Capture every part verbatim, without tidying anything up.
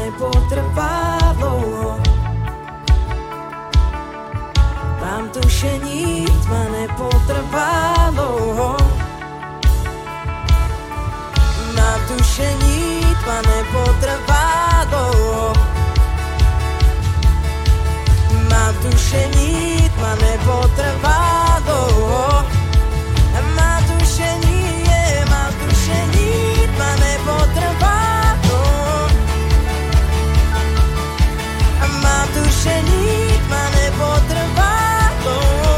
nepotrvá dlouho. Mám tušení, tma nepotrvá dlouho. Mám tušení, tma nepotrvá dlouho. Mám tušení, tma nepotrvá dlouho. Mám tušení, je, mám tušení, tma nepotrvá dlouho. Mám tušení, tma nepotrvá dlouho.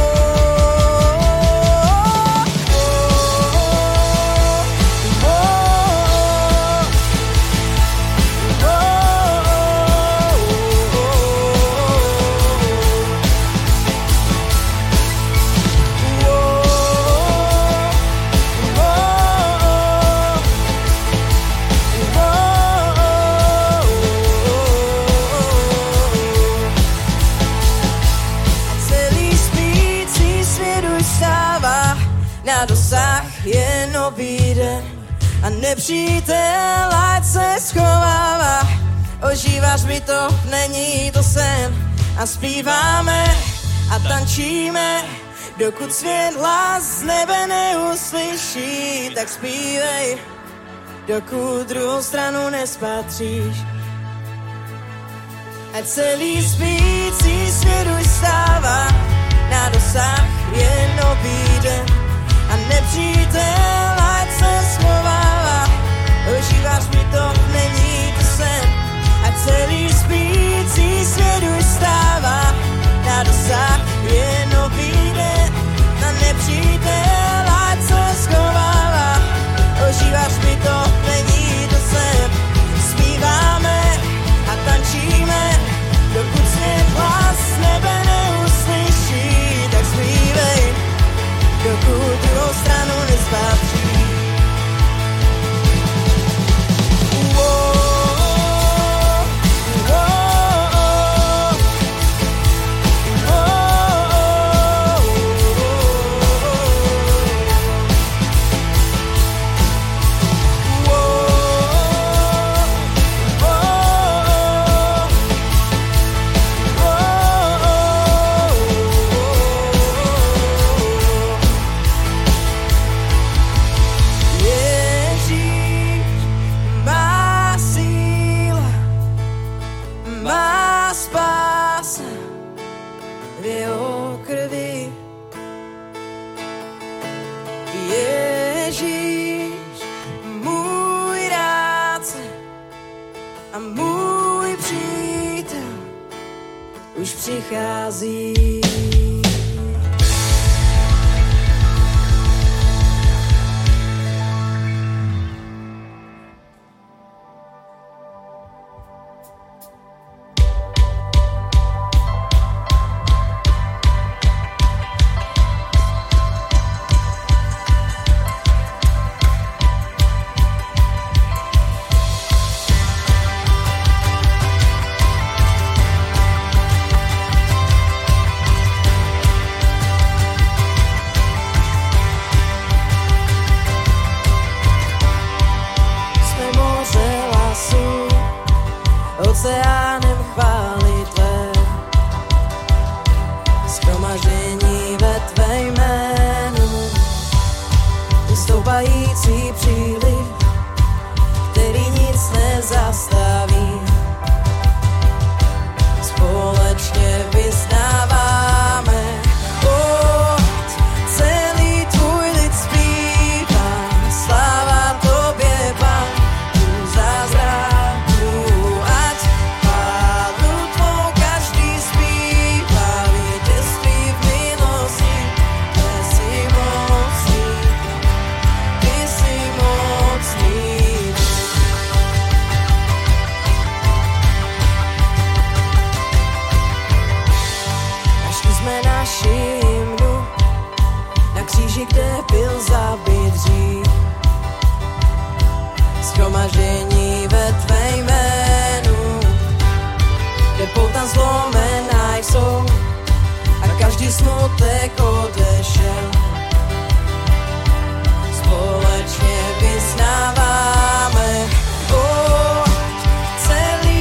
Na dosah je nový den a nepřítel ať se schovává. Ožíváš mi to, není to sen. A zpíváme a tančíme, dokud svět hlas z nebe neuslyší. Tak zpívej, dokud druhou stranu nespatříš. Ať celý spící svět už stává. Na dosah je nový den a nepřítel ať se schovává. Ožíváš mi to, není to sen. A celý spící svět už stává. Na dosah je nový den a nepřítel ať se schovává. Ožíváš mi to, není to sen. Zpíváme a tančíme, dokud svět hlas z nebe neuslyší. Tak zpívej, dokud druhou stranu nespatří. Přichází. Oceánem chvály tvé, shromaždění ve tvé jménu, vystoupající příliv, který nic nezastaví. Společně vyznáváme, oh, celý tvůj lid zpívá, sláva tobě, Pán, tu zázrak. Kde byl zabit dřív, shromaždění ve tvé jménu, kde pouta zlomená jsou a každý smutek odešel. Společně vyznáváme, oh, celý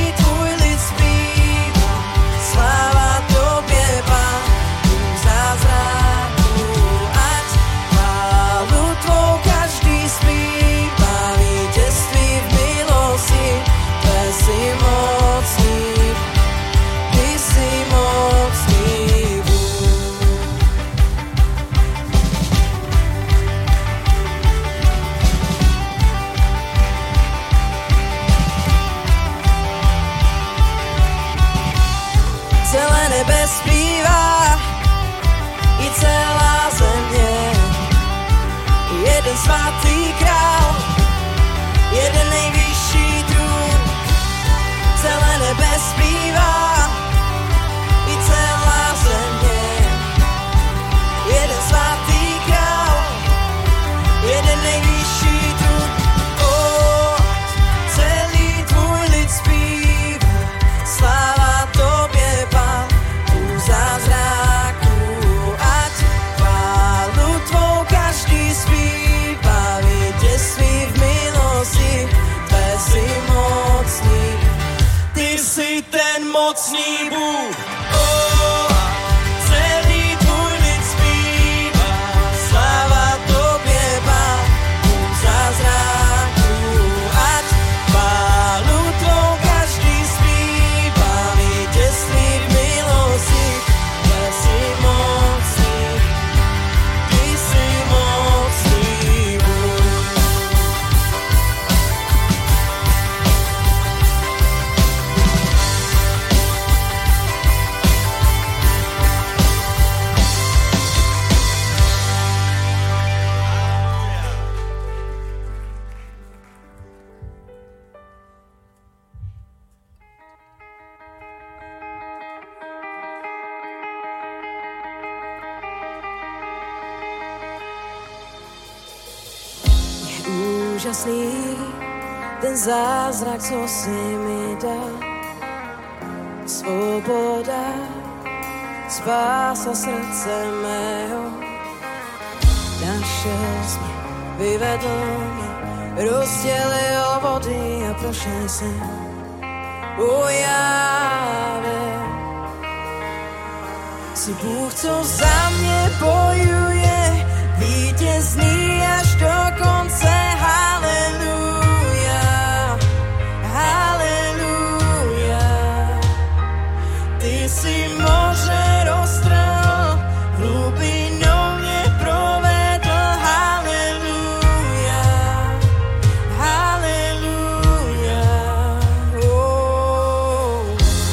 nebe zpívá, i celá země. Jeden svatý král, jeden nejvyšší trůn, celé nebe zpívá, i celá země. Jeden svatý král, jeden nejvyšší trůn, oh, celý tvůj lid zpívá, sláva tobě, Pán, u zázraků, ať chválu tvou každý zpívá, vítězství v milosti, tvé si mocný, ty jsi ten mocný Bůh, oh, celý tvůj lid zpívá, sláva tobě, Pán, u zázraků, ať chválu tvou každý zpívá, vítězství v milosti, tvé si mocný, ty jsi mocný Bůh. Je úžasný ten zázrak, co si mi dal, svoboda, spása srdce mého. Našel jsi mě, vyvedl mě, rozdělil vody a prošel jsem ujávě. Jsi Bůh, co za mě bojuje, vítězný až do konce, haleluja, haleluja. Ty jsi moře roztrhl, hlubinou mě provedl, haleluja, haleluja, oh.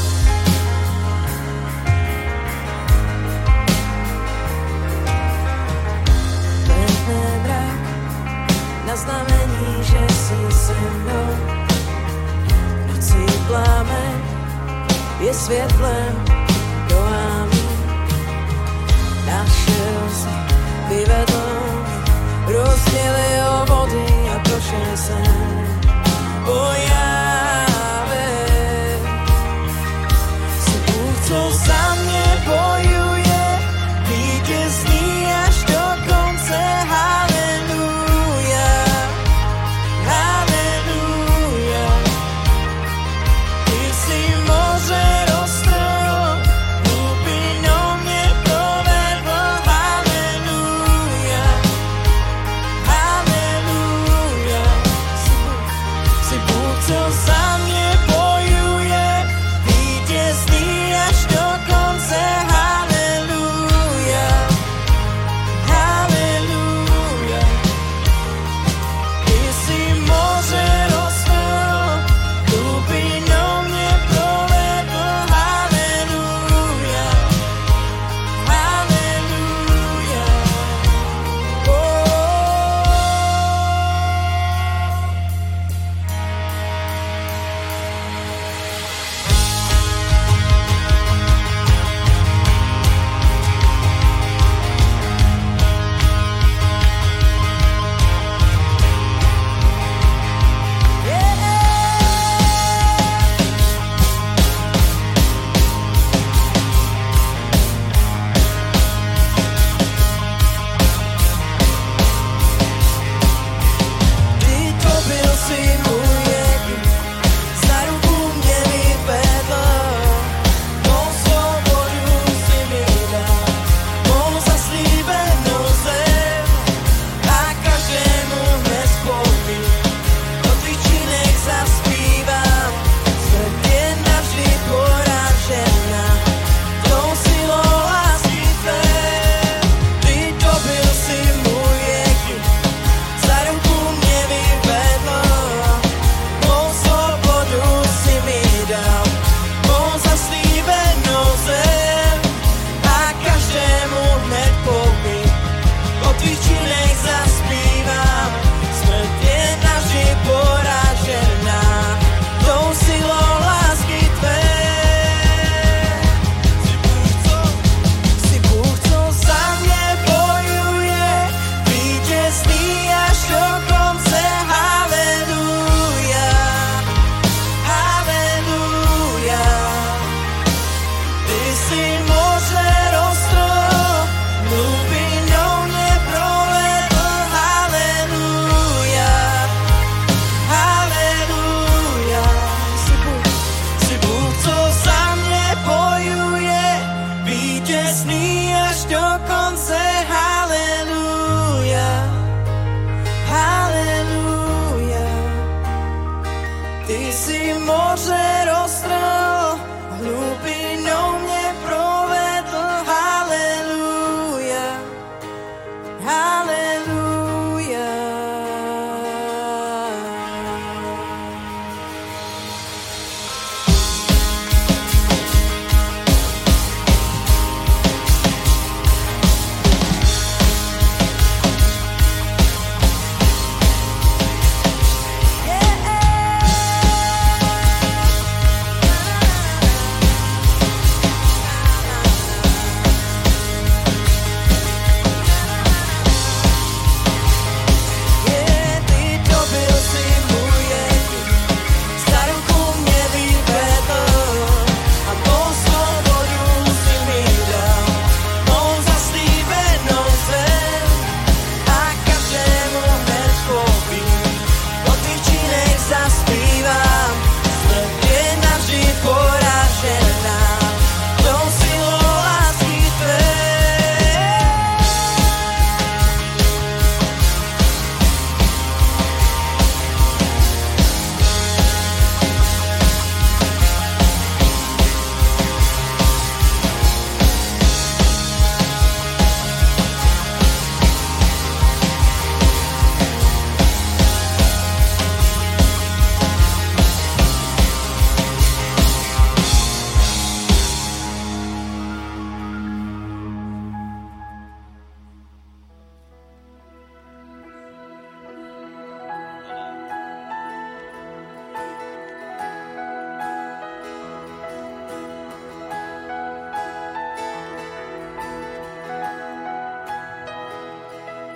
Vrhne mrak na znamení, že jsi se mnou, v noci plamen je světlem do ámí. Našel jsi, vyvedl mě, rozdělil vody a prošel jsem ujávě. Jsi Bůh, co za mě bojuje, vítězný až do konce, haleluja, haleluja. Ty jsi moře roztrhl, hlubinou mě provedl, haleluja, haleluja. Jsi Bůh, jsi Bůh, co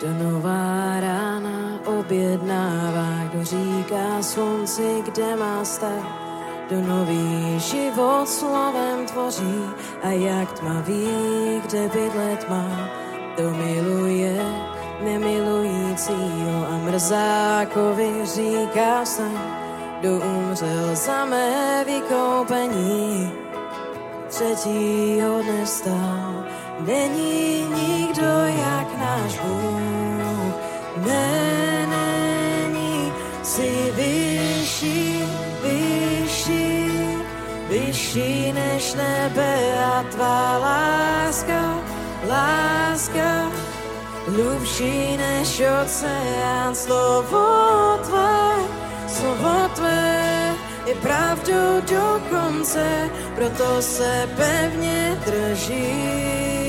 Kdo nová rána objednává, kdo říká slunci, kde má stát, kdo nový život slovem tvoří a jak tmavý, kde bydlet má, kdo miluje nemilujícího a mrzákovi říká vstaň, kdo umřel za mé vykoupení, třetího dne vstal. Není nikdo jak náš Bůh, ne, není, si vyšší, vyšší, vyšší než nebe a tvá láska, láska, hlubší než oceán. Slovo tvé, slovo tvé je pravdou do konce, proto se pevně drží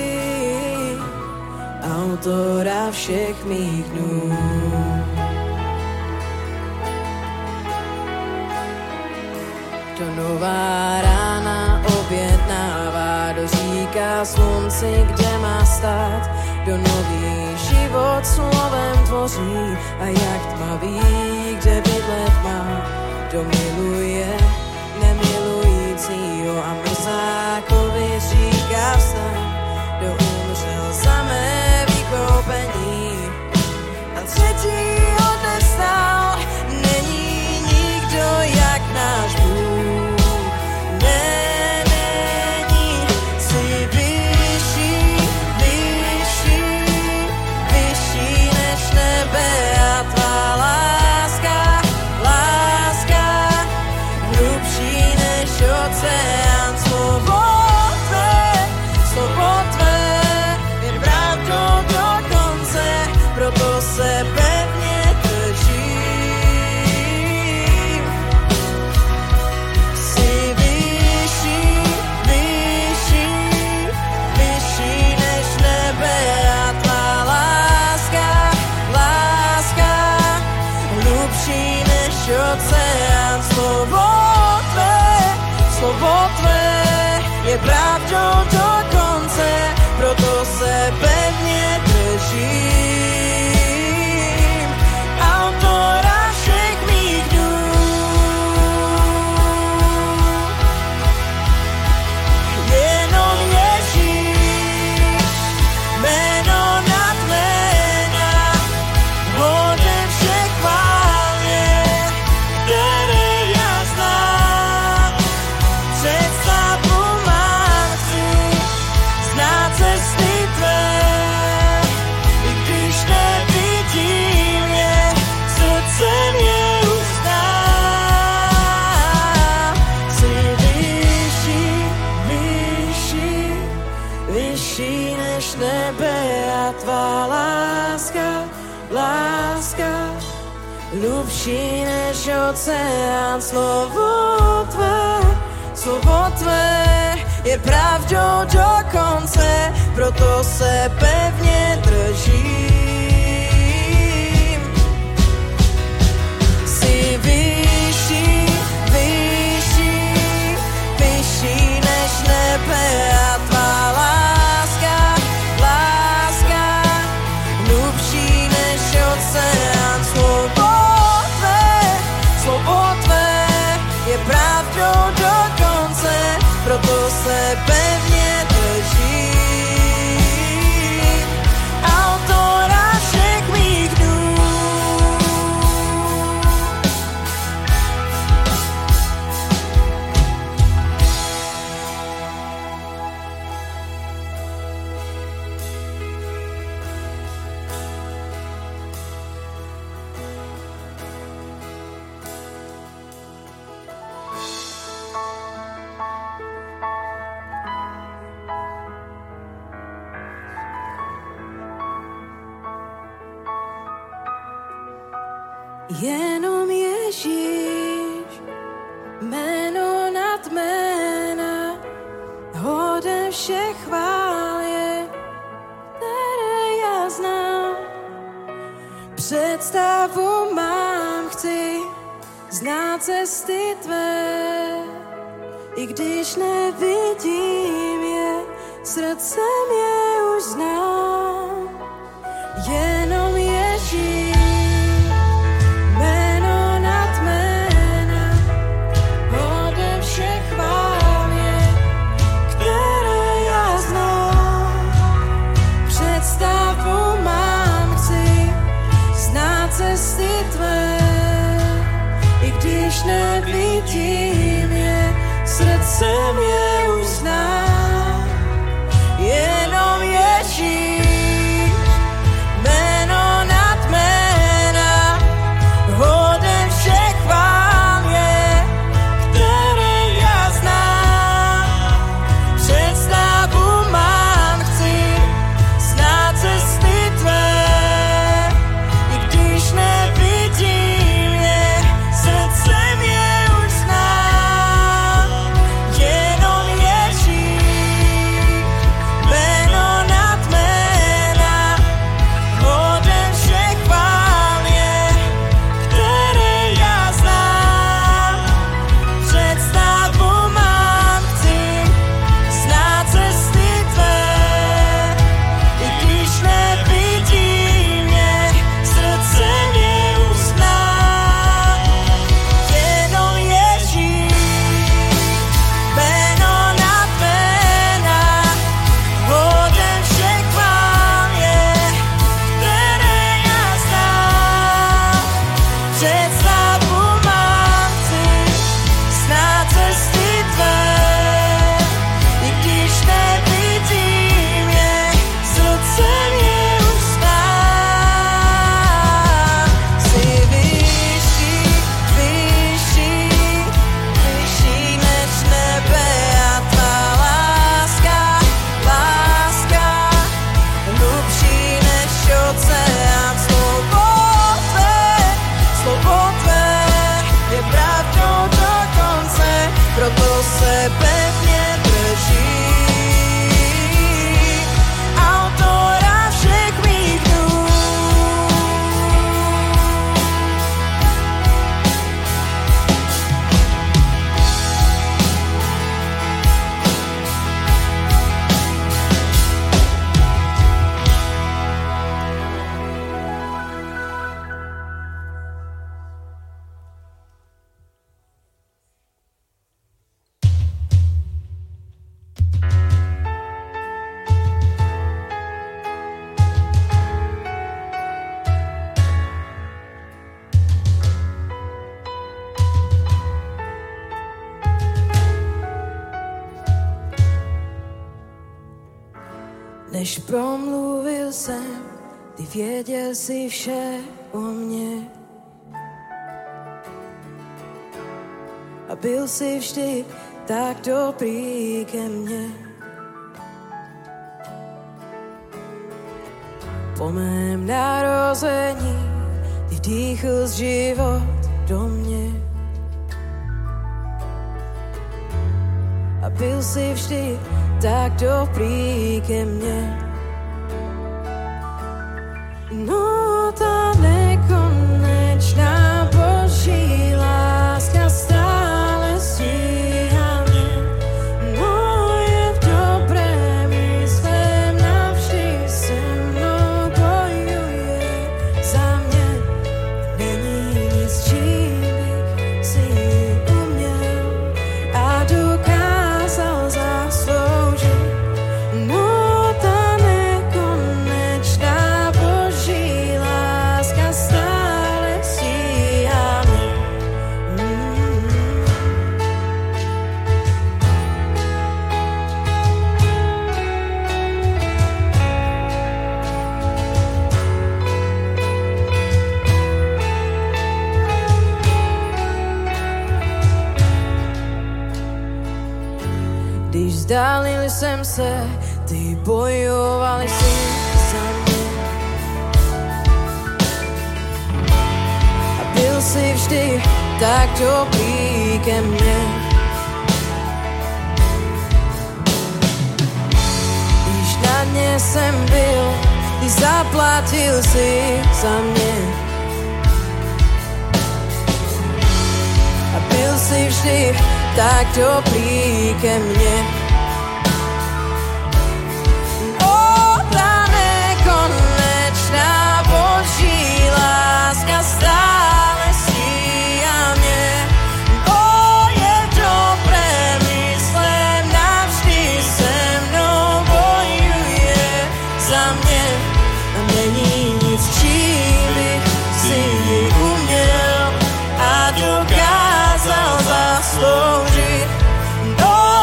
autora všech mých dnů. Kdo nová rána objednává, kdo říká slunci, kde má stát, kdo nový život slovem tvoří a jak tmavý, kde bydlet má, kdo miluje nemilujícího a mrzákovi říká vstaň, kdo umřel za mé vykoupení a třetího dne vstal. Není nikdo jak náš Bůh, ne, není, si vyšší, vyšší, vyšší než nebe a tvá láska, láska, hlubší než oceán. Slovo tvé, slovo tvé je pravdou do konce, proto se pevně držím. Jsi vyšší, vyšší, vyšší než nebe a tvá láska, láska, hlubší než oceán. Slovo tvé, slovo tvé je pravdou do konce, proto se pevně držím autora všech mých dnů. Jenom Ježíš, jméno nad jména, hoden všech chvál je, které já znám. Představu mám, chci znát cesty tvé, i když nevidím je, srdcem je uznám. Jsi vyšší, vyšší, vyšší než nebe a tvá láska, láska, hlubší než oceán. Slovo tvé, slovo tvé je pravdou do konce, proto se pevně držím. Jsi vyšší, vyšší, vyšší než nebe a tvá láska, láska, hlubší než oceán. Slovo tvé, slovo tvé je pravdou do konce, proto se pevně držím autora všech mých dnů. Jenom Ježíš, jméno nad jména, hoden všech chvál je, které já znám. Představu mám, chci znát cesty tvé, i když nevidím je, srdcem je už znám. Jenom srdcem je uznám. Jenom Ježíš, jméno nad jména, hoden všech chvál je, které já znám. Představu mám, chci znát cesty tvé, i když nevidím je, srdcem je už znám. Jenom Ježíš, jméno nad jména, hoden všech chvál je, které já znám. Představu mám, chci znát cesty tvé, i když nevidím je, srdcem je už znám. Jenom Ježíš, jméno nad jména, hoden všech chvál je, které já znám. Představu mám, chci znát cesty tvé, i když nevidím je, srdcem je už znám. Jsi vyšší, vyšší, vyšší než nebe a tvá láska, láska, hlubší než oceán. Slovo tvé, slovo tvé je pravdou do konce, proto se pevně drží autora všech mých dnů. Než promluvil jsem, ty věděl si vše o mně. A byl si vždy tak dobrý ke mně. Po mém narození ty vdýchl život do mě. A byl si vždy tak dobrý ke mně. No ta nekonečná Boží láska stále stíhá mě. No je v dobrém svém navždy se mnou bojuje za mě. Není nic, čím bych si uměl a dokázal zasloužit. No ta nekonečná Boží láska stále stíhá mě. Mm. Když vzdálil jsem se, ty bojovali si za mě. A byl si vždy tak dobrý ke mně. Když na dně jsem byl, ty zaplatil si za mě. A byl si vždy tak dobrý ke mně. O, ta nekonečná Boží láska stále stíhá mě. O, je dobré myslem, navždy se mnou bojuje za mě. A není nic, čím bych si uměl a dokázal zasloužit. No,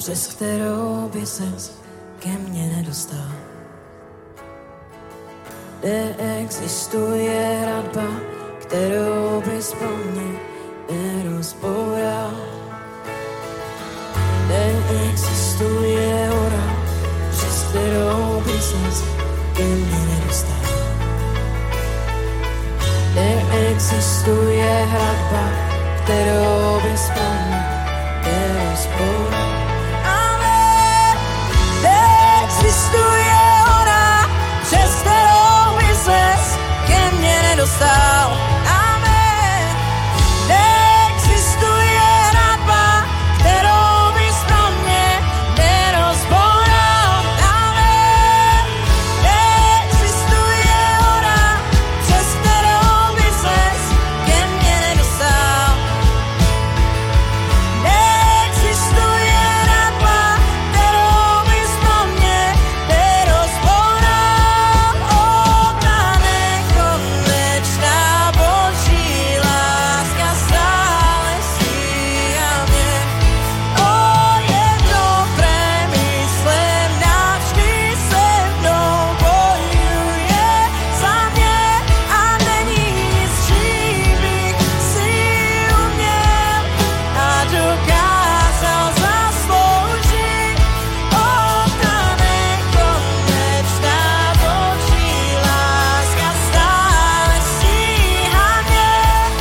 přes kterou by ses ke mně nedostal. Neexistuje hradba, kterou bys pro mě nerozboural. Neexistuje hora, přes kterou by ses ke mně nedostal. Neexistuje hradba, kterou bys pro mě nerozboural. Ale neexistuje hora, přes kterou by ses ke mně nedostal. Amen. Neexistuje hradba, kterou bys pro mě nerozboural. Amen. Neexistuje hora, přes kterou by ses ke mně nedostal. Neexistuje hradba, kterou bys pro mě nerozboural. O, ta nekonečná Boží láska stále stíhá mě. O, jedno premyslem navždy se mnou bojuje za mě a není nic, čím bych si uměl a dokázal zasloužit. O, ta nekonečná Boží láska stále stíhá mě.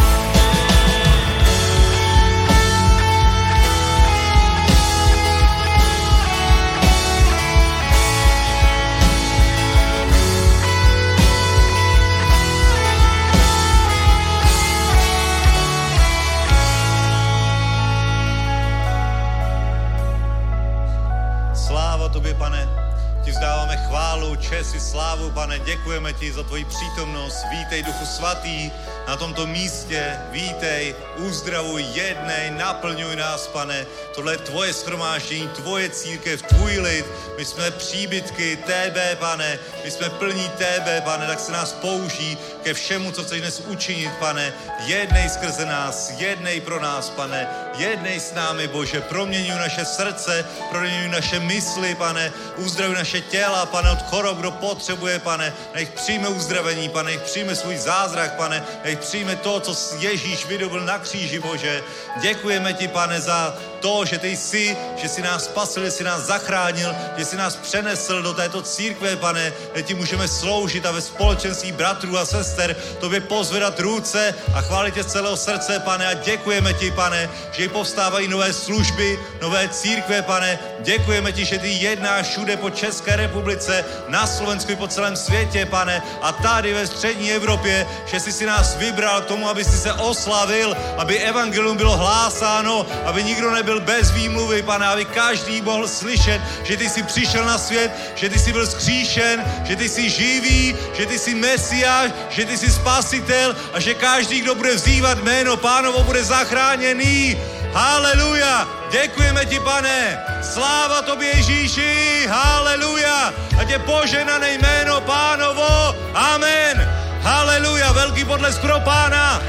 Sláva tobě, Pane, ti vzdáváme chválu, čest i slávu, Pane, děkujeme ti za tvoji přítomnost. Vítej, Duchu Svatý, na tomto místě, vítej, uzdravuj, jednej, naplňuj nás, Pane. Tohle je tvoje shromáždění, tvoje církev, tvůj lid. My jsme příbytky tebe, Pane, my jsme plní tebe, Pane, tak se nás použij ke všemu, co chceš dnes učinit, Pane. Jednej skrze nás, jednej pro nás, Pane, jednej s námi, Bože, proměňuj naše srdce, proměňuj naše mysli, Pane, uzdravuj naše těla, Pane, od chorob, kdo potřebuje, Pane, nech přijme uzdravení, Pane, nech přijme svůj zázrak, Pane, nech přijme to, co Ježíš vydobil na kříži, Bože. Děkujeme ti, Pane, za to, že ty jsi, že jsi nás spasil, že jsi nás zachránil, že jsi nás přenesl do této církve, Pane, kde ti můžeme sloužit a ve společenství bratrů a sester tobě pozvedat ruce a chválit tě z celého srdce, Pane, a děkujeme ti, Pane, že povstávají nové služby, nové církve, Pane. Děkujeme ti, že ty jednáš všude po České republice, na Slovensku i po celém světě, Pane, a tady ve střední Evropě, že jsi si nás vybral k tomu, aby si se oslavil, aby evangelium bylo hlásáno, aby nikdo nebyl bez výmluvy, Pane, aby každý mohl slyšet, že ty jsi přišel na svět, že ty jsi byl vzkříšen, že ty jsi živý, že ty jsi Mesiáš, že ty jsi spasitel a že každý, kdo bude vzývat jméno Pánovo, bude zachráněný. Haleluja! Děkujeme ti, Pane! Sláva tobě, Ježíši! Haleluja! Ať je požehnané jméno Pánovo! Amen! Haleluja! Velký potlesk pro Pána!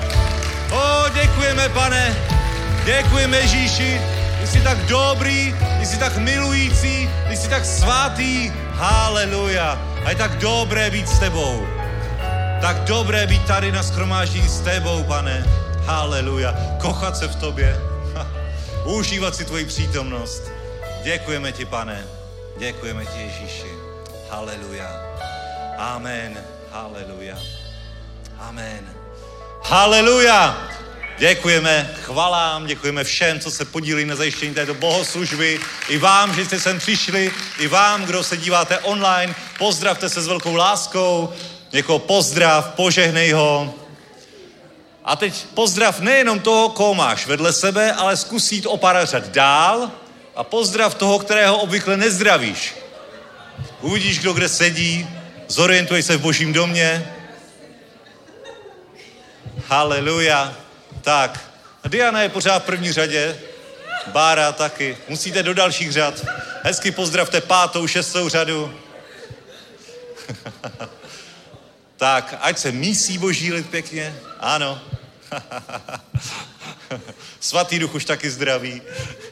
O, děkujeme, Pane! Děkujeme, Ježíši! Ty jsi tak dobrý, ty jsi tak milující, ty jsi tak svatý. Haleluja! A je tak dobré být s tebou. Tak dobré být tady na shromáždění s tebou, Pane. Haleluja. Kochat se v tobě. Užívat si tvoji přítomnost. Děkujeme ti, Pane. Děkujeme ti, Ježíši. Haleluja. Amen. Haleluja. Amen. Haleluja. Děkujeme chvalám, děkujeme všem, co se podílí na zajištění této bohoslužby. I vám, že jste sem přišli, i vám, kdo se díváte online. Pozdravte se s velkou láskou. Někoho pozdrav, požehnej ho. A teď pozdrav nejenom toho, koho máš vedle sebe, ale zkus jít o pár řad dál a pozdrav toho, kterého obvykle nezdravíš. Uvidíš, kdo kde sedí, zorientuj se v Božím domě. Haleluja. Tak, Diana je pořád v první řadě, Bára taky. Musíte do dalších řad. Hezky pozdravte pátou, šestou řadu. Tak, ať se mísí Boží lid pěkně. Ano. Svatý Duch už taky zdraví.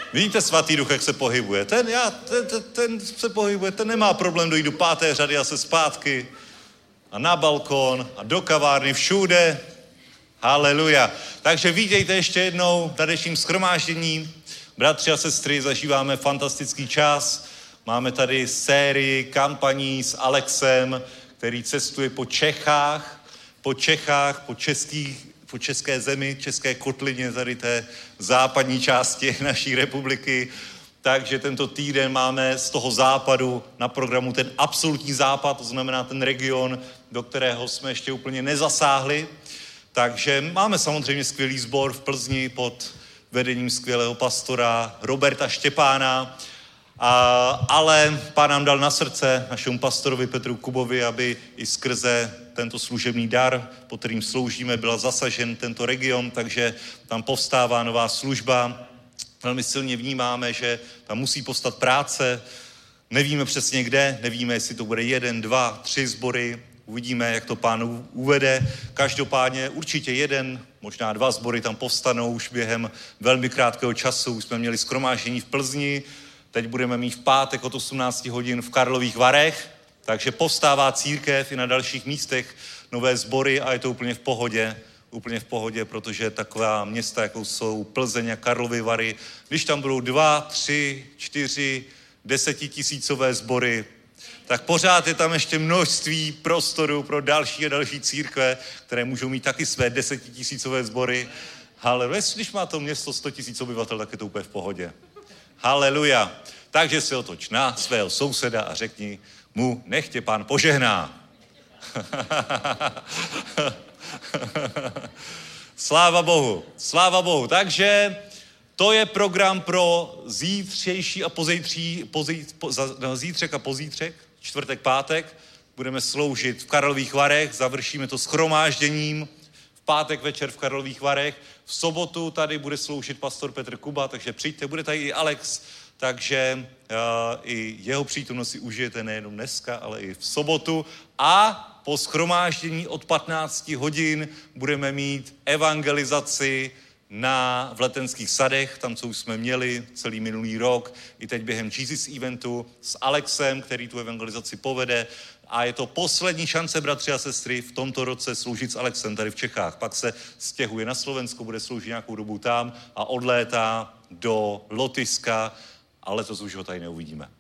Vidíte svatý duch, jak se pohybuje. Ten, já, ten, ten, ten se pohybuje, ten nemá problém dojít do páté řady a se zpátky. A na balkon, a do kavárny, všude. Haleluja. Takže vítejte ještě jednou na dnešním shromáždění. Bratři a sestry, zažíváme fantastický čas. Máme tady sérii kampaní s Alexem, který cestuje po Čechách, po Čechách, po českých, po české zemi, české kotlině, tady té západní části naší republiky. Takže tento týden máme z toho západu na programu ten absolutní západ, to znamená ten region, do kterého jsme ještě úplně nezasáhli. Takže máme samozřejmě skvělý sbor v Plzni pod vedením skvělého pastora Roberta Štěpána, a, ale Pán nám dal na srdce našemu pastorovi Petru Kubovi, aby i skrze tento služební dar, pod kterým sloužíme, byl zasažen tento region, takže tam povstává nová služba. Velmi silně vnímáme, že tam musí postat práce, nevíme přesně kde, nevíme, jestli to bude jeden, dva, tři sbory, uvidíme, jak to Pán uvede. Každopádně určitě jeden, možná dva sbory tam povstanou už během velmi krátkého času. Už jsme měli shromáždění v Plzni, teď budeme mít v pátek od osmnácti hodin v Karlových Varech, takže povstává církev i na dalších místech nové sbory a je to úplně v pohodě. Úplně v pohodě, protože taková města, jako jsou Plzeň a Karlovy Vary, když tam budou dva, tři, čtyři, desetitisícové sbory, tak pořád je tam ještě množství prostoru pro další a další církve, které můžou mít taky své desetitisícové sbory. Haleluja. Když má to město sto tisíc obyvatel, tak je to úplně v pohodě. Haleluja. Takže se otoč na svého souseda a řekni mu, nech tě Pán požehná. Sláva Bohu, sláva Bohu. Takže to je program pro zítřejší a pozítří, pozí, po, za, no, zítřek a pozítřek, čtvrtek, pátek. Budeme sloužit v Karlových Varech, završíme to shromážděním v pátek večer v Karlových Varech. V sobotu tady bude sloužit pastor Petr Kuba, takže přijďte, bude tady i Alex, takže uh, i jeho přítomnost si užijete nejenom dneska, ale i v sobotu. A po shromáždění od patnácti hodin budeme mít evangelizaci na v Letenských sadech, tam, co už jsme měli celý minulý rok, i teď během Jesus eventu s Alexem, který tu evangelizaci povede. A je to poslední šance, bratři a sestry, v tomto roce sloužit s Alexem tady v Čechách. Pak se stěhuje na Slovensko, bude sloužit nějakou dobu tam a odlétá do Lotyšska, ale letos už ho tady neuvidíme.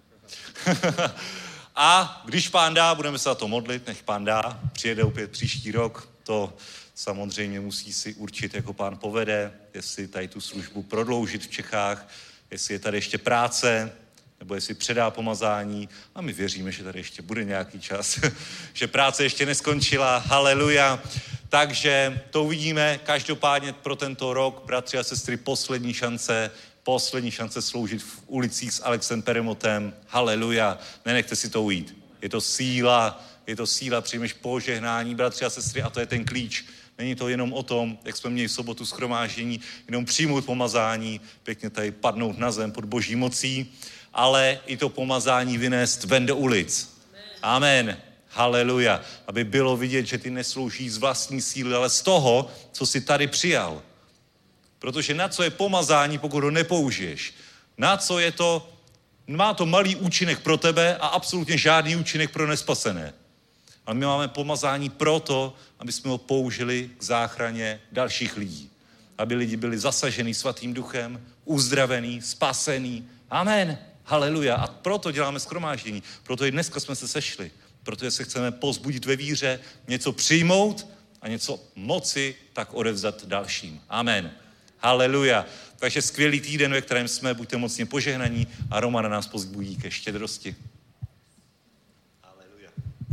A když Pán dá, budeme se za to modlit, nech Pán dá, přijede opět příští rok, to samozřejmě musí si určit, jako Pán povede, jestli tady tu službu prodloužit v Čechách, jestli je tady ještě práce, nebo jestli předá pomazání. A my věříme, že tady ještě bude nějaký čas, že práce ještě neskončila, haleluja. Takže to uvidíme, každopádně pro tento rok, bratři a sestry, poslední šance, poslední šance sloužit v ulicích s Alexem Peremotem, haleluja. Nenechte si to ujít. Je to síla, je to síla, přijmeš požehnání, bratři a sestry, a to je ten klíč. Není to jenom o tom, jak jsme měli v sobotu shromáždění, jenom přijmout pomazání, pěkně tady padnout na zem pod boží mocí, ale i to pomazání vynést ven do ulic. Amen. Haleluja. Aby bylo vidět, že ty neslouží z vlastní síly, ale z toho, co jsi tady přijal. Protože na co je pomazání, pokud ho nepoužiješ? Na co je to? Má to malý účinek pro tebe a absolutně žádný účinek pro nespasené. Ale my máme pomazání proto, aby jsme ho použili k záchraně dalších lidí. Aby lidi byli zasaženi svatým duchem, uzdravený, spasený. Amen. Haleluja. A proto děláme shromáždění. Proto i dneska jsme se sešli. Protože se chceme povzbudit ve víře, něco přijmout a něco moci tak odevzdat dalším. Amen. Haleluja. Takže skvělý týden, ve kterém jsme, buďte mocně požehnaní a Roman nás povzbudí ke štědrosti. Haleluja.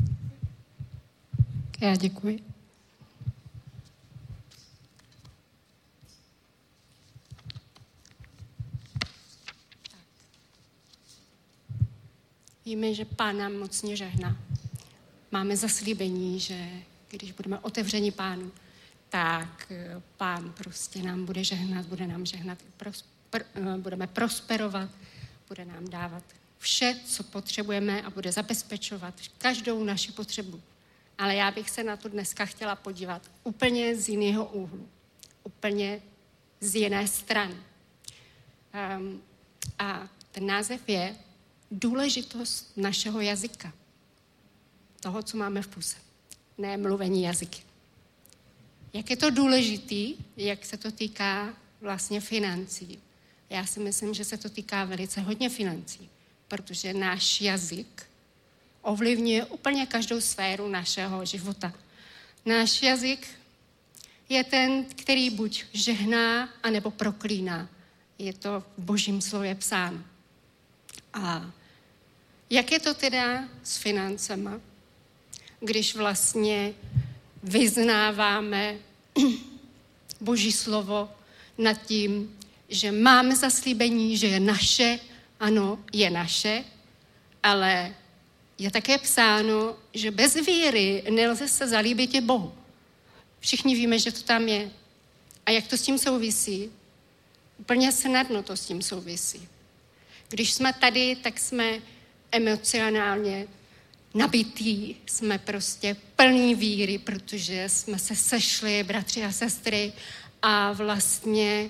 Já děkuji. Víme, že Pán nám mocně žehná. Máme zaslíbení, že když budeme otevřeni Pánu, tak Pán prostě nám bude žehnat, bude nám žehnat, prosper, budeme prosperovat, bude nám dávat vše, co potřebujeme a bude zabezpečovat každou naši potřebu. Ale já bych se na to dneska chtěla podívat úplně z jiného úhlu, úplně z jiné strany. Um, A ten název je důležitost našeho jazyka. Toho, co máme v puse. Ne mluvení jazyky. Jak je to důležitý, jak se to týká vlastně financí. Já si myslím, že se to týká velice hodně financí, protože náš jazyk ovlivňuje úplně každou sféru našeho života. Náš jazyk je ten, který buď žehná, anebo proklíná. Je to v Božím slově psáno. A jak je to teda s financema, když vlastně vyznáváme Boží slovo nad tím, že máme zaslíbení, že je naše, ano, je naše, ale je také psáno, že bez víry nelze se zalíbit i Bohu. Všichni víme, že to tam je. A jak to s tím souvisí? Úplně snadno to s tím souvisí. Když jsme tady, tak jsme emocionálně nabití, jsme prostě plní víry, protože jsme se sešli, bratři a sestry, a vlastně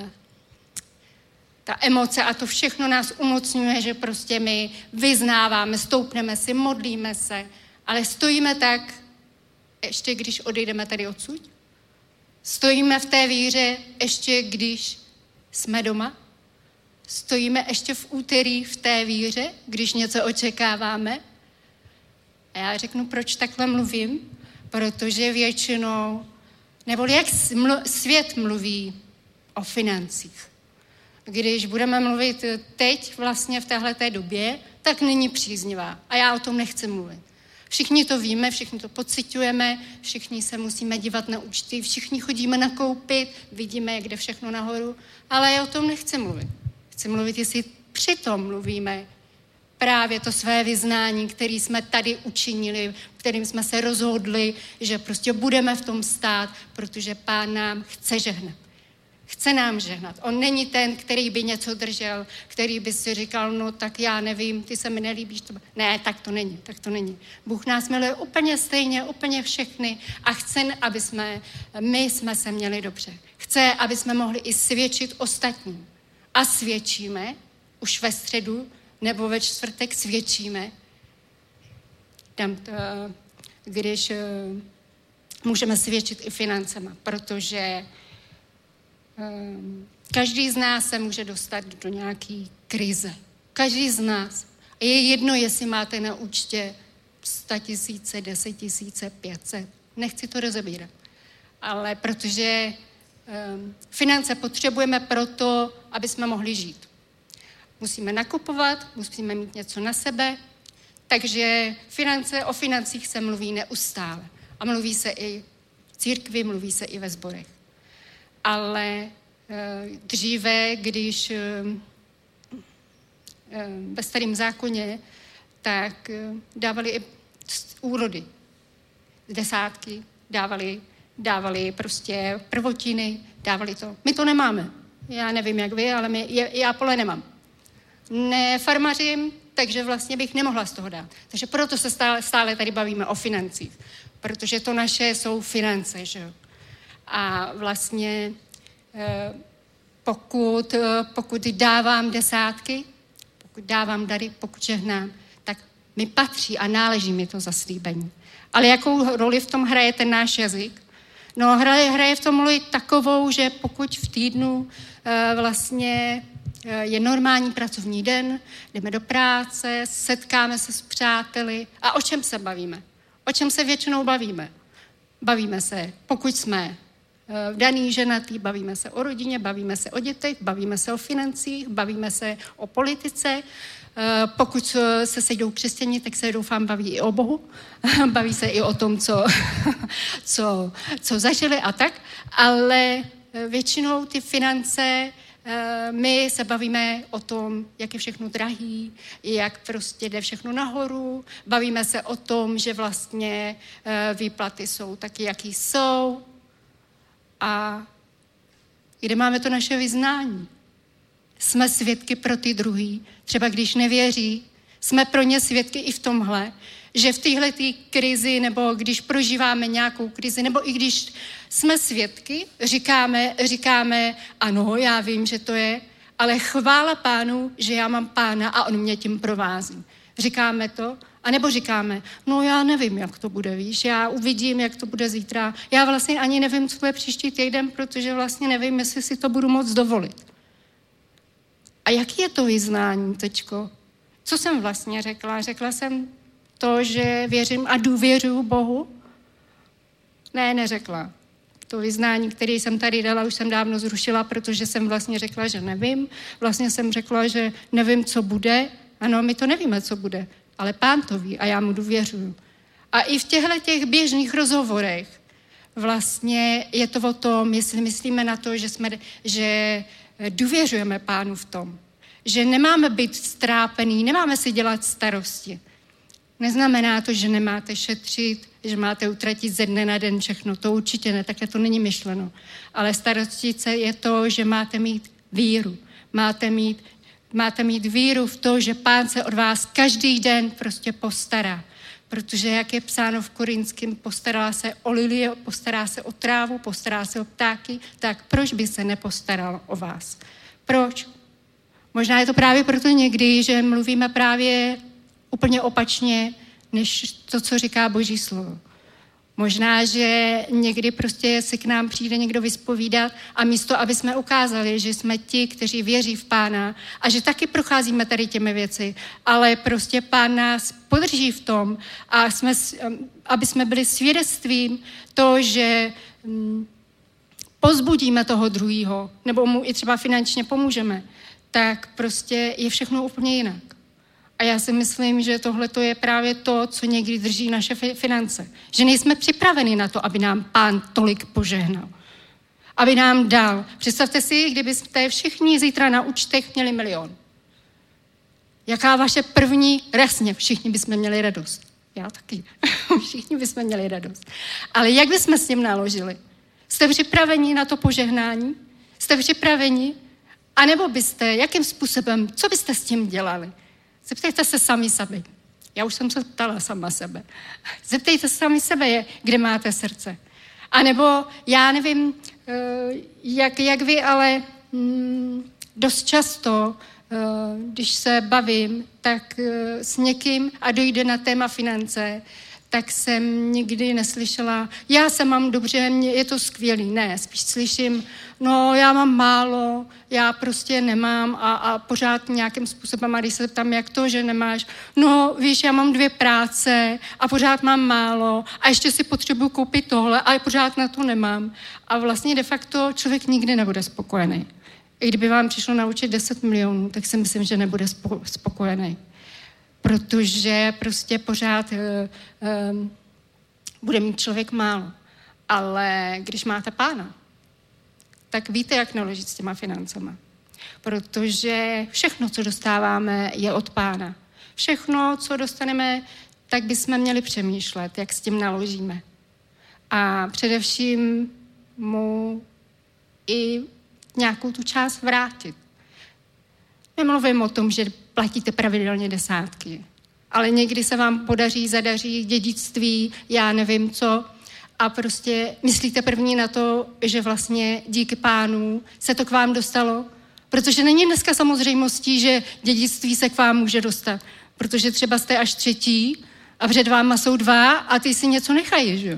ta emoce a to všechno nás umocňuje, že prostě my vyznáváme, stoupneme si, modlíme se, ale stojíme tak, ještě když odejdeme tady odsud. Stojíme v té víře, ještě když jsme doma. Stojíme ještě v úterý v té víře, když něco očekáváme. A já řeknu, proč takhle mluvím? Protože většinou, nebo jak svět mluví o financích. Když budeme mluvit teď vlastně v téhleté době, tak není příznivá. A já o tom nechci mluvit. Všichni to víme, všichni to pociťujeme, všichni se musíme dívat na účty, všichni chodíme nakoupit, vidíme, jak jde všechno nahoru, ale já o tom nechci mluvit. Chci mluvit, jestli přitom mluvíme právě to své vyznání, které jsme tady učinili, kterým jsme se rozhodli, že prostě budeme v tom stát, protože Pán nám chce žehnat. Chce nám žehnat. On není ten, který by něco držel, který by si říkal, no tak já nevím, ty se mi nelíbíš. To... Ne, tak to není, tak to není. Bůh nás miluje úplně stejně, úplně všechny a chce, aby jsme, my jsme se měli dobře. Chce, aby jsme mohli i svědčit ostatním. A svědčíme, už ve středu nebo ve čtvrtek svědčíme, tam to, když můžeme svědčit i financema, protože každý z nás se může dostat do nějaký krize. Každý z nás. A je jedno, jestli máte na účtě sto tisíce, deset tisíce, pět set. Nechci to rozebírat. Ale protože um, finance potřebujeme proto, aby jsme mohli žít. Musíme nakupovat, musíme mít něco na sebe, takže finance, o financích se mluví neustále. A mluví se i v církvi, mluví se i ve sborech. Ale e, dříve, když e, ve starém zákoně, tak e, dávali i úrody, desátky, dávali, dávali prostě prvotiny, dávali to. My to nemáme. Já nevím, jak vy, ale my, je, já pole nemám. Nefarmařím, takže vlastně bych nemohla z toho dát. Takže proto se stále, stále tady bavíme o financích. Protože to naše jsou finance, že jo. A vlastně pokud, pokud dávám desátky, pokud dávám dary, pokud žehnám, tak mi patří a náleží mi to zaslíbení. Ale jakou roli v tom hraje ten náš jazyk? No hraje, hraje v tom roli takovou, že pokud v týdnu vlastně je normální pracovní den, jdeme do práce, setkáme se s přáteli a o čem se bavíme? O čem se většinou bavíme? Bavíme se, pokud jsme vdaný, ženatý, bavíme se o rodině, bavíme se o dětech, bavíme se o financích, bavíme se o politice. Pokud se sejdou křesťané, tak se doufám baví i o Bohu. Baví se i o tom, co, co, co zažili a tak. Ale většinou ty finance, my se bavíme o tom, jak je všechno drahý, jak prostě jde všechno nahoru. Bavíme se o tom, že vlastně výplaty jsou taky, jaký jsou. A kde máme to naše vyznání? Jsme svědky pro ty druhý. Třeba když nevěří, jsme pro ně svědky i v tomhle, že v téhleté krizi, nebo když prožíváme nějakou krizi, nebo i když jsme svědky, říkáme, říkáme, ano, já vím, že to je, ale chvála Pánu, že já mám Pána a on mě tím provází. Říkáme to? A nebo říkáme, no já nevím, jak to bude, víš, já uvidím, jak to bude zítra. Já vlastně ani nevím, co bude příští týden, protože vlastně nevím, jestli si to budu moc dovolit. A jaký je to vyznání, teďko? Co jsem vlastně řekla? Řekla jsem to, že věřím a důvěřuju Bohu? Ne, neřekla. To vyznání, které jsem tady dala, už jsem dávno zrušila, protože jsem vlastně řekla, že nevím. Vlastně jsem řekla, že nevím, co bude. Ano, my to nevíme, co bude, ale Pán to ví a já mu důvěřuju. A i v těchto těch běžných rozhovorech vlastně je to o tom, jestli myslíme na to, že, jsme, že důvěřujeme Pánu v tom, že nemáme být strápený, nemáme si dělat starosti. Neznamená to, že nemáte šetřit, že máte utratit ze dne na den všechno. To určitě ne, takhle to není myšleno. Ale starostit se je to, že máte mít víru. Máte mít, máte mít víru v to, že Pán se od vás každý den prostě postará. Protože jak je psáno v Korinském, postará se o lilie, postará se o trávu, postará se o ptáky, tak proč by se nepostaral o vás? Proč? Možná je to právě proto někdy, že mluvíme právě úplně opačně, než to, co říká Boží slovo. Možná, že někdy prostě si k nám přijde někdo vyspovídat a místo, aby jsme ukázali, že jsme ti, kteří věří v Pána a že taky procházíme tady těmi věci, ale prostě Pán nás podrží v tom, a jsme, aby jsme byli svědectvím to, že hm, pozbudíme toho druhýho, nebo mu i třeba finančně pomůžeme, tak prostě je všechno úplně jinak. A já si myslím, že tohle je právě to, co někdy drží naše finance. Že nejsme připraveni na to, aby nám Pán tolik požehnal. Aby nám dal. Představte si, kdybyste všichni zítra na účtech měli milion. Jaká vaše první, jasně, všichni bychom měli radost. Já taky. Všichni bychom měli radost. Ale jak bychom s tím naložili? Jste připraveni na to požehnání? Jste připraveni? A nebo byste, jakým způsobem, co byste s tím dělali? Zeptejte se sami sebe. Já už jsem se ptala sama sebe. Zeptejte se sami sebe, kde máte srdce. A nebo já nevím, jak, jak vy, ale dost často, když se bavím, tak s někým a dojde na téma finance, tak jsem nikdy neslyšela, já se mám dobře, je to skvělý. Ne, spíš slyším, no já mám málo, já prostě nemám a, a pořád nějakým způsobem, a když se ptám, jak to, že nemáš, no víš, já mám dvě práce a pořád mám málo a ještě si potřebuji koupit tohle a pořád na to nemám. A vlastně de facto člověk nikdy nebude spokojený. I kdyby vám přišlo naučit deset milionů, tak si myslím, že nebude spokojený. Protože prostě pořád uh, uh, bude mít člověk málo. Ale když máte Pána, tak víte, jak naložit s těma financema. Protože všechno, co dostáváme, je od Pána. Všechno, co dostaneme, tak bychom měli přemýšlet, jak s tím naložíme. A především mu i nějakou tu část vrátit. Nemluvím o tom, že platíte pravidelně desátky, ale někdy se vám podaří, zadaří dědictví, já nevím co, a prostě myslíte první na to, že vlastně díky Pánu se to k vám dostalo, protože není dneska samozřejmostí, že dědictví se k vám může dostat, protože třeba jste až třetí a před váma jsou dva a ty si něco nechají, že jo?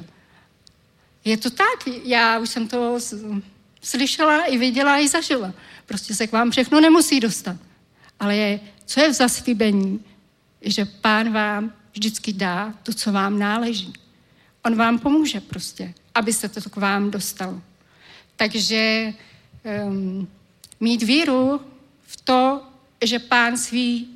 Je to tak, já už jsem to slyšela i viděla i zažila. Prostě se k vám všechno nemusí dostat. Ale je, co je v zaslíbení, že Pán vám vždycky dá to, co vám náleží. On vám pomůže prostě, aby se to k vám dostalo. Takže um, mít víru v to, že Pán svý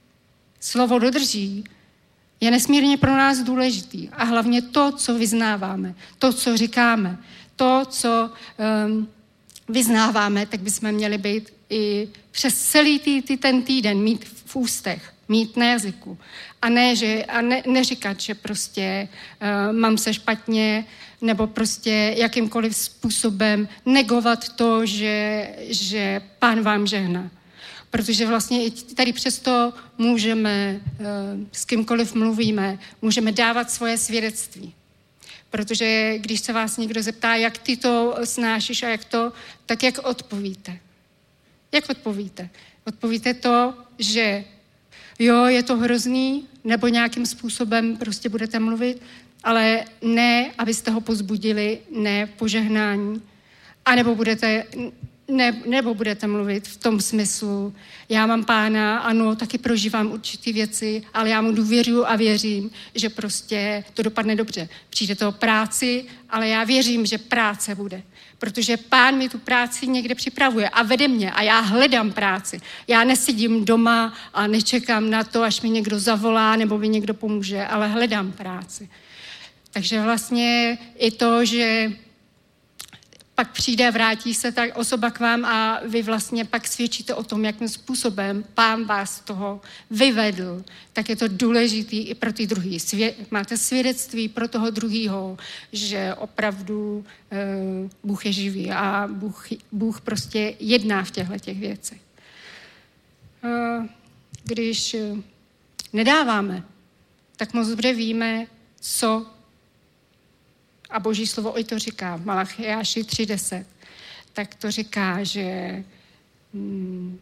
slovo dodrží, je nesmírně pro nás důležitý. A hlavně to, co vyznáváme, to, co říkáme, to, co um, vyznáváme, tak bychom měli být i přes celý tý, tý, ten týden mít v ústech, mít na jazyku. A ne, že, a ne, neříkat, že prostě uh, mám se špatně, nebo prostě jakýmkoliv způsobem negovat to, že, že Pán vám žehná. Protože vlastně i tady přesto můžeme, uh, s kýmkoliv mluvíme, můžeme dávat svoje svědectví. Protože když se vás někdo zeptá, jak ty to snášíš a jak to, tak jak odpovíte. Jak odpovíte? Odpovíte to, že jo, je to hrozný, nebo nějakým způsobem prostě budete mluvit, ale ne, abyste ho pozbudili, ne požehnání. A nebo budete, ne, nebo budete mluvit v tom smyslu, já mám Pána, ano, taky prožívám určitý věci, ale já mu důvěřuju a věřím, že prostě to dopadne dobře. Přijde to o práci, ale já věřím, že práce bude. Protože Pán mi tu práci někde připravuje a vede mě a já hledám práci. Já nesedím doma a nečekám na to, až mi někdo zavolá nebo mi někdo pomůže, ale hledám práci. Takže vlastně i to, že pak přijde, vrátí se ta osoba k vám a vy vlastně pak svědčíte o tom, jakým způsobem Pán vás z toho vyvedl, tak je to důležitý i pro ty druhý. Svě- máte svědectví pro toho druhýho, že opravdu e, Bůh je živý a Bůh, Bůh prostě jedná v těchto těch věcech. E, když nedáváme, tak moc dobře víme, co a Boží slovo i to říká v Malachiáši tři deset, tak to říká, že, hmm,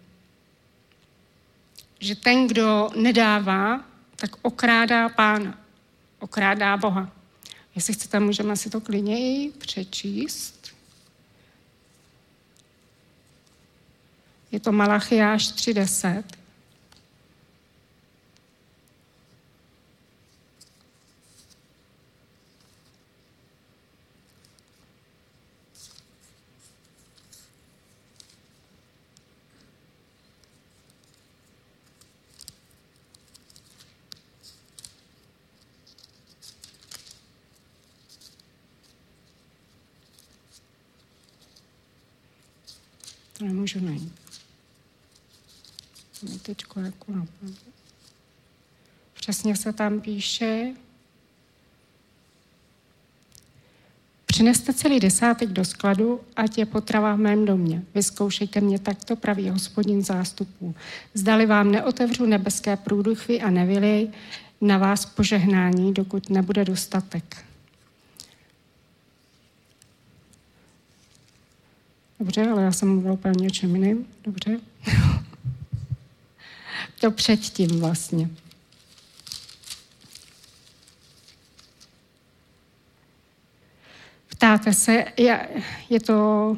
že ten, kdo nedává, tak okrádá Pána, okrádá Boha. Jestli chcete, můžeme si to klidně i přečíst. Je to Malachiáš tři deset. To nemůžu najít. Teďko jako napadlo. Přesně se tam píše: Přineste celý desátek do skladu, ať je potrava v mém domě. Vyzkoušejte mě takto, praví Hospodin zástupů. Zdali vám neotevřu nebeské průduchy a nevylej na vás požehnání, dokud nebude dostatek. Dobře, ale já jsem mluvila úplně o něčem jiným. Dobře. To předtím vlastně. Ptáte se, je, je to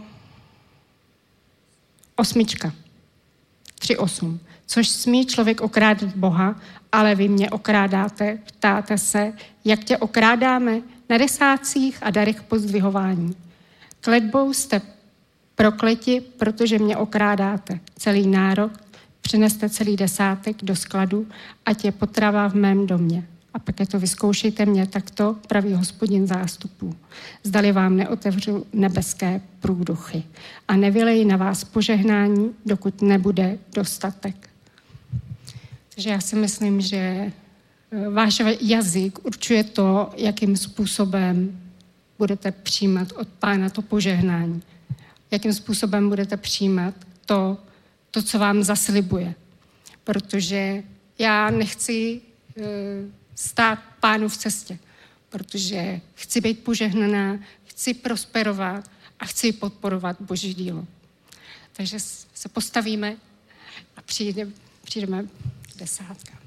osmička. Tři osm. Což smí člověk okrádat Boha, ale vy mě okrádáte. Ptáte se, jak tě okrádáme? Na desátcích a darech pozdvihování. Kletbou jste prokleti, protože mě okrádáte. Celý národ, přineste celý desátek do skladu, ať je potrava v mém domě. A pak je to vyzkoušejte mě takto, praví Hospodin zástupů. Zdali vám neotevřu nebeské průduchy a nevylej na vás požehnání, dokud nebude dostatek. Takže já si myslím, že váš jazyk určuje to, jakým způsobem budete přijímat od Pána to požehnání. Jakým způsobem budete přijímat to, to, co vám zaslibuje. Protože já nechci uh, stát Pánu v cestě, protože chci být požehnaná, chci prosperovat a chci podporovat Boží dílo. Takže se postavíme a přijde, přijdeme desátka.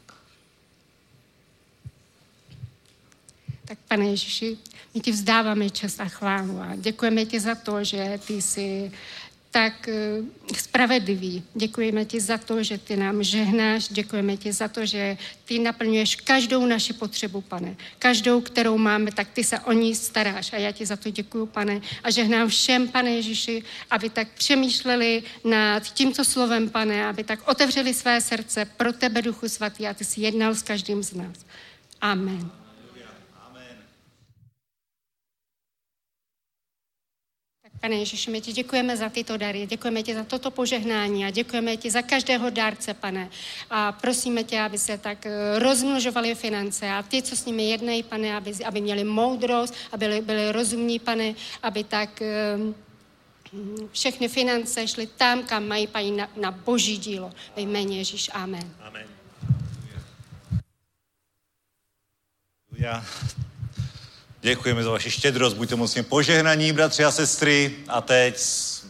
Tak Pane Ježíši, my ti vzdáváme čest a chválu a děkujeme ti za to, že ty jsi tak spravedlivý. Děkujeme ti za to, že ty nám žehnáš, děkujeme ti za to, že ty naplňuješ každou naši potřebu, Pane. Každou, kterou máme, tak ty se o ní staráš a já ti za to děkuju, Pane. A žehnám všem, Pane Ježíši, aby tak přemýšleli nad tímto slovem, Pane, aby tak otevřeli své srdce pro tebe, Duchu Svatý, a ty jsi jednal s každým z nás. Amen. Pane Ježiši, my ti děkujeme za tyto dary, děkujeme ti za toto požehnání a děkujeme ti za každého dárce, Pane. A prosíme tě, aby se tak rozmnožovaly finance a ty, co s nimi jednají, Pane, aby, aby měli moudrost, aby byli, byli rozumní, Pane, aby tak um, všechny finance šly tam, kam mají, Pane, na, na Boží dílo. Ve jméně Ježíš, amen. Amen. Já děkujeme za vaši štědrost, buďte mocně požehnaní, bratři a sestry. A teď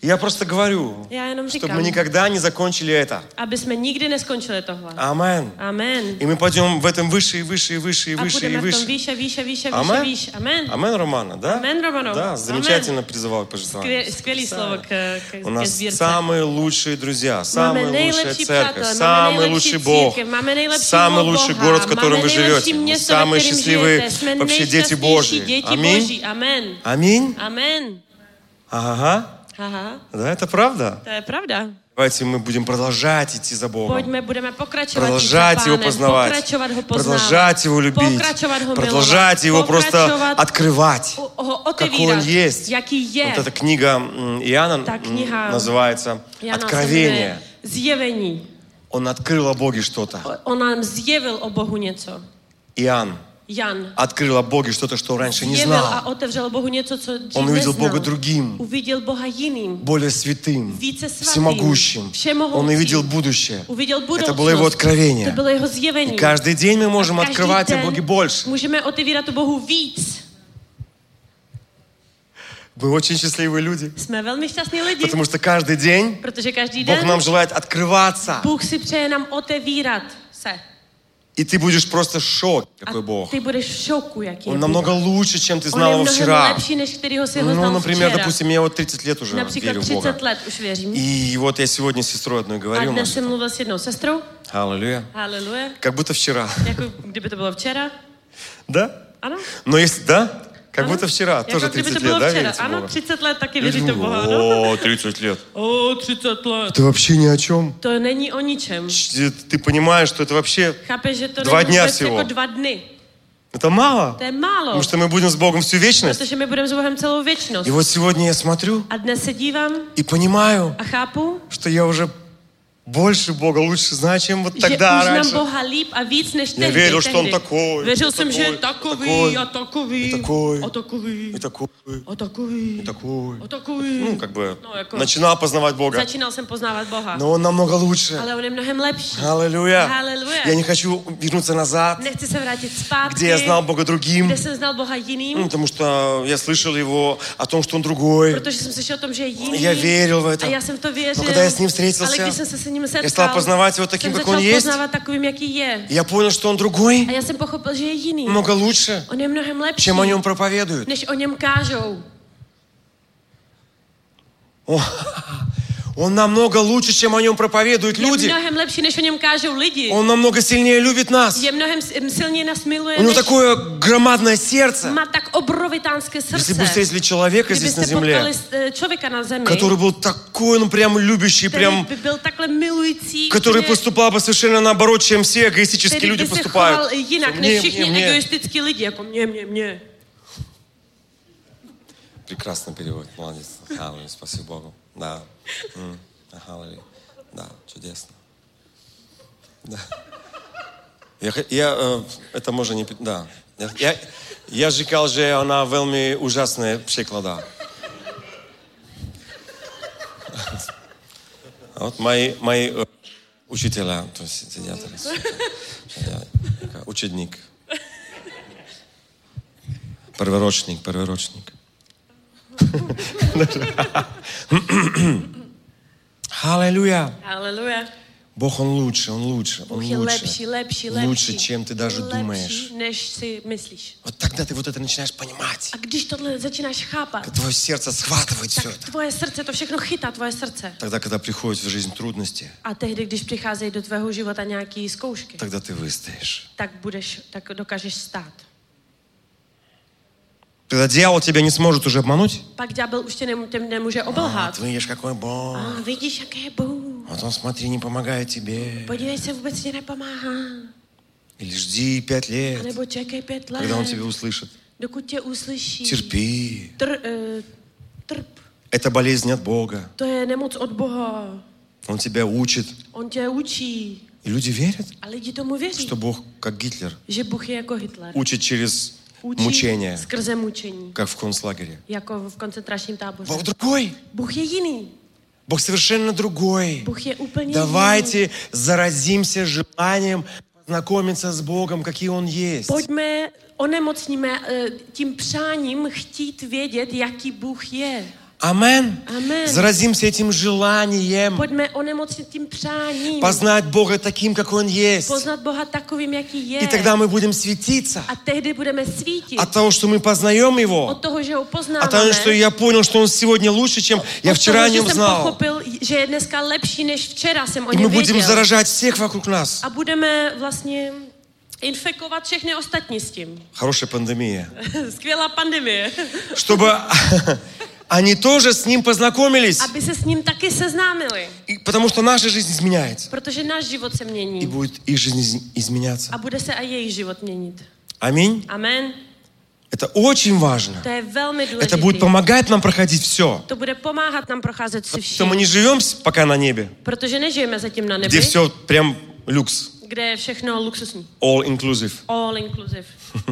Я просто говорю, Já jenom чтобы říkám, мы никогда не закончили это. aby jsme nikdy neskončili tohle. Амен. Amen. И мы пойдем в этом выше и выше и выше и A выше и budeme v tom выше. výše, výše, výše, výše, Amen. výš. Amen. Амен, Романа, да? Амен, Романов. Да, Амен. замечательно призывал к Skvělý, пожертвованию. skvělý slovo k, k, У ke нас sbírce. самые лучшие друзья, самая Máme лучшая nejlepší церковь, přátelé, máme самый nejlepší лучший Бог, církev, máme nejlepšího самый лучший Boha, город, в котором máme вы nejlepší живете, město, самые ve kterém счастливые žijete. Jsme вообще дети nejšťastnější Божьи. děti Аминь. Boží. Amen. Аминь. Amen. Ага. Aha, Да, это правда. to je pravda. Давайте мы будем продолжать идти за Богом. Pojďme, budeme pokračovat Продолжать jít za Его Pánem, познавать, pokračovat ho poznávat, продолжать Его любить, pokračovat ho продолжать Его milovat, просто pokračovat открывать, ho- ho какой Он otevírat, есть. jaký je. Вот эта книга м, Иоанна Ta м, kniha называется Jana se «Откровение». jmenuje Zjevení. Он открыл о Боге что-то. O- On nám zjevil o Bohu něco. Иоанn Jan открыл о Боге что-то, что раньше не zjevil a знал. otevřel Bohu něco, co dřív Он увидел neznal. Бога другим, Uviděl Boha jiným, более святым, více svatým, всемогущим. všemohoucím. Он увидел будущее. Uviděl Это budoucnost. было Его откровение. To bylo jeho zjevení. И каждый день мы можем A každý открывать о den Боге больше. můžeme otevírat o Bohu víc. Мы очень счастливые люди, Jsme velmi šťastní lidi, потому что каждый день protože každý Бог den нам желает открываться. Bůh si přeje nám otevírat se. И ты будешь просто в шоке, A какой Бог. ty budeš v šoku, jaký je Он Bůh. намного лучше, чем ты On знал je его mnohem вчера. lepší, než kterýho si ho Ну, znal например, včera. допустим, я вот тридцать лет уже Například верю в Бога. třicet let už věřím. И вот я сегодня с сестрой одной A говорю, dnes jsem mluvil s jednou sestrou. аллилуйя, Haleluja. как будто вчера. Jako kdyby to bylo včera. Да? Ano. Но если, да? Как Ano. будто вчера, Jako тоже kdyby to тридцать bylo лет, да, včera. верите в Ano, Бога? třicet let taky Я věříte v думаю, Boha. Ano. О, тридцать лет. O, třicet let. Это вообще ни о чем. To není o ničem. Ч- Ты понимаешь, что это вообще, Chápeš, že to Dva není dňa vůbec всего. jako dva dny. это мало. To je málo. Потому что мы будем с Богом всю вечность. Protože my budeme s Bohem celou věčnost. И вот сегодня я смотрю A dnes se dívám и понимаю, a chápu, что я уже больше Бога лучше знаю, чем вот že тогда už znám раньше. Boha líp a víc než Я tehdy. верил, что Он tehdy. такой, Věřil и jsem, že je такой, takový и a takový и такой, a takový и такой, a takový и такой. a takový. Ну, как бы No, jako- начинал познавать Бога. Začínal jsem poznávat Boha. Но Он намного лучше. Ale on je mnohem lepší. Аллилуйя. Halleluja. Я не хочу вернуться назад, Nechci se vrátit zpátky, где я знал Бога другим. kde jsem znal Boha Ну, jiným, потому что я слышал Его о том, что Он другой. protože jsem slyšel o tom, že je jiný. Я верил в A это. já jsem v to věřil. Но когда я с Ним Ale встретился, když jsem se s ním я стал setkal, познавать Его таким, jsem как Он začal есть. poznávat takovým, jaký je. И я понял, что Он другой, A já jsem pochopil, že je jiný. много лучше, On je mnohem lepší, чем о Нем проповедуют. než o něm kážou. О, Он намного лучше, чем о Нем проповедуют Je люди. mnohem lepší, než o něm kážou lidi. Он намного сильнее любит нас. Je mnohem s- silněji nás miluje, У Него než такое громадное сердце. má tak obrovitánské Если srdce. бы встретили человека здесь на Kdybyste potkali земле, eh, člověka na zemi, который был такой, ну прям любящий, který прям, by byl takhle milující, который že- поступал бы совершенно наоборот, чем все эгоистические který люди by se поступают. choval jinak Мне, než мне, všichni мне. egoistickí lidi, jako mě, mě, mě. Прекрасно перевод, молодец. Аллилуйя, спасибо Богу. Да. М, аллилуйя. Да, чудесно. Да. Я, х- я э, это може не... пи- Да. Я, я, я říkal, že ona velmi úžasné překládá. A вот мои, мои э, учителя, то есть сидят здесь. Я, я, ученик. Перворочник, перворочник. Аллилуйя. Haleluja. Бог, Он лучше, Он лучше, Он Bůh je лучше. lepší, lepší, lepší. Лучше, чем ты даже думаешь. Lepší, než si myslíš. Вот тогда ты вот это начинаешь понимать. A když tohle začínáš chápat, Как твое сердце схватывает все tak это. tvoje srdce to všechno chytá, tvoje srdce. Тогда, когда приходят в жизнь трудности, A tehdy, když přicházejí do tvého života nějaký zkoušky, тогда ты выстоишь. tak budeš, tak dokážeš stát. Тогда дьявол тебя не сможет уже обмануть. Pak ďábel už tě nemů- tě nemůže Вот obelhat. видишь, какой Бог. A vidíš, jaký je Bůh. Вот он, смотри, не помогает тебе. Podívej se, vůbec ti nepomáhá. Или жди пять A лет, nebo čekej pět let, когда он тебя услышит. dokud tě uslyší. Терпи. Tr, uh, trp. Это болезнь от Бога. To je nemoc od Boha. Он тебя учит. On tě učí. И люди верят, A lidi tomu věří, что Бог, как Гитлер, že Bůh je jako Hitler. учит через Učí мучение, skrze mučení, как в концлагере. jako v koncentračním táboře. Бог другой. Bůh je jiný. Бог совершенно другой. Bůh je úplně jiný. Давайте заразимся желанием познакомиться с Богом, какие Он есть. Pojďme, onemocníme eh, tím přáním chtít vědět, jaký Bůh je. Амен. Amen. Заразимся этим желанием Pojďme onemocnit tím přáním. познать Бога таким, какой Он есть. Poznat Boha takovým, jaký je. И тогда мы будем светиться A tehdy budeme svítit. от того, что мы познаем Его, Od toho, že ho от poznáváme. того, что я понял, что Он сегодня лучше, чем я Od вчера о toho, že Нем jsem знал. pochopil, že je dneska lepší, než včera jsem o И мы něm будем věděl. заражать всех вокруг нас. A budeme vlastně infekovat všechny ostatní s tím. Хорошая пандемия. Skvělá pandemie. Чтобы они тоже с Ним познакомились. Aby se s ním taky seznámili. И потому что наша жизнь изменяется. Protože náš život se И mění. будет их жизнь из- изменяться. A bude se i jejich život měnit. Аминь. Amen. Это очень важно. To je velmi Это будет důležité. помогать нам проходить все. To bude pomáhat nám procházet si Что мы vším. не живем пока на небе, Protože nežijeme zatím na где nebi, все прям люкс, kde je všechno luxusní. all inclusive. All inclusive.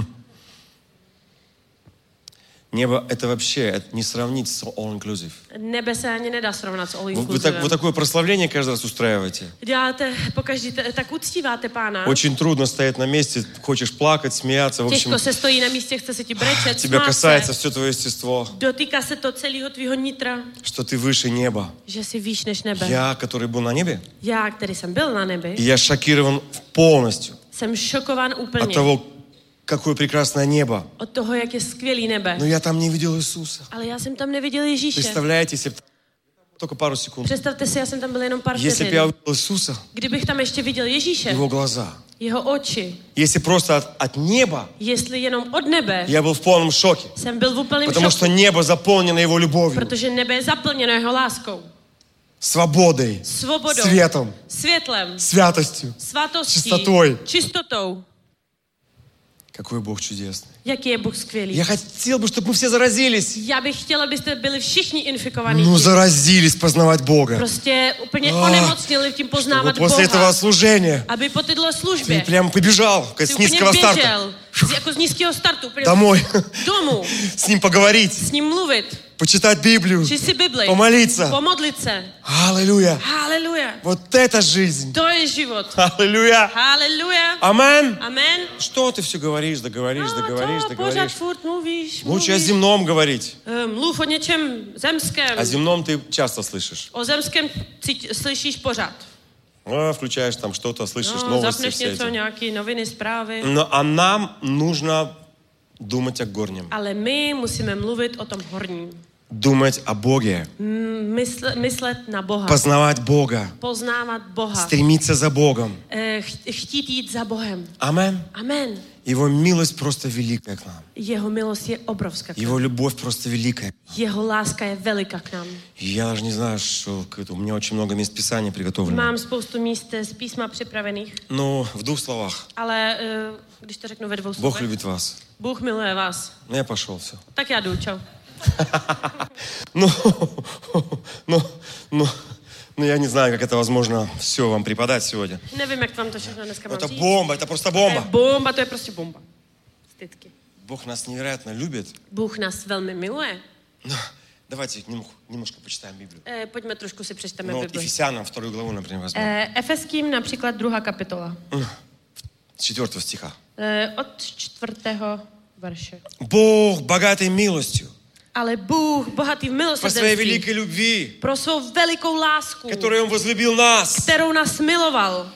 Небо это вообще это не сравнить с all inclusive. Nebe se ani nedá srovnat s all Вы, вы, inclusive. так, вы такое прославление каждый раз устраиваете. Děláte, pokaždý te- tak uctíváte Pána. Очень трудно стоять на месте, хочешь плакать, смеяться. В общем, Těžko se stojí na místě, chce se ti brečet, тебя smát касается se. все твое естество, Dotýká se to celého tvýho nitra, что ты выше неба. že jsi výš než nebe. Я, который был на небе, Já, který jsem byl na nebi, и я шокирован полностью jsem šokován от úplně того, какое прекрасное небо. od toho, jak je skvělý nebe. Но я там не видел Иисуса. Ale já jsem tam neviděl Ježíše. Представляете, если б только пару секунд. Představte si, já jsem tam byl jenom pár Если бы vteřin. я увидел Иисуса, Kdybych tam ještě viděl Ježíše, Его глаза, jeho oči, если просто от, от неба, jestli jenom od nebe, я был в полном шоке. jsem byl v úplném Потому что šoku, небо заполнено Его любовью, protože nebe je zaplněno jeho láskou, свободой, svobodou, светом, světlem, святостью. svatostí, Čistotou. čistotou. Какой Бог чудесный. Jaký je Bůh skvělý. Я хотел бы, чтобы мы все заразились. Já bych chtěla, abyste byli všichni infikovaní Ну, tím. заразились познавать Бога. Prostě úplně Ah, onemocnili tím Чтобы poznávat после этого Boha. служения Aby po této ты službě прям побежал как si с úplně низкого старта běžel, z- jako z nízkého startu, úplně домой, domů, с Ним поговорить, s ním mluvit, почитать Библию, číst si Bibli, помолиться. pomodlit se. Аллилуйя. Haleluja. Вот это жизнь. To je život. Аллилуйя. Haleluja. Амен. Amen. Что ты все говоришь, да говоришь, да говоришь, A да to pořád говоришь. furt mluvíš, Лучше о mluvíš. земном говорить. Eh, Mluv o něčem zemském. О земном ты часто слышишь. O zemském cít, slyšíš pořád. А, включаешь там что-то, слышишь No, новости zapneš все něco, эти. nějaké noviny, zprávy. Но, а нам нужно думать о горнем. Ale my musíme mluvit o tom horním. Думать о Боге. Mysl, myslet na Boha. Познавать Бога. Poznávat Boha. Стремиться за Богом. Eh, ch- Chtít jít za Bohem. Амен. Amen. Его милость просто великая к нам. Jeho milost je obrovská. k nám. Его любовь просто великая. Jeho láska je veliká k nám. И я даже не знаю, что к этому. У меня очень много мест Писания приготовлено. Mám spoustu míst z písma připravených, Но в двух словах. ale eh, když to řeknu ve dvou Бог slovech, любит вас. Bůh miluje vás. Ну, я пошел, все. Tak já jdu, čau. Ну, ну, ну, ну, я не знаю, как это возможно все вам преподать сегодня. Nevím, jak vám to všechno dneska mám Это říct. бомба, это просто To je бомба. bomba, to je prostě bomba. Stytky. Бог нас невероятно любит. Bůh nás velmi miluje. Но давайте немного, немножко почитаем Библию. Eh, pojďme trošku si přečteme Ну, вот Bibli. Ефесянам вторую главу, например, возьмем. Eh, Efeským například druhá kapitola. С четвертого стиха. Eh, od čtvrtého verše. Бог, богатый милостью, Ale Bůh, bohatý v по своей milosrdenství, великой любви, pro svou velikou lásku, которой Он возлюбил нас. kterou nás miloval,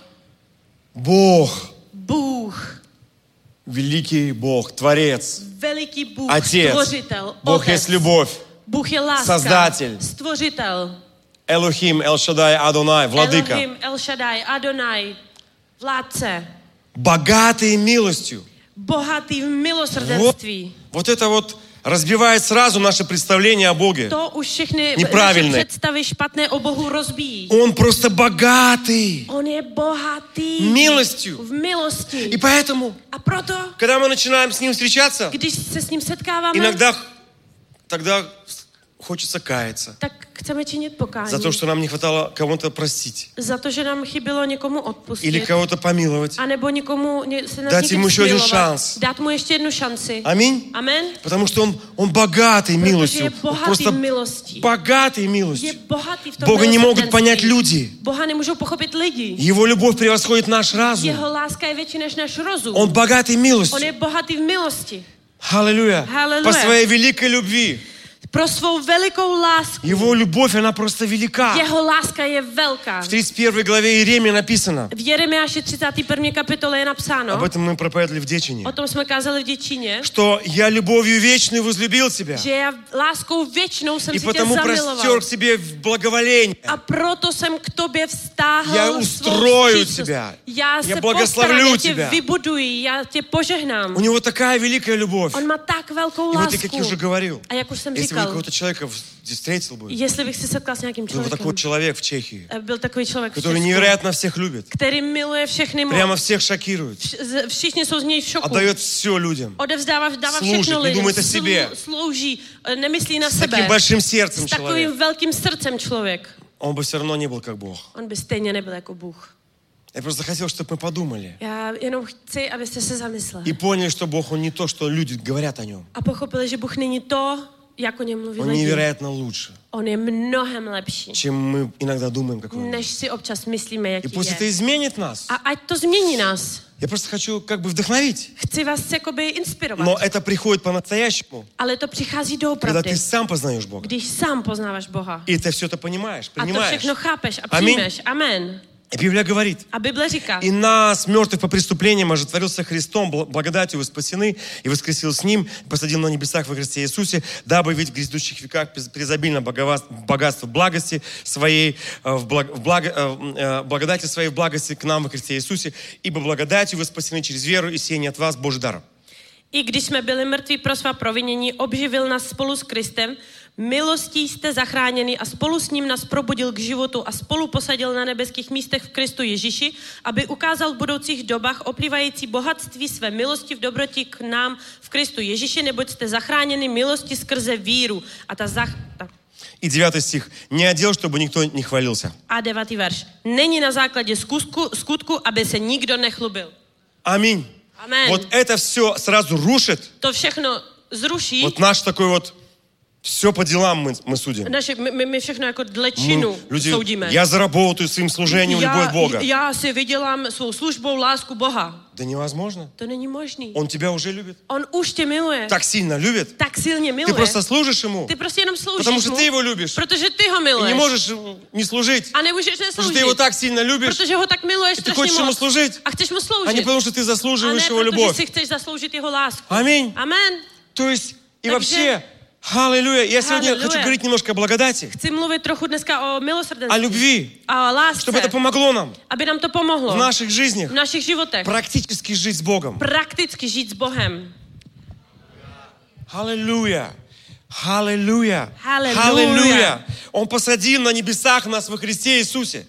Бог, Bůh, великий Бог, Творец, veliký Bůh, Отец. stvořitel, Бог Otec. есть любовь. Bůh je láska, Создатель. stvořitel, Элохим, Эл-Шадай, Адонай, Владыка. Elohim, El Shaddai, Adonai, vládce, Богатый милостью. bohatý v Вот, milosrdenství. вот это вот разбивает сразу наше представление о Боге. To už všechny naše Неправильné. představy špatné o Bohu rozbíjí. Он просто богатый On je bohatý милостью. v milosti. И поэтому, A proto, когда мы начинаем с Ним встречаться, když se s ním setkáváme, иногда тогда хочется каяться tak chceme činit pokání. за то, что нам не хватало кого-то простить Za to, že nám chybělo někomu или odpustit. кого-то помиловать. A nebo někomu ně, se nad Dát někým mu ještě jeden smilovat. šanc. Dát mu ještě jednu šanci. Аминь. Amen. Потому что Он, он богатый Protože милостью. je Он bohatý просто v milosti. богатый Je милостью. bohatý v tom Бога не могут milosrdenství. понять люди. Boha nemůžou pochopit lidi. Его любовь превосходит наш разум. Jeho láska je větší než náš rozum. Он bогатый On милостью. je bohatý v milosti. Аллилуйя. Аллилуйя. По своей великой любви. Pro svou velikou lásku. Его любовь, она просто велика. Jeho láska je velká. В тридцать первой главе Иеремии написано. V Jeremiáši třicáté první kapitole je napsáno. Об этом мы проповедовали в Дечине. O tom jsme kázali v Děčíně. Что я любовью вечной возлюбил тебя. Že já láskou věčnou jsem И si tě потому zamiloval. простер к себе в благоволение. A proto jsem k tobě vztáhl Я svou устрою vstřícnost. тебя. Já Я se благословлю postarám, já tě тебя. vybuduji, já tě požehnám. У него такая великая любовь. On má tak velkou И вот lásku. я, как я уже говорил, A jak už jsem если вы říkal, какого-то человека здесь встретил бы, jestli bych se setkal s nějakým был бы такой člověkem, человек в Чехии, byl takový člověk v который Česku, невероятно всех любит, který miluje všechny moc. прямо всех шокирует, Vš- Všichni jsou z něj v šoku. отдает все людям, Odevzdává, dává Служит, všechno не lidem. думает о себе. Slou- Slouží, eh, nemyslí na с sebe. таким большим сердцем S takovým человек, velkým srdcem člověk. он бы все равно не был как Бог. On by stejně nebyl jako Bůh. Я просто хотел, чтобы мы подумали Já jenom chci, abyste se zamysleli. и поняли, что Бог, Он не то, что люди говорят о Нем. A pochopili, že Bůh není to, jak o něm mluví Он lidi. невероятно лучше, On je mnohem lepší, чем мы иногда думаем, какой Он. než si občas myslíme, И jaký пусть это je. изменит нас. A ať to změní nás. Я просто хочу как бы вдохновить. Chci vás jakoby inspirovat. Но это приходит по-настоящему, Ale to přichází когда doopravdy, ты сам познаешь Бога. když sám poznáváš Boha. И ты все это понимаешь, A to принимаешь. všechno chápeš a Аминь. přijmeš. Amen. И Библия говорит, A Bible říká, и нас, мертвых по преступлениям, ожитворился Христом, бл- благодатью вы спасены, и воскресил с Ним, и посадил на небесах во Христе Иисусе, дабы видеть в грядущих веках през- презобильно боговас- богатство благости своей, э, в, благ- в благо- э, э, благодати своей в благости к нам во Христе Иисусе, ибо благодатью вы спасены через веру, и сие не от вас, Божий дар. i když jsme byli mrtví pro svá provinění, obživil nás spolu s Kristem, milostí jste zachráněni a spolu s ním nás probudil k životu a spolu posadil na nebeských místech v Kristu Ježíši, aby ukázal v budoucích dobách oplývající bohatství své milosti v dobrotě k nám v Kristu Ježíši, neboť jste zachráněni milosti skrze víru. A ta zach... Ta. И девятый стих. «Не одел, чтобы никто не хвалился». A devátý verš. Není na základě skutku, skutku, aby se nikdo nechlubil. Аминь. Amen. Вот это все сразу рушит. To všechno zruší. Вот наш такой вот, все по делам мы, мы судим. Naše, my, my všechno jako dle Мы, činu люди, soudíme. я заработаю своим служением любовь Бога. já si vydělám svou službou lásku Boha. Да невозможно. To není možný. Он тебя уже любит. On už tě miluje. Так сильно любит. Tak silně Ты miluje. просто служишь Ему, Ty prostě jenom sloužíš потому что mu, ты Его любишь. protože ty ho И miluješ. не можешь не служить, A nemůžeš потому что nesloužit. ты Его так сильно любишь, Protože ho tak miluješ и ты strašně хочешь Ему moc. служить, A chceš mu а sloužit. не потому что ты A заслуживаешь ne, Его protože любовь. si chceš zasloužit jeho lásku. Аминь. Amen. То есть, и Takže- вообще, аллилуйя. Я сегодня Аллилуйя. хочу говорить немножко о благодати, Chci mluvit trochu dneska o о milosrdenství. любви, A o lásce. чтобы это помогло нам Aby nám to pomohlo. в наших жизнях V našich životech. практически жить с Богом. Prakticky žít s Bohem. Аллилуйя. Аллилуйя. Аллилуйя. Аллилуйя. Он посадил на небесах нас во Христе Иисусе.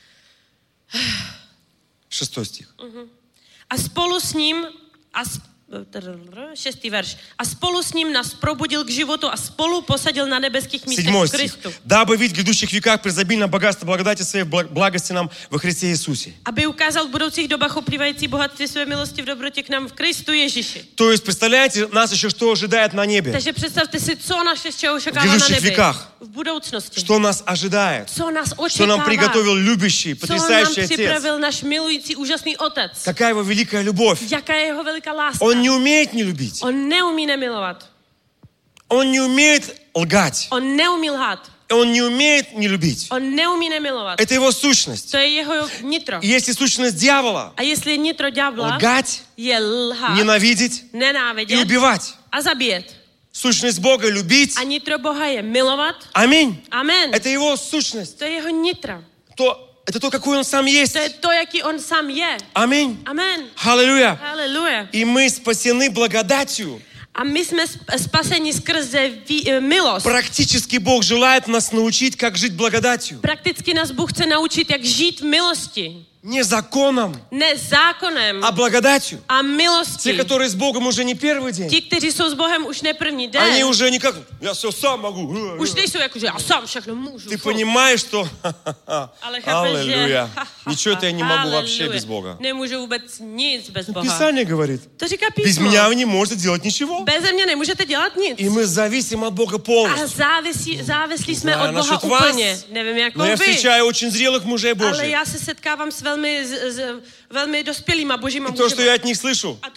Шестой стих. A spolu s ním, a s, šestý verš, a spolu s ním nás probudil k životu a spolu posadil na nebeských místech Седьмой v стих. Kristu. Дабы видеть в грядущих веках презобильное богатство благодати своей в благ- благости нам во Христе Иисусе. Aby ukázal v budoucích dobách oplývající bohatství své milosti v dobrotě k nám v Kristu Ježíši. То есть, представляете, нас еще что ожидает на небе? Takže představte si, co naše čeho očekává V na budoucích nebi. věkách. V budoucnosti. Что нас ожидает? Co nás Что očekává. нам приготовил любящий, Co nám потрясающий Отец? připravil náš milující úžasný otec. Какая его великая любовь? Jaká je jeho veliká láska. Он не умеет не любить. On neumí nemilovat. Он не умеет лгать. On neumí lhát. Он не умеет не любить. On neumí nemilovat. Это его сущность. To je jeho nitro. И если сущность дьявола, A jestli je nitro ďábla, лгать, je lhát, ненавидеть и nenávidět убивать. a zabíjet. Сущность Бога любить. A nitro Boha je milovat. Аминь. Amen. Это его сущность. To je jeho nitro. То, это то, какой он сам есть. To je to, jaký on sám je. Аминь. Amen. Аллилуйя. Haleluja. И мы спасены благодатью. A my jsme sp- spaseni skrze ví, eh, milost. Практически Бог желает нас научить, как жить благодатью. Prakticky nás Bůh chce naučit, jak žít v milosti. Не законом, Ne zákonem а благодатью. a Те, milostí. которые с Богом уже не первый день. Ti, kteří jsou s Bohem už ne první den, Они уже не как, я все сам могу. už nejsou jako, že já sám všechno můžu. Ты Fu. понимаешь, что... Ale chápeš, že... Аллилуйя. Ничего я не могу вообще Halleluja. без Бога. Nemůžu vůbec nic bez Boha. Писание говорит, To říká без písmo. меня вы не можете делать ничего. Beze mě nemůžete dělat nic. И мы зависим от Бога A полностью. závisí, závislí jsme Знаю od Boha насчет вас, úplně. Nevím, jako но я vy. встречаю очень зрелых мужей Ale Божьих. já se setkávám s velmi, z, z, velmi dospělýma božíma И то, что mužema. я от них слышу, A to,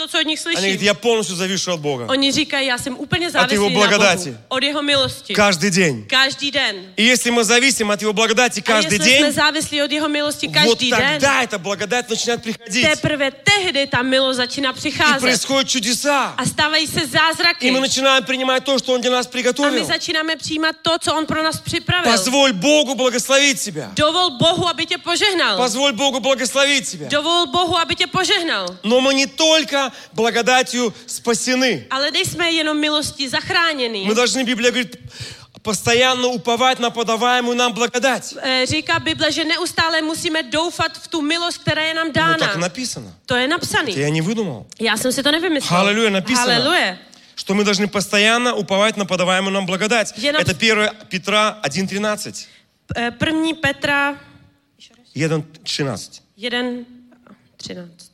to, co od nich Они говорят, slyším. я полностью завишу от Бога. Oni říkají, já jsem úplně Od závislý jeho na blagodati. Bohu. Od jeho milosti. Каждый день. Každý den. И если мы зависим от Его благодати A каждый jestli jsme день, závislí od jeho milosti вот každý den, тогда эта благодать начинает приходить. teprve tehdy ta milost začíná И přicházet. происходят чудеса. A stávají se И zázraky. мы начинаем принимать то, что Он для нас A my приготовил. začínáme přijímat to, co on pro nás připravil. Позволь Богу благословить тебя. Dovol Bohu, aby tě požehnal. Позволь Богу благословить тебя. Dovol Bohu, aby tě požehnal. Но мы не только благодатью спасены. Ale nejsme jenom milosti zachráněni. Мы должны, Библия говорит, постоянно уповать на подаваемую нам благодать. Eh, Říká Bible, že neustále musíme doufat v tu milost, která je nám Ну, так dána. написано. To je Это napsaný. я не выдумал. Já jsem si to nevymyslel. Halleluja, написано. Haleluja. Что мы должны постоянно уповать на подаваемую нам благодать. Я нам- Это первое Петра один тринадцать. Eh, První Petra один тринадцать. jedna třináct.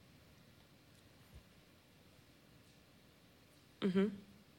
Mhm.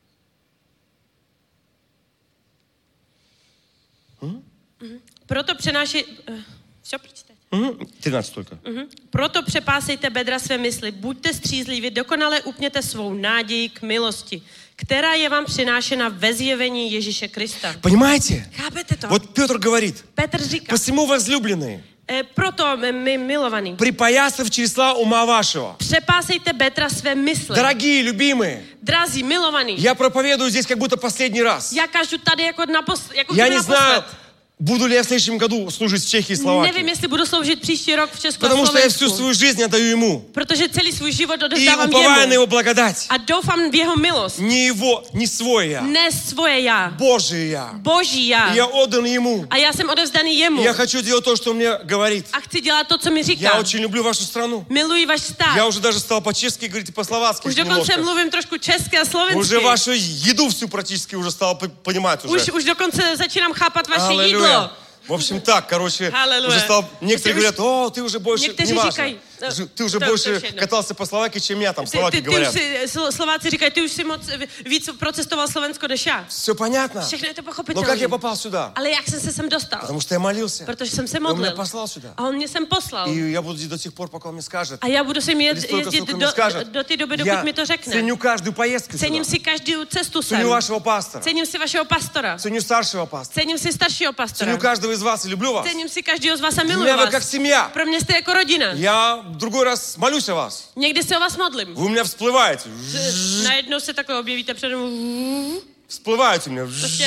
Mhm. Proto přenáší... Uh, co přečte? Мгм. тринадцать только. Mhm. Proto přepásejte bedra své mysli, buďte střízliví, dokonale upněte svou naději k milosti, která je vám přinášena ve zjevení Ježíše Krista. Понимаете? Chápete to? Вот Петр говорит, Petr říká, посему, возлюбленные, e, proto my milovaní, припоясав числа ума вашего. přepásejte bedra své mysli. Дорогие, любимые, Drazí, milovaní, я проповедую здесь как будто последний раз. já kažu tady jako, napos, jako Я kdyby не знаю, naposled. буду ли я в следующем году служить в Чехии и Nevím, Словакии. jestli budu sloužit příští rok v Česku a Потому что я всю Slovensku, свою жизнь отдаю Ему. protože celý svůj život И odevzdávám уповая на jemu Его благодать. a doufám v jeho milost. Не Его, не свой я, Ne svoje já, Божий я. boží já. И я отдан Ему. A já jsem odevzdaný jemu. И я хочу делать то, что Он мне говорит. A chci dělat to, co mi Я říká. очень люблю вашу страну. Miluji váš stát. Я уже даже стал по-чешски говорить и по-словацки Už dokonce немножко. mluvím trošku česky a slovensky. Уже вашу еду всю практически уже стал п- понимать Už, уже. už dokonce začínám chápat vaše Аллилуйя. jídlo. В общем так, короче, Аллилуйя. уже стал... Некоторые Если говорят, о, ты уже больше... Někteří Неважно. říkají, no, Ж- Ты уже to- больше to už jedno. катался по Словакии, чем я, там Ty, словаки ty, ty už говорят. si, Slo- Slováci říkají, ty už si moc víc procestoval Slovensko než já. Все понятно. Všechno je to Но pochopitelné. как я попал сюда? Ale jak jsem se sem dostal? Потому что я молился. Protože jsem se И он меня modlil. послал сюда. A on mě sem poslal. И я буду здесь до тех пор, пока он мне скажет. A já budu sem Или jet, столько, jezdit сколько do, мне скажет. do té doby, dokud Я mi to řekne. ценю каждую поездку Cením сюда. si každou cestu sem. Ценю вашего пастора. Cením si vašeho pastora. Ценю старшего пастора. Cením si staršího pastora. Ценю каждого из вас и люблю вас. Cením si každého z vás a Для miluji меня вы как vás. семья. Pro mě jste jako rodina. Я в другой раз молюсь о вас. Někdy se o vás modlím. Вы у меня всплываете. Najednou se takhle objevíte přede mnou. Всплываете у меня. Prostě,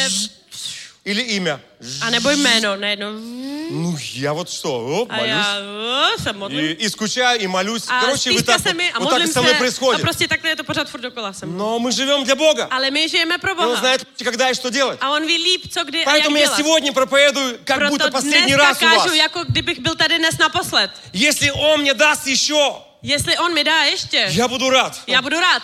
Или имя. a nebo jméno, najednou. Ну, я вот что, оп, A молюсь. já o, se modlím. И, и скучаю, и молюсь. A Короче, вы stýská так, se mi a вот так и modlím со мной se a происходит. prostě takhle je to pořád furt dokola sem. Но мы живем для Бога. Ale my žijeme pro И Он Boha. знает, когда и что делать. A on ví líp, co kdy a jak Поэтому я dělat. сегодня проповедую, как будто Proto последний dneska раз у вас. kážu, jako kdybych byl tady dnes naposled. Если Он мне даст еще, Jestli on mi dá ještě, я буду рад. já budu rád.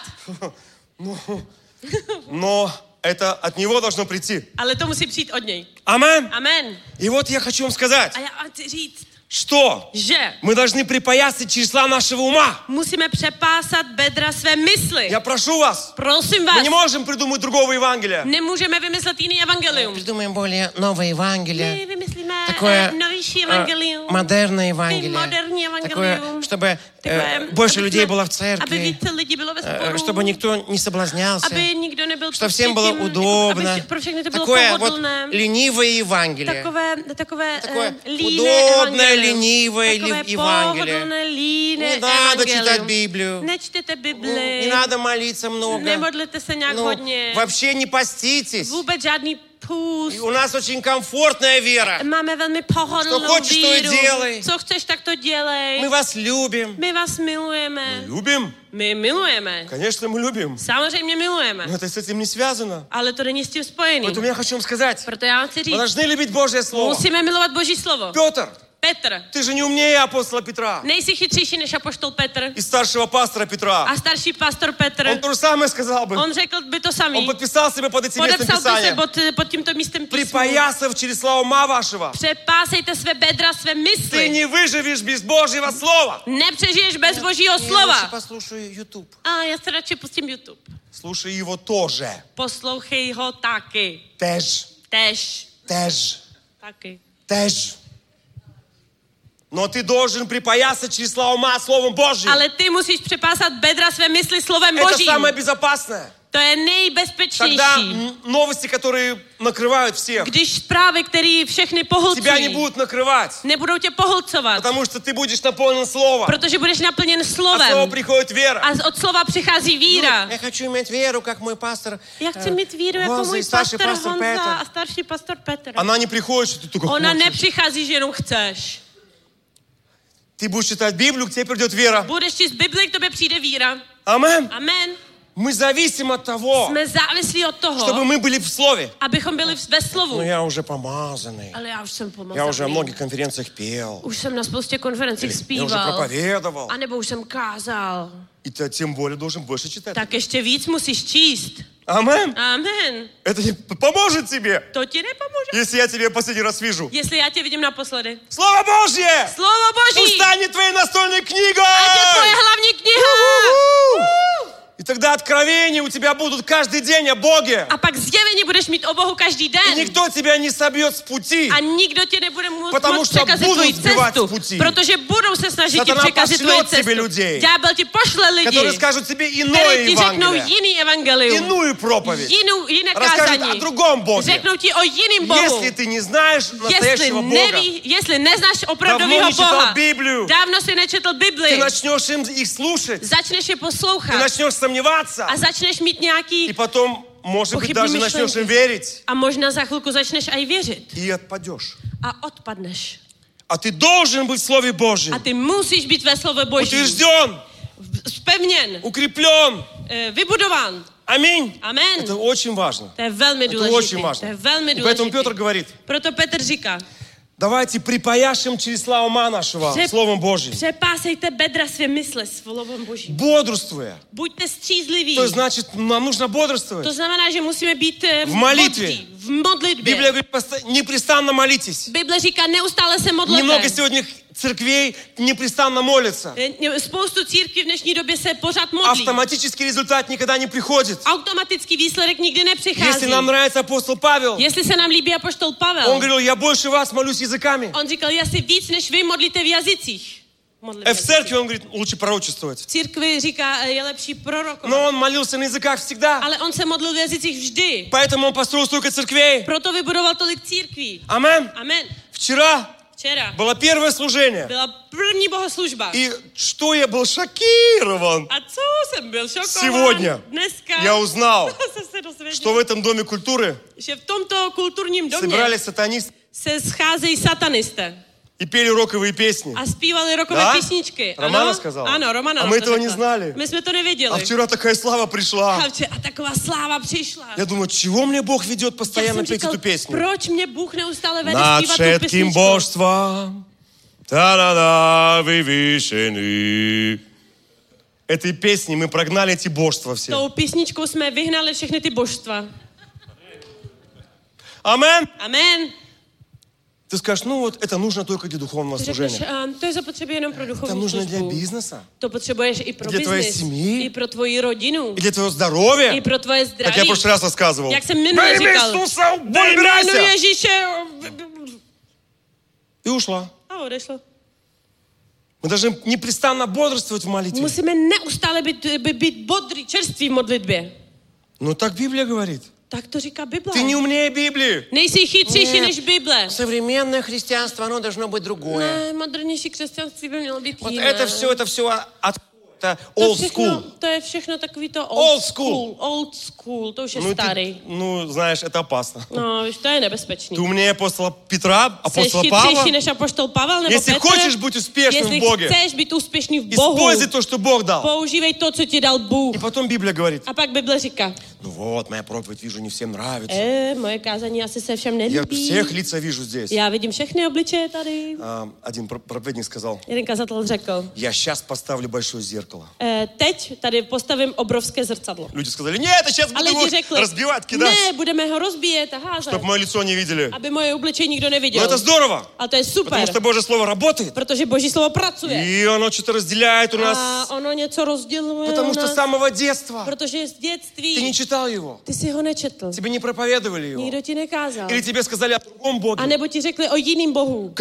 Но это от Него должно прийти. Ale to musí přijít od něj. Амен. Amen. И вот я хочу вам сказать, A já vám chci říct, что že мы должны припоясать числа нашего ума. musíme přepásat bedra své mysli. Я прошу вас, Prosím мы vás, не можем придумать другого Евангелия. nemůžeme vymyslet jiný evangelium. Придумаем более новое Евангелие. My vymyslíme Такое eh, novější э, evangelium. модерное Ty Евангелие. moderní Такое, evangelium. чтобы Takové, э, больше aby людей jsme- было в Aby церкви, více lidí bylo ve э, sporu. чтобы никто не соблазнялся, Aby nikdo nebyl чтобы prostě всем было tím, удобно. Aby pro všechny to bylo Такое вот pohodlné. ленивое Евангелие. Takové, takové Такое eh, líné удобное, evangelium. ленивое Takové ли- Евангелие. pohodlné, líné Не надо evangelium. читать Библию. Nečtěte Ну, Bibli. Не надо молиться много. Nemodlete se nějak Ну, hodně. вообще не поститесь. Vůbec žádný půst. И у нас очень комфортная вера. Máme velmi pohodlnou Co хочeš, to i víru. dělej. Co chceš, tak to dělej. Мы вас любим. My vás milujeme. Любим? My milujeme. Конечно, мы любим. Samozřejmě milujeme. Но это с этим не связано. Ale to není s tím spojený. Поэтому я хочу вам сказать, Proto já vám chci мы říct, должны любить Божье Слово. musíme milovat Boží slovo. Петр, Petr, ты же не умнее апостола Петра nejsi chytřejší než apoštol Petr и старшего пастора Петра. a starší pastor Petr. Он то же самое сказал бы. On řekl by to Он samý. подписал себя под этим местом Podepsal by se Писания. pod, pod tímto místem písmu. Припоясав чресла ума вашего. Přepásejte své bedra, své Ты mysli. не выживешь без Божьего Слова. Nepřežiješ bez Božího Я лучше slova. послушаю YouTube. A já se radši pustím YouTube. Слушай его тоже. Poslouchej ho taky. Теж. Tež. Теж. Taky. Теж. Но ты должен припоясать числа ума Словом Божьим. Ale ty musíš přepásat bedra své mysli slovem Это Božím. самое безопасное. To je Тогда nejbezpečnější. м, новости, которые накрывают всех, Když zprávy, které všechny тебя не pohlcují, будут накрывать. nebudou tě pohlcovat, Потому что ты будешь наполнен Словом. protože budeš naplněn От Слова slovem. приходит вера. A od slova přichází víra. Я хочу иметь веру, как мой пастор. Já chci mít víru jako Honza můj и старший pastor пастор Honza Петр. a starší pastor Petr. Она не приходит, что ты только Ona хочешь. nepřichází, že jenom chceš. Ты будешь читать Библию, к тебе придет вера. Budeš číst Bibli, k tobě přijde víra. Амен. Amen. Мы зависим от того, Jsme závislí od toho, чтобы мы были в Слове. abychom byli ve slovu. Ну, я уже помазанный. Ale já už jsem Я уже на pomazaný. многих конференциях пел. Už jsem na spoustě konferencích Я уже zpíval. проповедовал. A nebo už jsem kázal. И ты тем более должен больше читать. Tak ještě víc musíš číst. Амен. Amen. Это не поможет тебе, To ti nepomůže. если я тебя последний раз вижу. Jestli já tě vidím naposledy. Слово Божье! Slovo Boží! Пусть станет твоей настольной книгой! Ať je tvoje hlavní kniha! И тогда откровения у тебя будут каждый день о Боге. A pak zjevení budeš mít o Bohu každý И den. никто тебя не собьет с пути. A nikdo tě nebude moc, Потому moc что překazit budou tvoji sbývat cestu. z pути. Protože budou se snažit ti Satana překazit tvoji пошлет тебе cestu. людей, Ďábel ti pošle lidi, которые скажут тебе kteří иное ti řeknou Евангелие, jiný evangelium, иную проповедь. jinou, jiné Расскажут kázání. о другом Боге. Řeknou ti o jiným Bohu. Если ты не знаешь Jestli, настоящего Бога, neví, jestli neznáš давно opravdového не читал Boha, Библию, dávno si nečetl ты Bibli, начнешь им их слушать, začneš je ты poslouchat начнешь сомневаться, a začneš mít и nějaký потом, может быть, Pochybní даже myšlenky. начнешь им верить, a možná za chvilku začneš aj věřit и отпадешь. a odpadneš. А ты должен быть в Слове Божьем, A ty musíš být ve slove Boží. утвержден, Spevněn, укреплен. eh, vybudován. Аминь. Amen. Это очень важно. To je velmi Это důležité. очень To важно. je velmi И поэтому Петр důležité. говорит, Proto Petr říká, давайте припаяшем числа ума нашего Pře- Словом Божьим, přepásejte bedra své mysle slovem Božím. бодрствуя. Buďte střízliví. То есть, значит, нам нужно бодрствовать. To znamená, že musíme být eh, V modlitbě. bodří, v modlitbě. Библия говорит, поста- непрестанно молитесь. Bible říká, neustále se modlete. Немного сегодня церквей непрестанно молятся. Eh, Spoustu církví v dnešní době se pořád modlí. Автоматический результат никогда не приходит. Automatický výsledek nikdy nepřichází. Если нам нравится апостол Павел, Jestli se nám líbí apoštol Pavel, он говорил, я больше вас молюсь языками. on říkal, já si víc než vy modlíte v jazycích. Modlím Э, v В jazycích. церкви он говорит, лучше пророчествовать. V církvi říká, eh, je lepší prorokovat. Но он молился на языках всегда. Ale on se modlil v jazycích vždy. Поэтому он построил столько церквей. Proto vybudoval tolik církví. Амен. Amen. Вчера Včera было первое служение. byla první bohoslužba. И что я был шокирован. A co jsem byl šokován Сегодня dneska. я узнал, jsem se dozvěděl, что в этом Доме культуры že v tomto kulturním domě собирались сатанисты se scházejí satanisté и peli роковые песни. a zpívali rokové Да? písničky. Романа Ano? сказала? Ano, Romana А nám мы to этого не řekla. знали. My jsme to А nevěděli. вчера такая слава A, пришла. vče- a taková sláva přišla. Я думаю, чего мне Бог ведет Já постоянно jsem петь říkal, эту песню? proč mě Bůh neustále vede Над zpívat tu všetkým písničku? božством та-да-да, вывешены. Этой песней мы прогнали эти божества все. Tou písničkou jsme vyhnali všechny ty božstva. Амен. Amen. Ты скажешь, ну вот это нужно только для духовного Ty řekneš, служения. a, to je zapotřebí jenom pro Это duchovní нужно для službu. бизнеса, To potřebuješ i pro Для твоей biznis, семьи. i pro tvoji rodinu, и для твоего здоровья. i pro tvoje Как я в zdraví. прошлый раз рассказывал. Jak jsem minule Во имя říkal, Иисуса, ve jménu убирайся! Ježíše И ушла. a odešlo. Мы должны непрестанно бодрствовать в молитве. Musíme neustále být, by- být bodrý, čerství v modlitbě. Ну так Библия говорит. Tak to říká Bible. Ты не умнее Библии. Nejsi chytřejší Ne. než Bible. Современное христианство, оно должно быть другое. Ne, modernější křesťanství by mělo být Вот jiné. это все, это все от это To old všechno, school. to je všechno takový to Old old, school. school. Old school, to už je Ну, starý. ты, ну, знаешь, это опасно. No, víš, to je nebezpečný. Ты умнее апостола Петра, Jsi апостола Павла. chytřejší než apoštol Pavel nebo Jestli Petr. хочешь быть успешным Jestli в Боге, chceš být úspěšný v Bohu, используй то, что Бог дал. používej to, co ti dal Bůh. И потом Библия говорит, A pak Bible říká, ну вот, моя проповедь, вижу, не всем нравится. e, moje kázání asi se všem Я nelíbí. всех лица вижу здесь. Já vidím všechny obličeje tady. А, Один про- проповедник сказал, Jeden kazatel řekl, я сейчас поставлю большое зеркало. e, teď tady postavím obrovské zrcadlo. Люди сказали, нет, я сейчас A буду lidi его řekli, разбивать, кидать, ne, budeme ho rozbíjet a házet, чтобы мое лицо не видели. aby moje obličej nikdo Но neviděl. это здорово, A to je super, потому что Божье Слово работает. protože Boží slovo pracuje. И оно что-то разделяет у A нас, ono něco rozděluje потому u что с nás, самого детства protože z ты не dětství читал его, ty si ho nečetl. тебе не проповедовали его. Nikdo ti nekázal. Или тебе сказали о другом A Боге. nebo ti řekli o jiným Bohu. Как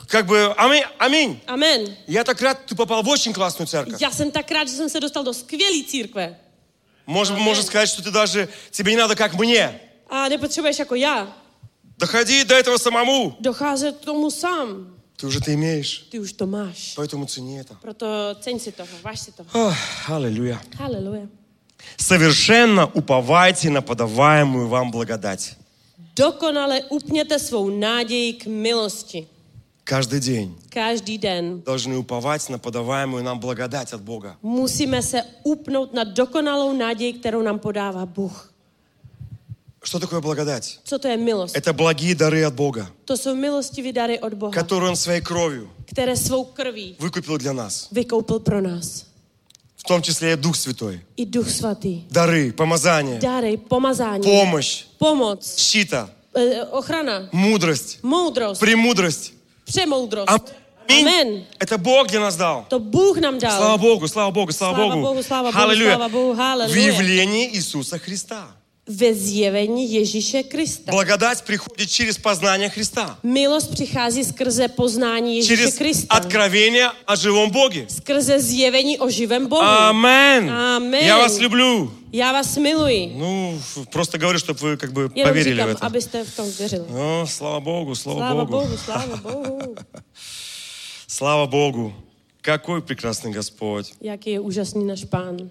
как бы, аминь, аминь. Amen. Я так рад, ты попал в очень классную церковь. Já jsem tak rád, že jsem se dostal do skvělé církve. Может, можно сказать, что ты даже, тебе не надо как мне. A nepotřebuješ jako já. Доходи до этого самому. Docházet k tomu sám. Ты уже это имеешь. Ty už to máš. Поэтому цени это. Proto ceň si toho, váž si toho. Ох, аллилуйя. Haleluja. Совершенно уповайте на подаваемую вам благодать. Dokonale upněte svou naději k milosti. Каждый день Každý den должны уповать на подаваемую нам благодать от Бога. musíme se upnout na dokonalou naději, kterou nám podává Bůh. Что такое благодать? Co to je milost? Это благие дары от Бога, To jsou milostivé dary od Boha, которые Он своей кровью které svou krví выкупил для нас. vykoupil pro nás. В том числе и Дух Святой. I Duch Svatý. Дары, помазание, Dary, pomazání, помощь, pomoc, щита, eh, ochrana, мудрость, moudrost, премудрость. přemoudrost. Аминь. Amen. Это Бог для нас дал. To Bůh nám dal. Слава Богу, слава Богу, слава Слава Богу. Богу, слава Богу, Аллилуйя. слава Богу, В аллилуйя. явлении Иисуса Христа. Ve zjevení Ježíše Krista. Благодать приходит через познание Христа. Milost přichází skrze poznání Ježíše Через Krista. откровение о живом Боге. Skrze zjevení o živém Bohu. Амен. Amen. Я вас люблю. Já vás miluji. Ну, просто говорю, чтобы вы как бы Jenom поверили říkám, в это. abyste v tom věřili. О, слава Богу, слава, Sláva Богу. Bohu, sláva Bohu. Слава Богу. Какой прекрасный Господь. Jaký je úžasný náš Pán.